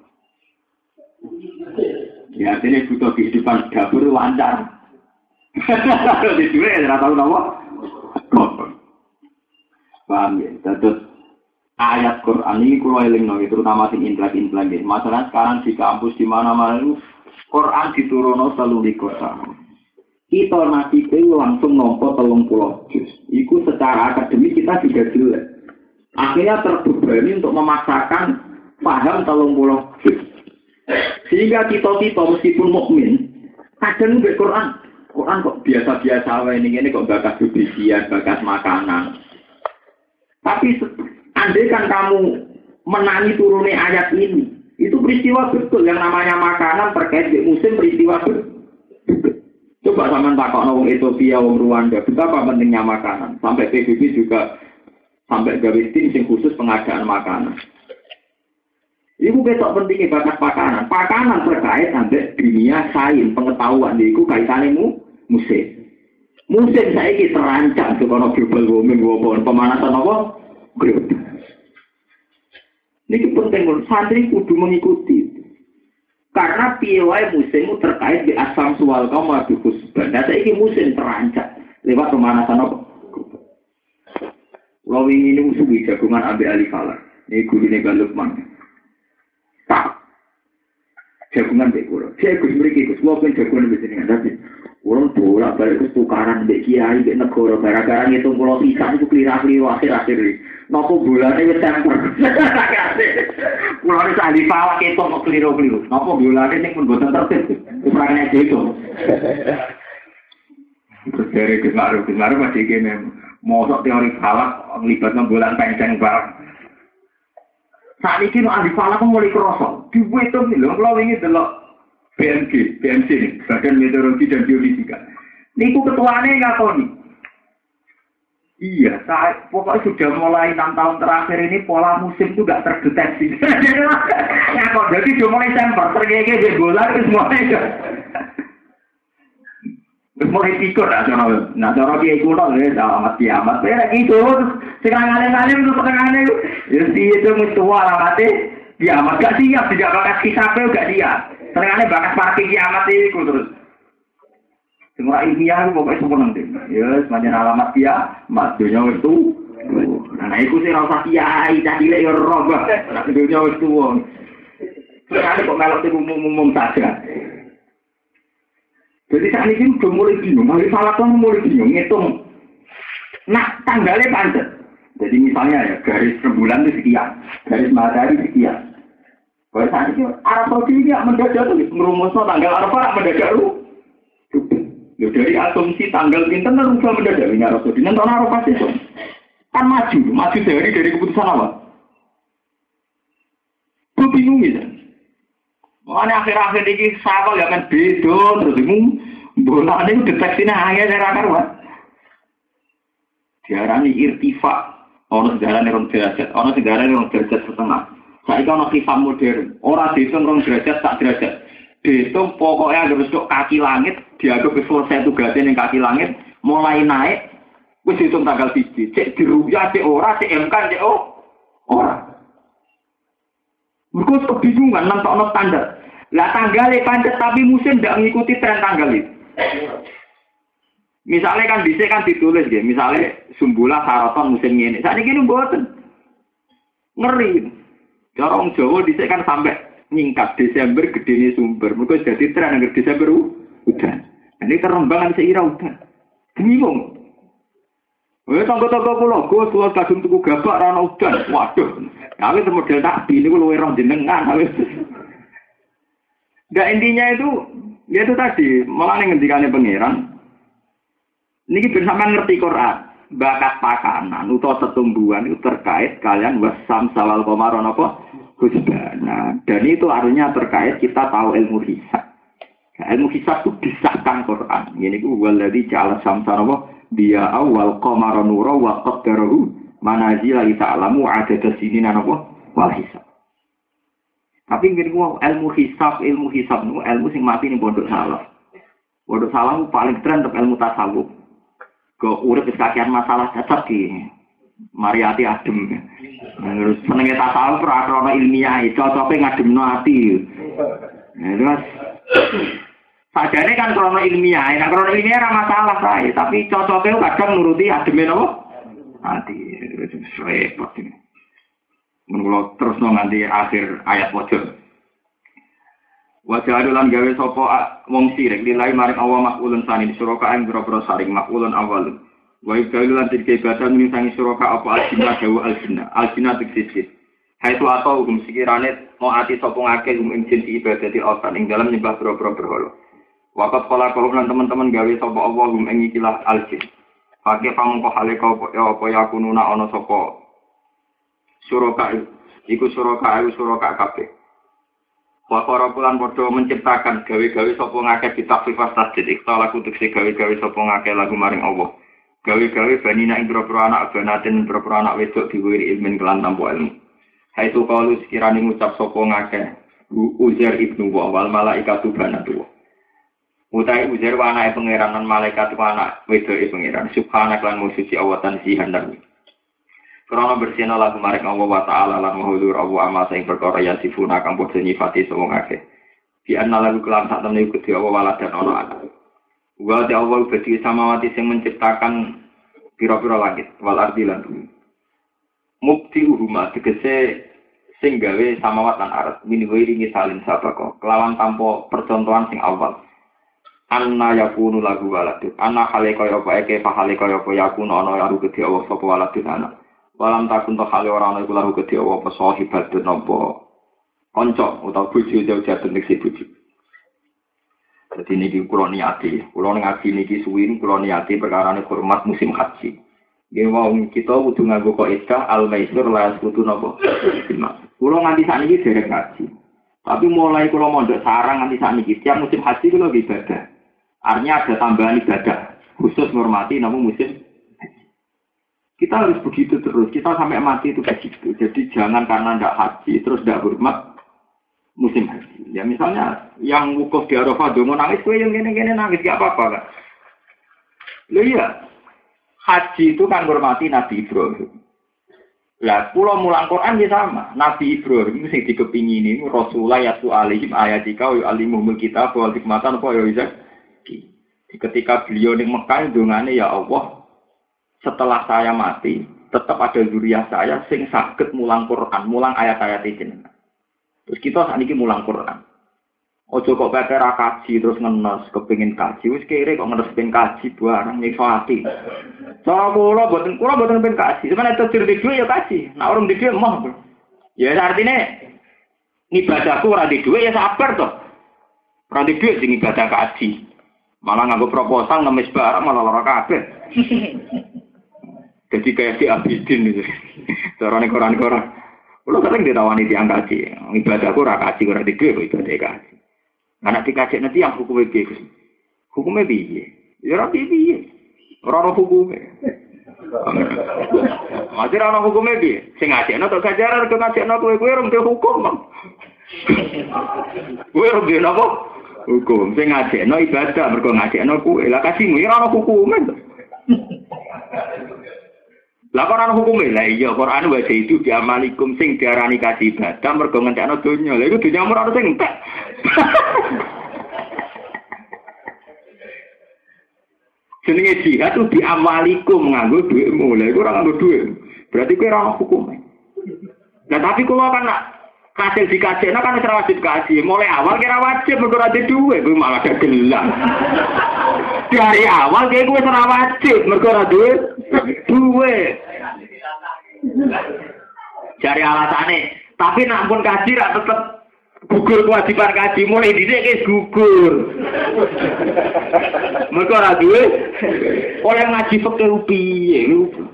Ya artinya butuh kehidupan dapur lancar. Di dhewe ora tau napa. Kopong. Paham ya? Terus ayat Quran ini kalau elingno terutama sing intelek-intelek nggih. Masalah sekarang di kampus di mana-mana itu Quran diturunno 23 tahun. Kita nabi itu langsung nompo 30 juz. Iku secara akademik kita juga jelek. Akhirnya terbebani untuk memaksakan paham 30 juz. Sehingga kita meskipun mukmin, kadang mbek Quran kok biasa-biasa wae ini kok bakas bibisian, bakas makanan. Tapi andai kan kamu menangi turunnya ayat ini, itu peristiwa betul yang namanya makanan terkait dengan musim peristiwa betul. Coba sama takok wong Ethiopia, wong Rwanda, betapa pentingnya makanan. Sampai PBB juga sampai gawe tim yang khusus pengadaan makanan. Iku ketok pentingnya bakat makanan. Makanan terkait sampai dunia sains pengetahuan iku kaitane musim. Musim saiki terancam sekono global warming pemanasan apa? Global. Ini penting santri kudu mengikuti. Karena piye wae musim terkait di asam suwal kaum adu khusban. Nah saiki musim terancam lewat pemanasan apa? Kalau ini musuh jagungan ambil alih kalah. Ini gurune Galukman. Jagungan mbek kula. Jagung mriki Gus, kula pengen jagungan mbek jenengan tapi urung bolak-balik tukaran mbek kiai mbek negara gara-gara ngitung kula pisan iku klira-kliru akhir-akhir iki. Napa bolane wis temper. Kula wis ahli falak ketok kok kliru-kliru. Napa bolane ning pun boten tertib. Ukarane itu. Terus dari Gus Maru masih kene mosok teori falak nglibatno bulan penceng barang. Saat ini ahli falak mulai kerosok. Dibuat itu lho, kalau ini adalah BMC nih, Badan Meteorologi dan Geofisika. Niku ketuanya ngakoni. Iya, pokoknya sudah mulai 6 tahun terakhir ini pola musim itu nggak terdeteksi. Ngakon, jadi sudah mulai semper, tergege bola itu semuanya. Terus mulai pikir, nah cara dia kuno, alamat kiamat. Kayak gitu, sekarang alim-alim itu setengahnya itu. Ya itu musuh alamatnya kiamat. Gak siap, tidak bakas kisahnya gak siap. Setengahnya bakas parking kiamat itu terus. Semua ilmiah itu pokoknya semua nanti. Ya, semacam alamat kiamat. Dunia itu. Nah, itu sih rasa kiai, cahile ya robah. Nah, dunia itu. Setengahnya kok melok itu umum saja. Jadi saat ini sudah mulai bingung, hari salah kan mulai bingung, ngitung. Nah, tanggalnya pancet. Jadi misalnya ya, garis rembulan itu sekian, garis matahari sekian. Kalau saat ini, Arab Saudi ini mendadak tuh, merumusnya tanggal Arafah mendadak lu. Dari asumsi tanggal pinten kan udah mendadak ini Arab Saudi. Nanti Arafah itu kan maju sehari dari keputusan apa? Gue bingung gitu. Makanya akhir-akhir ini sahabat gak akan beda, terus bingung. Bola ini deteksinya hanya dari akar-akar. Diarani irtifa. Orang sejarahnya orang derajat. Orang sejarahnya orang derajat setengah. Saya kan orang hisab modern. Orang dihitung orang derajat tak derajat. Dihitung pokoknya harus kaki langit. Dianggap selesai tugasnya yang kaki langit. Mulai naik. Wis dihitung tanggal 1. Cek diruyah, cek ora, cek MK, cek ora. Mereka kebingungan nonton standar. Lah tanggalnya pancet tapi musim tidak mengikuti tren tanggal itu. Misalnya kan bisa kan ditulis gitu. Misalnya Sumbulah Saraton musim ini. Saat ini buatan ngeri. Orang Jawa bisa kan sampai nyingkat Desember gede ini sumber. Mereka jadi tren agar Desember hujan. Ini kerembangan seira hujan. Bingung. Tangga-tangga pulau kadung tuku gabak rana hujan. Waduh. Kami model takbi ini kalau orang jenengan. Nggak intinya itu, ya itu tadi, malah ngendikannya pangeran. Ini bersama ngerti Quran, bakat pakanan, atau setumbuhan itu terkait kalian wasam sawal komaron apa? Husbana. Dan itu artinya terkait kita tahu ilmu hisab. Ilmu hisab itu disahkan Quran. Ini itu waladhi ja'ala samsara apa? Dia awal komaron nura wa qaddarahu manazila ta'lamu adada sinina apa? Wal hisab. Tapi ngene ku ilmu hisab nu ilmu sing mati ning pondok salaf. Pondok salaf paling tren untuk ilmu tasawuf. Go urip wis kakean masalah cocok iki. Mariati adem. Terus senenge tasawuf ora ana ilmiah, cocoke ngademno ati. Nah, terus sadane kan krono ilmiah, nek krono ilmiah ora masalah kae, tapi cocoke kadang nuruti ademe napa? Ati. Repot iki. Mengulo terus nganti akhir ayat wajah. Wajah adulan gawe sopo wong sirik nilai maring awal makulun sani di suroka yang berobro saring makulun awal. Wa ibdalulan tiga ibadah menisangi suroka apa al-jinnah dawa al-jinnah. Al-jinnah tiksis. Hai tu atau hukum sikirane mau ati sopo ngake hukum injin di ibadah di otan ing dalam nyembah berobro berholo. Wakat pola kaum lan teman-teman gawe sopo Allah hukum ing ikilah al-jin. Pakai pamungko hale kau apa ya kununa ono sopo suroka iku suroka kabeh. Wakara pulan padha menciptakan gawe-gawe sapa ngakeh ditafsifas tasdid ikhtal lagu tekse gawe-gawe sapa ngakeh lagu maring Allah. Gawe-gawe banina ing boro-boro anak banaten boro-boro anak wedok diwiri ilmin kelan tanpa ilmu. Haitu qalu sekirane ngucap sapa ngakeh Uzair ibnu wa wal malaikatu banatu. Utai Uzair wa anake pangeran lan malaikat wa anak wedoke pangeran. Subhanak lan musuci Allah tan sihandang. Karena bersihna lagu maring Allah wa ta'ala lan mahulur Allah ama sing perkara ya sifuna kang padha nyifati sapa ngakeh. Di anna lagu kelam sak temene Gusti Allah walad dan ana anak. Wa ta Allah Gusti samawati sing menciptakan pira-pira langit wal ardi lan bumi. Mukti uruma tegese sing gawe samawat lan arat minwiri misalin sabako kelawan tanpa percontohan sing awal. Anna yakunu lagu walad. Anna hale kaya apa eke hale kaya apa yakunu ana karo Gusti Allah sapa walad anak. Walam takun to hale ora ana iku laru gedhe apa sahibat napa kanca utawa bojo jauh-jauh nek si bojo. Dadi niki kula niati, kula ngaji niki suwi kula niati perkarane hormat musim haji. Nggih wong kita kudu nganggo kaidah al-maisur la kudu napa. Kula nganti sakniki derek ngaji. Tapi mulai kula mondok sarang nganti sakniki tiap musim haji kula ibadah. Artinya ada tambahan ibadah khusus menghormati nama musim. Kita harus begitu terus, kita sampai mati itu begitu. Jadi jangan karena tidak haji, terus tidak hormat musim haji. Ya misalnya yang wukuf di Arafah, dongo nangis, gue yang gini-gini nangis, gak apa-apa kan. Loh iya, haji itu kan hormati Nabi Ibrahim. Lah, pulau mulang Quran ya sama. Nabi Ibrahim itu yang dikepingin ini, Rasulullah yatu alihim ayatika wa alimumul kitab wa hikmatan apa ya bisa. Ketika beliau di Mekah, dongane ya Allah, setelah saya mati, tetap ada zuriat saya sing saged mulang Quran, mulang ayat-ayat jenengan. Terus kita saat ini mulang Quran. Ojo kok pepe ra kaji terus ngenes kepengin kaji, wis kere kok ngenes ben kaji barang nyiksa ati. Cara kula boten ben kaji, sampeyan itu dirdi dhuwit ya kaji. Nek urung di dhuwit moh. Ya artine ibadahku ora di dhuwit ya sabar to. Ora di dhuwit sing ibadah kaji. Malah nganggo proposal ngemis barang malah lara kabeh. Jadi kayak si Abidin itu, carane koran-koran. Kalau sering ditawani tiang kaji, ibadahku ora kaji ora dhewe ibadah kaji. Anak dikaji nanti yang hukumnya piye? Hukumnya piye? Ya ora piye. Ora ono hukume. Masih ora ono hukume piye? Sing ngajekno tok gajaran kok ngajekno kowe ora mesti hukum. Kowe ora mesti napa? Hukum. Sing ngajekno ibadah mergo ngajekno kowe. Lah kasihmu ora ono hukume. Lah Quran hukume lah iya Quran wae itu diamalikum sing diarani kaji ibadah mergo ngentekno donya. Lah iku donya ora ono sing entek. Jenenge jihad itu diamalikum nganggo dhuwitmu. Lah iku ora nganggo dhuwit. Berarti kowe ora ono hukume. Lah tapi kula kan kasil dikajekno kan ora wajib kaji. Mulai awal kira wajib mergo ora dhuwit kowe malah gelang. Dari awal kayak gue ora wajib mergo ora duwe duwe. Cari alasane, tapi nak pun kaji ra tetep gugur kewajiban kaji mulai dhisik wis gugur. Mergo ora duwe oleh ngaji fikih piye lho.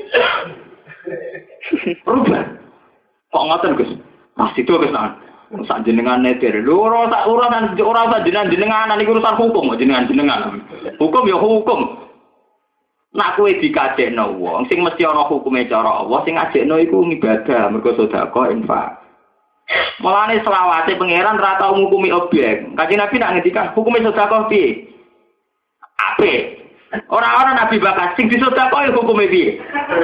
Rubah. Kok ngoten Gus? Pasti to Gus nak. Sak jenengan netir. Lho ora sak jenengan iki urusan hukum jenengan. Hukum ya hukum. Nak kowe dikajekno wong sing mesti ana hukume cara Allah sing ngajekno iku ibadah mergo sedekah infak. Mulane selawase pangeran ra tau ngukumi objek. Kanjeng Nabi nak ngendikan hukume sedekah piye? Apik. Ora ana nabi bakas sing disedekah hukume piye?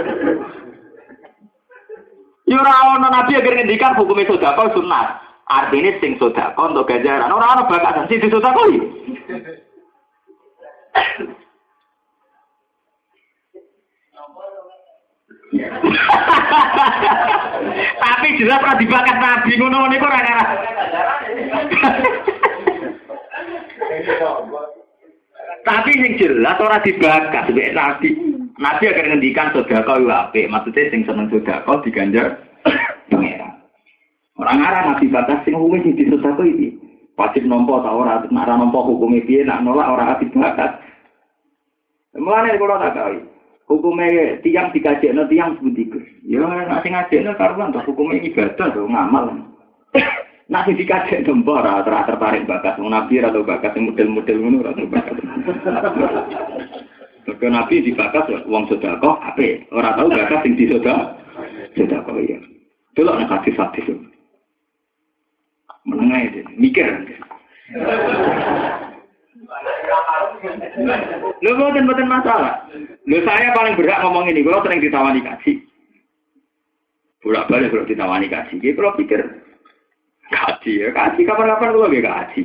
Ya ora ana nabi yang ngendikan hukume sedekah sunat. Artinya sing sedekah untuk ganjaran. Ora ana bakasan sing disedekah. Tapi jelas ora dibakat nabi ngono niku ora ngarah. Tapi yang jelas ora dibakat mbek nabi. Nabi akan ngendikan sedekah yo apik, maksudnya sing seneng sedekah diganjar pangeran. Ora ngarah nabi batas sing hukume sing disedekah iki. Wajib nampa ta ora, nek ora nampa hukume piye, nek nolak ora dibakat. Mulane kula tak kawin. Hukumnya tiang dikajekno tiang seperti itu. Ya nek sing ngajekno karuan to hukume ibadah to ngamal. Nek sing dikajekno mbok ora tertarik bakat wong nabi atau bakat sing model-model ngono ora bakat. Mergo nabi dibakat wong sedekah apik, ora tau bakat sing disedekah. Sedekah ya. Delok nek hadis-hadis. Menengah itu mikir. Lho boten masalah. Lho saya paling berat ngomong ini, kalau sering ditawani kaji. Bolak-balik kalau ditawani kaji, iki kalau pikir kaji ya, kaji kapan-kapan kalau nggih kaji.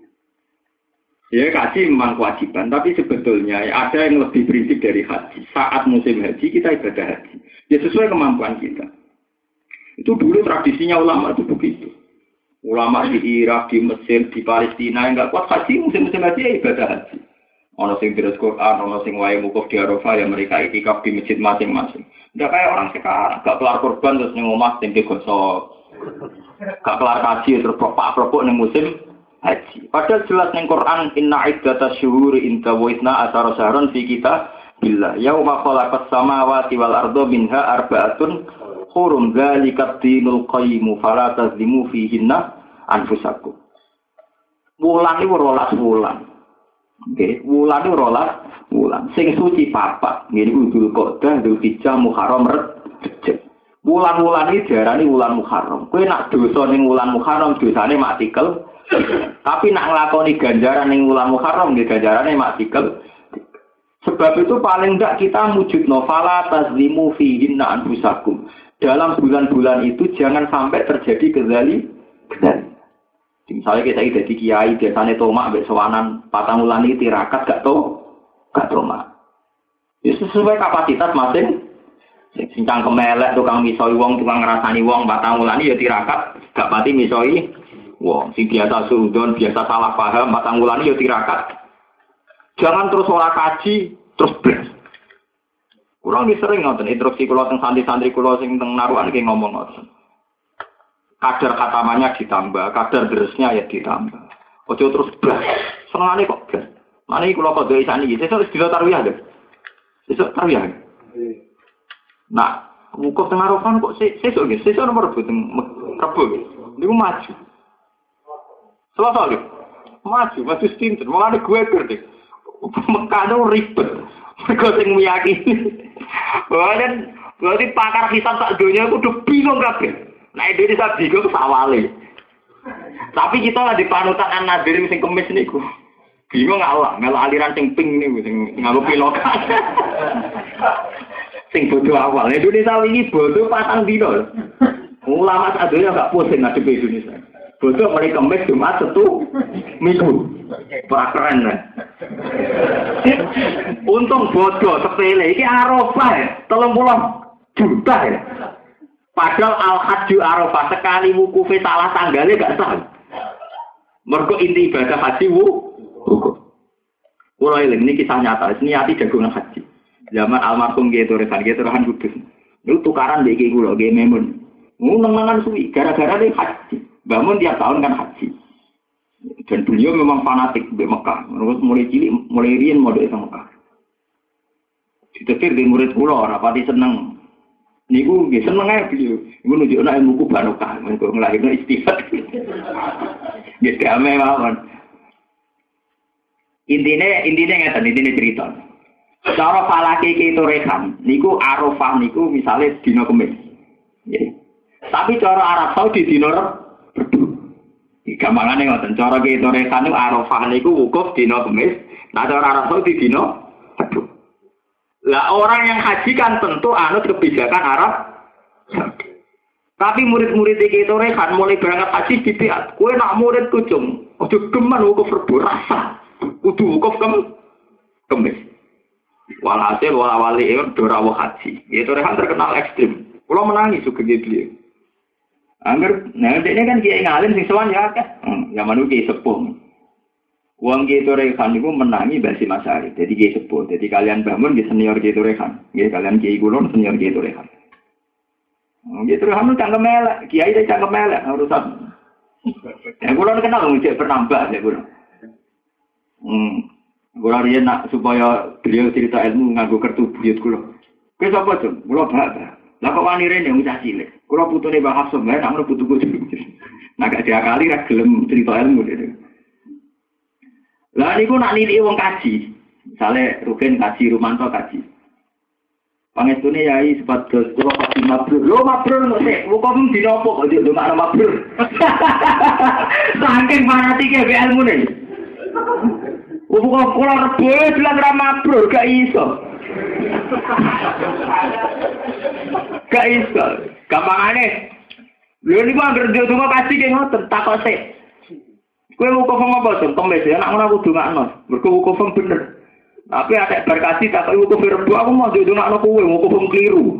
Ya kaji memang kewajiban, tapi sebetulnya ya, ada yang lebih prinsip dari haji. Saat musim haji kita ibadah haji. Ya sesuai kemampuan kita. Itu dulu tradisinya ulama itu begitu. Ulama di Irak, di Mesir, di Palestina yang enggak kuat haji, musim-musim haji ya ibadah haji. Ono sing terus Quran, ono sing wae wukuf di Arafah ya mereka iktikaf di masjid masing-masing. Enggak kayak orang sekarang, enggak kelar kurban terus ning omah sing digosok. Enggak kelar haji terus propok-propok ning musim haji. Padahal jelas ning Quran inna iddatash syuhuri inda wa isna asyara syahran fi kitabillah yauma khalaqas samawati wal arda minha arba'atun hurum dzalikat dinul qayyim fala tazlimu fihinna anfusakum. Wulan iki 12 wulan. Nggih, wulan iki 12 wulan. Sing suci papat, nggih Dzulqa'dah, Dzulhijjah, Muharram, Rejab. Wulan-wulan iki diarani wulan Muharram. Kowe nak dosa ning wulan Muharram dosane maktikel. Tapi nak nglakoni ganjaran ning wulan Muharram nggih ganjarane maktikel. Sebab itu paling enggak kita mujudno fala tazlimu fihinna anfusakum. Dalam bulan-bulan itu jangan sampai terjadi kezali. Misalnya kita jadi kiai, biasanya tomak, besowanan, patang wulan ini tirakat, gak tomak. Ya sesuai kapasitas masing. Sincang kemelek, tukang misoi wong, tukang ngerasani wong, patang wulan ini ya tirakat, gak pati misoi wong. Si biasa suudon, biasa salah paham, patang wulan ini ya tirakat. Jangan terus ora kaji, terus beres. Kurang sering ngoten instruksi kula teng santri-santri kula sing teng naruhan iki ngomong ngoten. Kadar katamannya ditambah, kadar deresnya ya ditambah. Ojo terus blas. Senengane kok blas. Mane kula kok dhewe sakniki sesuk wis tarwiyah lho. Sesuk tarwiyah. Nah, wukuf teng Arafah kok sesuk nggih, sesuk nomor Rebo teng Rebo nggih. Niku maju. Selasa lho. Maju stinten. Mulane gue ngerti. Mekah ribet. Mereka sing meyakini. Dan berarti pakar hisab sak dunia itu udah bingung kabeh. Nah Indonesia bingung sawale. Tapi kita lah di panutan an-Nadir sing kemis niku. Bingung Allah, melu aliran sing pink niku sing nganggo pilokan. Sing bodoh awal. Indonesia ini bodoh patang dino. Ulama sak dunia enggak pusing ngadepi Indonesia. Bodoh mulai kemis Jumat Sabtu Minggu. Keren kan? Untung bodoh sepele iki Arafah ya, 30 juta ya. Padahal al-hajju Arafah sekali wukufe salah tanggale gak sah. Mergo inti ibadah haji wukuf. Kula eling ini kisah nyata, niati jagongan haji. Zaman almarhum Kiai Torehan Kudus. Niku tukaran mbek iki kula nggih memun. Nang-nangan suwi gara-gara dia haji. Bangun tiap tahun kan haji. Dan beliau memang fanatik di Mekah. Mulai cilik, mulai rian modal di Mekah. Ditetir di murid kula, rapati seneng. Niku nggih seneng ae beliau. Niku nunjukna ilmu ku barokah, mengko nglahirno istighfar. Nggih damai mawon. Intine cerita. Cara falake Ki Torehan niku Arafah niku misale dina Kamis. Nggih. Tapi cara Arab Saudi dina Rebo. Gampangane ngoten, cara Ki Torehan niku Arafah niku wukuf dina Kamis, nah cara Arab Saudi dina Rebo. Lah orang yang haji kan tentu anut kebijakan Arab Saudi. Tapi murid-murid Ki Torehan mulai berangkat haji dipiat. Kowe nak murid kucung, ojo geman wukuf Rebo rasa. Kudu wukuf Kamis. Walhasil wala-wali itu dorawo haji. Itu rehan terkenal ekstrim. Kalau menangis juga gitu. Angger, nah ini kan kiai ngalim sing sowan ya akeh. Zaman itu kiai sepuh. Wong kiai Torehan itu menangi basi Masari. Jadi kiai sepuh. Jadi kalian bangun di senior kiai Torehan. Nggih kalian kiai kulon senior kiai Torehan. Kiai Torehan itu cangkem elek, kiai itu cangkem elek urusan. Ya kulon kenal ngejek penambah ya kulon. Kula riyen nak supaya beliau cerita ilmu nganggo kertu buyut kula. Kowe sapa, Jung? Kula Mbak. Lah kok wani rene wis cilik. Kula putune Mbah Hafsah, nak ngono putuku. Nah gak diakali ra gelem cerita ilmu dhewe. Lah niku nak niliki wong kaji. Misale Rugen kaji, Rumanto kaji. Pangestune yai sepados kula pasti mabrur. Lho mabrur kok sik, kok dina apa kok ndongakno mabrur. Saking fanatike ilmune. Kok kula rebo bilang ra mabrur gak iso. Gak iso. Gampangane. Lho niku anggere ndonga kasih ki ngoten takok sik. Kowe wukuf apa to? Temes ya nek ngono aku dongakno. Mergo wukuf bener. Tapi ada berkasih takok wukuf rebo aku mau ndongakno kowe wukuf keliru.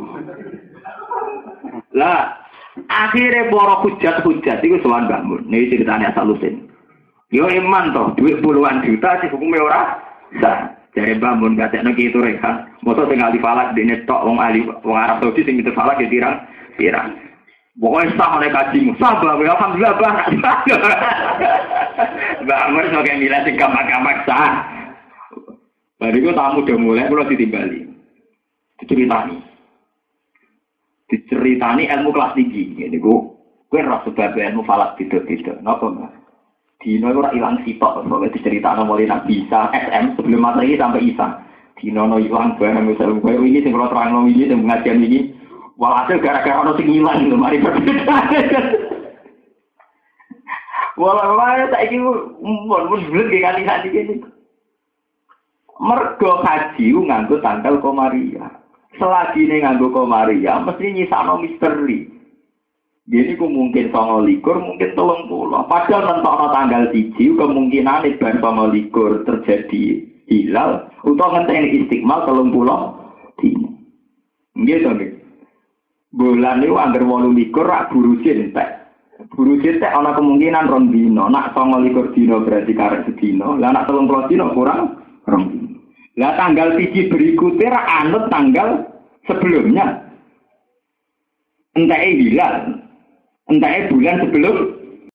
Lah akhire para hujat-hujat iku sowan Mbah Mun. Niki ceritane asal usul. Yo iman toh, duit puluhan juta sih hukumnya ora sah. Jare Mbah Mun gatekno ki itu rekan. Moto sing ahli falak dene tok wong ahli wong Arab Saudi sing itu falak ya pirang. Pokoke sah nek kajimu. Sah Mbah, alhamdulillah Mbah. Mbah Mun sok milah sing gampang-gampang sah. Bariku tamu udah mulai kula ditimbali. Diceritani ilmu kelas tinggi. Niku kowe ora sebab ilmu falak tidak. Napa Mbah? Dino itu hilang sitok, soalnya diceritakan mulai Nabi Isa, SM, sebelum Masehi sampai Isa. Dino itu hilang barang, misalnya gue ini, yang kalau terang ini, yang pengajian ini, walhasil gara-gara orang yang hilang, itu mari berbeda. Walau tak ingin, mun bulat kali-kali ini. Mergo haji, nganggo tanggal Komariah. Selagi ini nganggo Komariah, mesti nyisano misteri. Jadi mungkin 29, mungkin 30. Padahal nentokno tanggal 1 kemungkinan bar 29 terjadi hilal utawa ngenteni istiqmal 30 dina. Nggih to nggih. Bulan niku anggar 28 rak burusin tek. Burusin tek ana kemungkinan 2 dina. Nak 29 dina berarti karek sedina. Lah nak 30 dina kurang 2 dina. Lah tanggal 1 berikutnya rak anut tanggal sebelumnya. Entah hilal. Entah bulan sebelum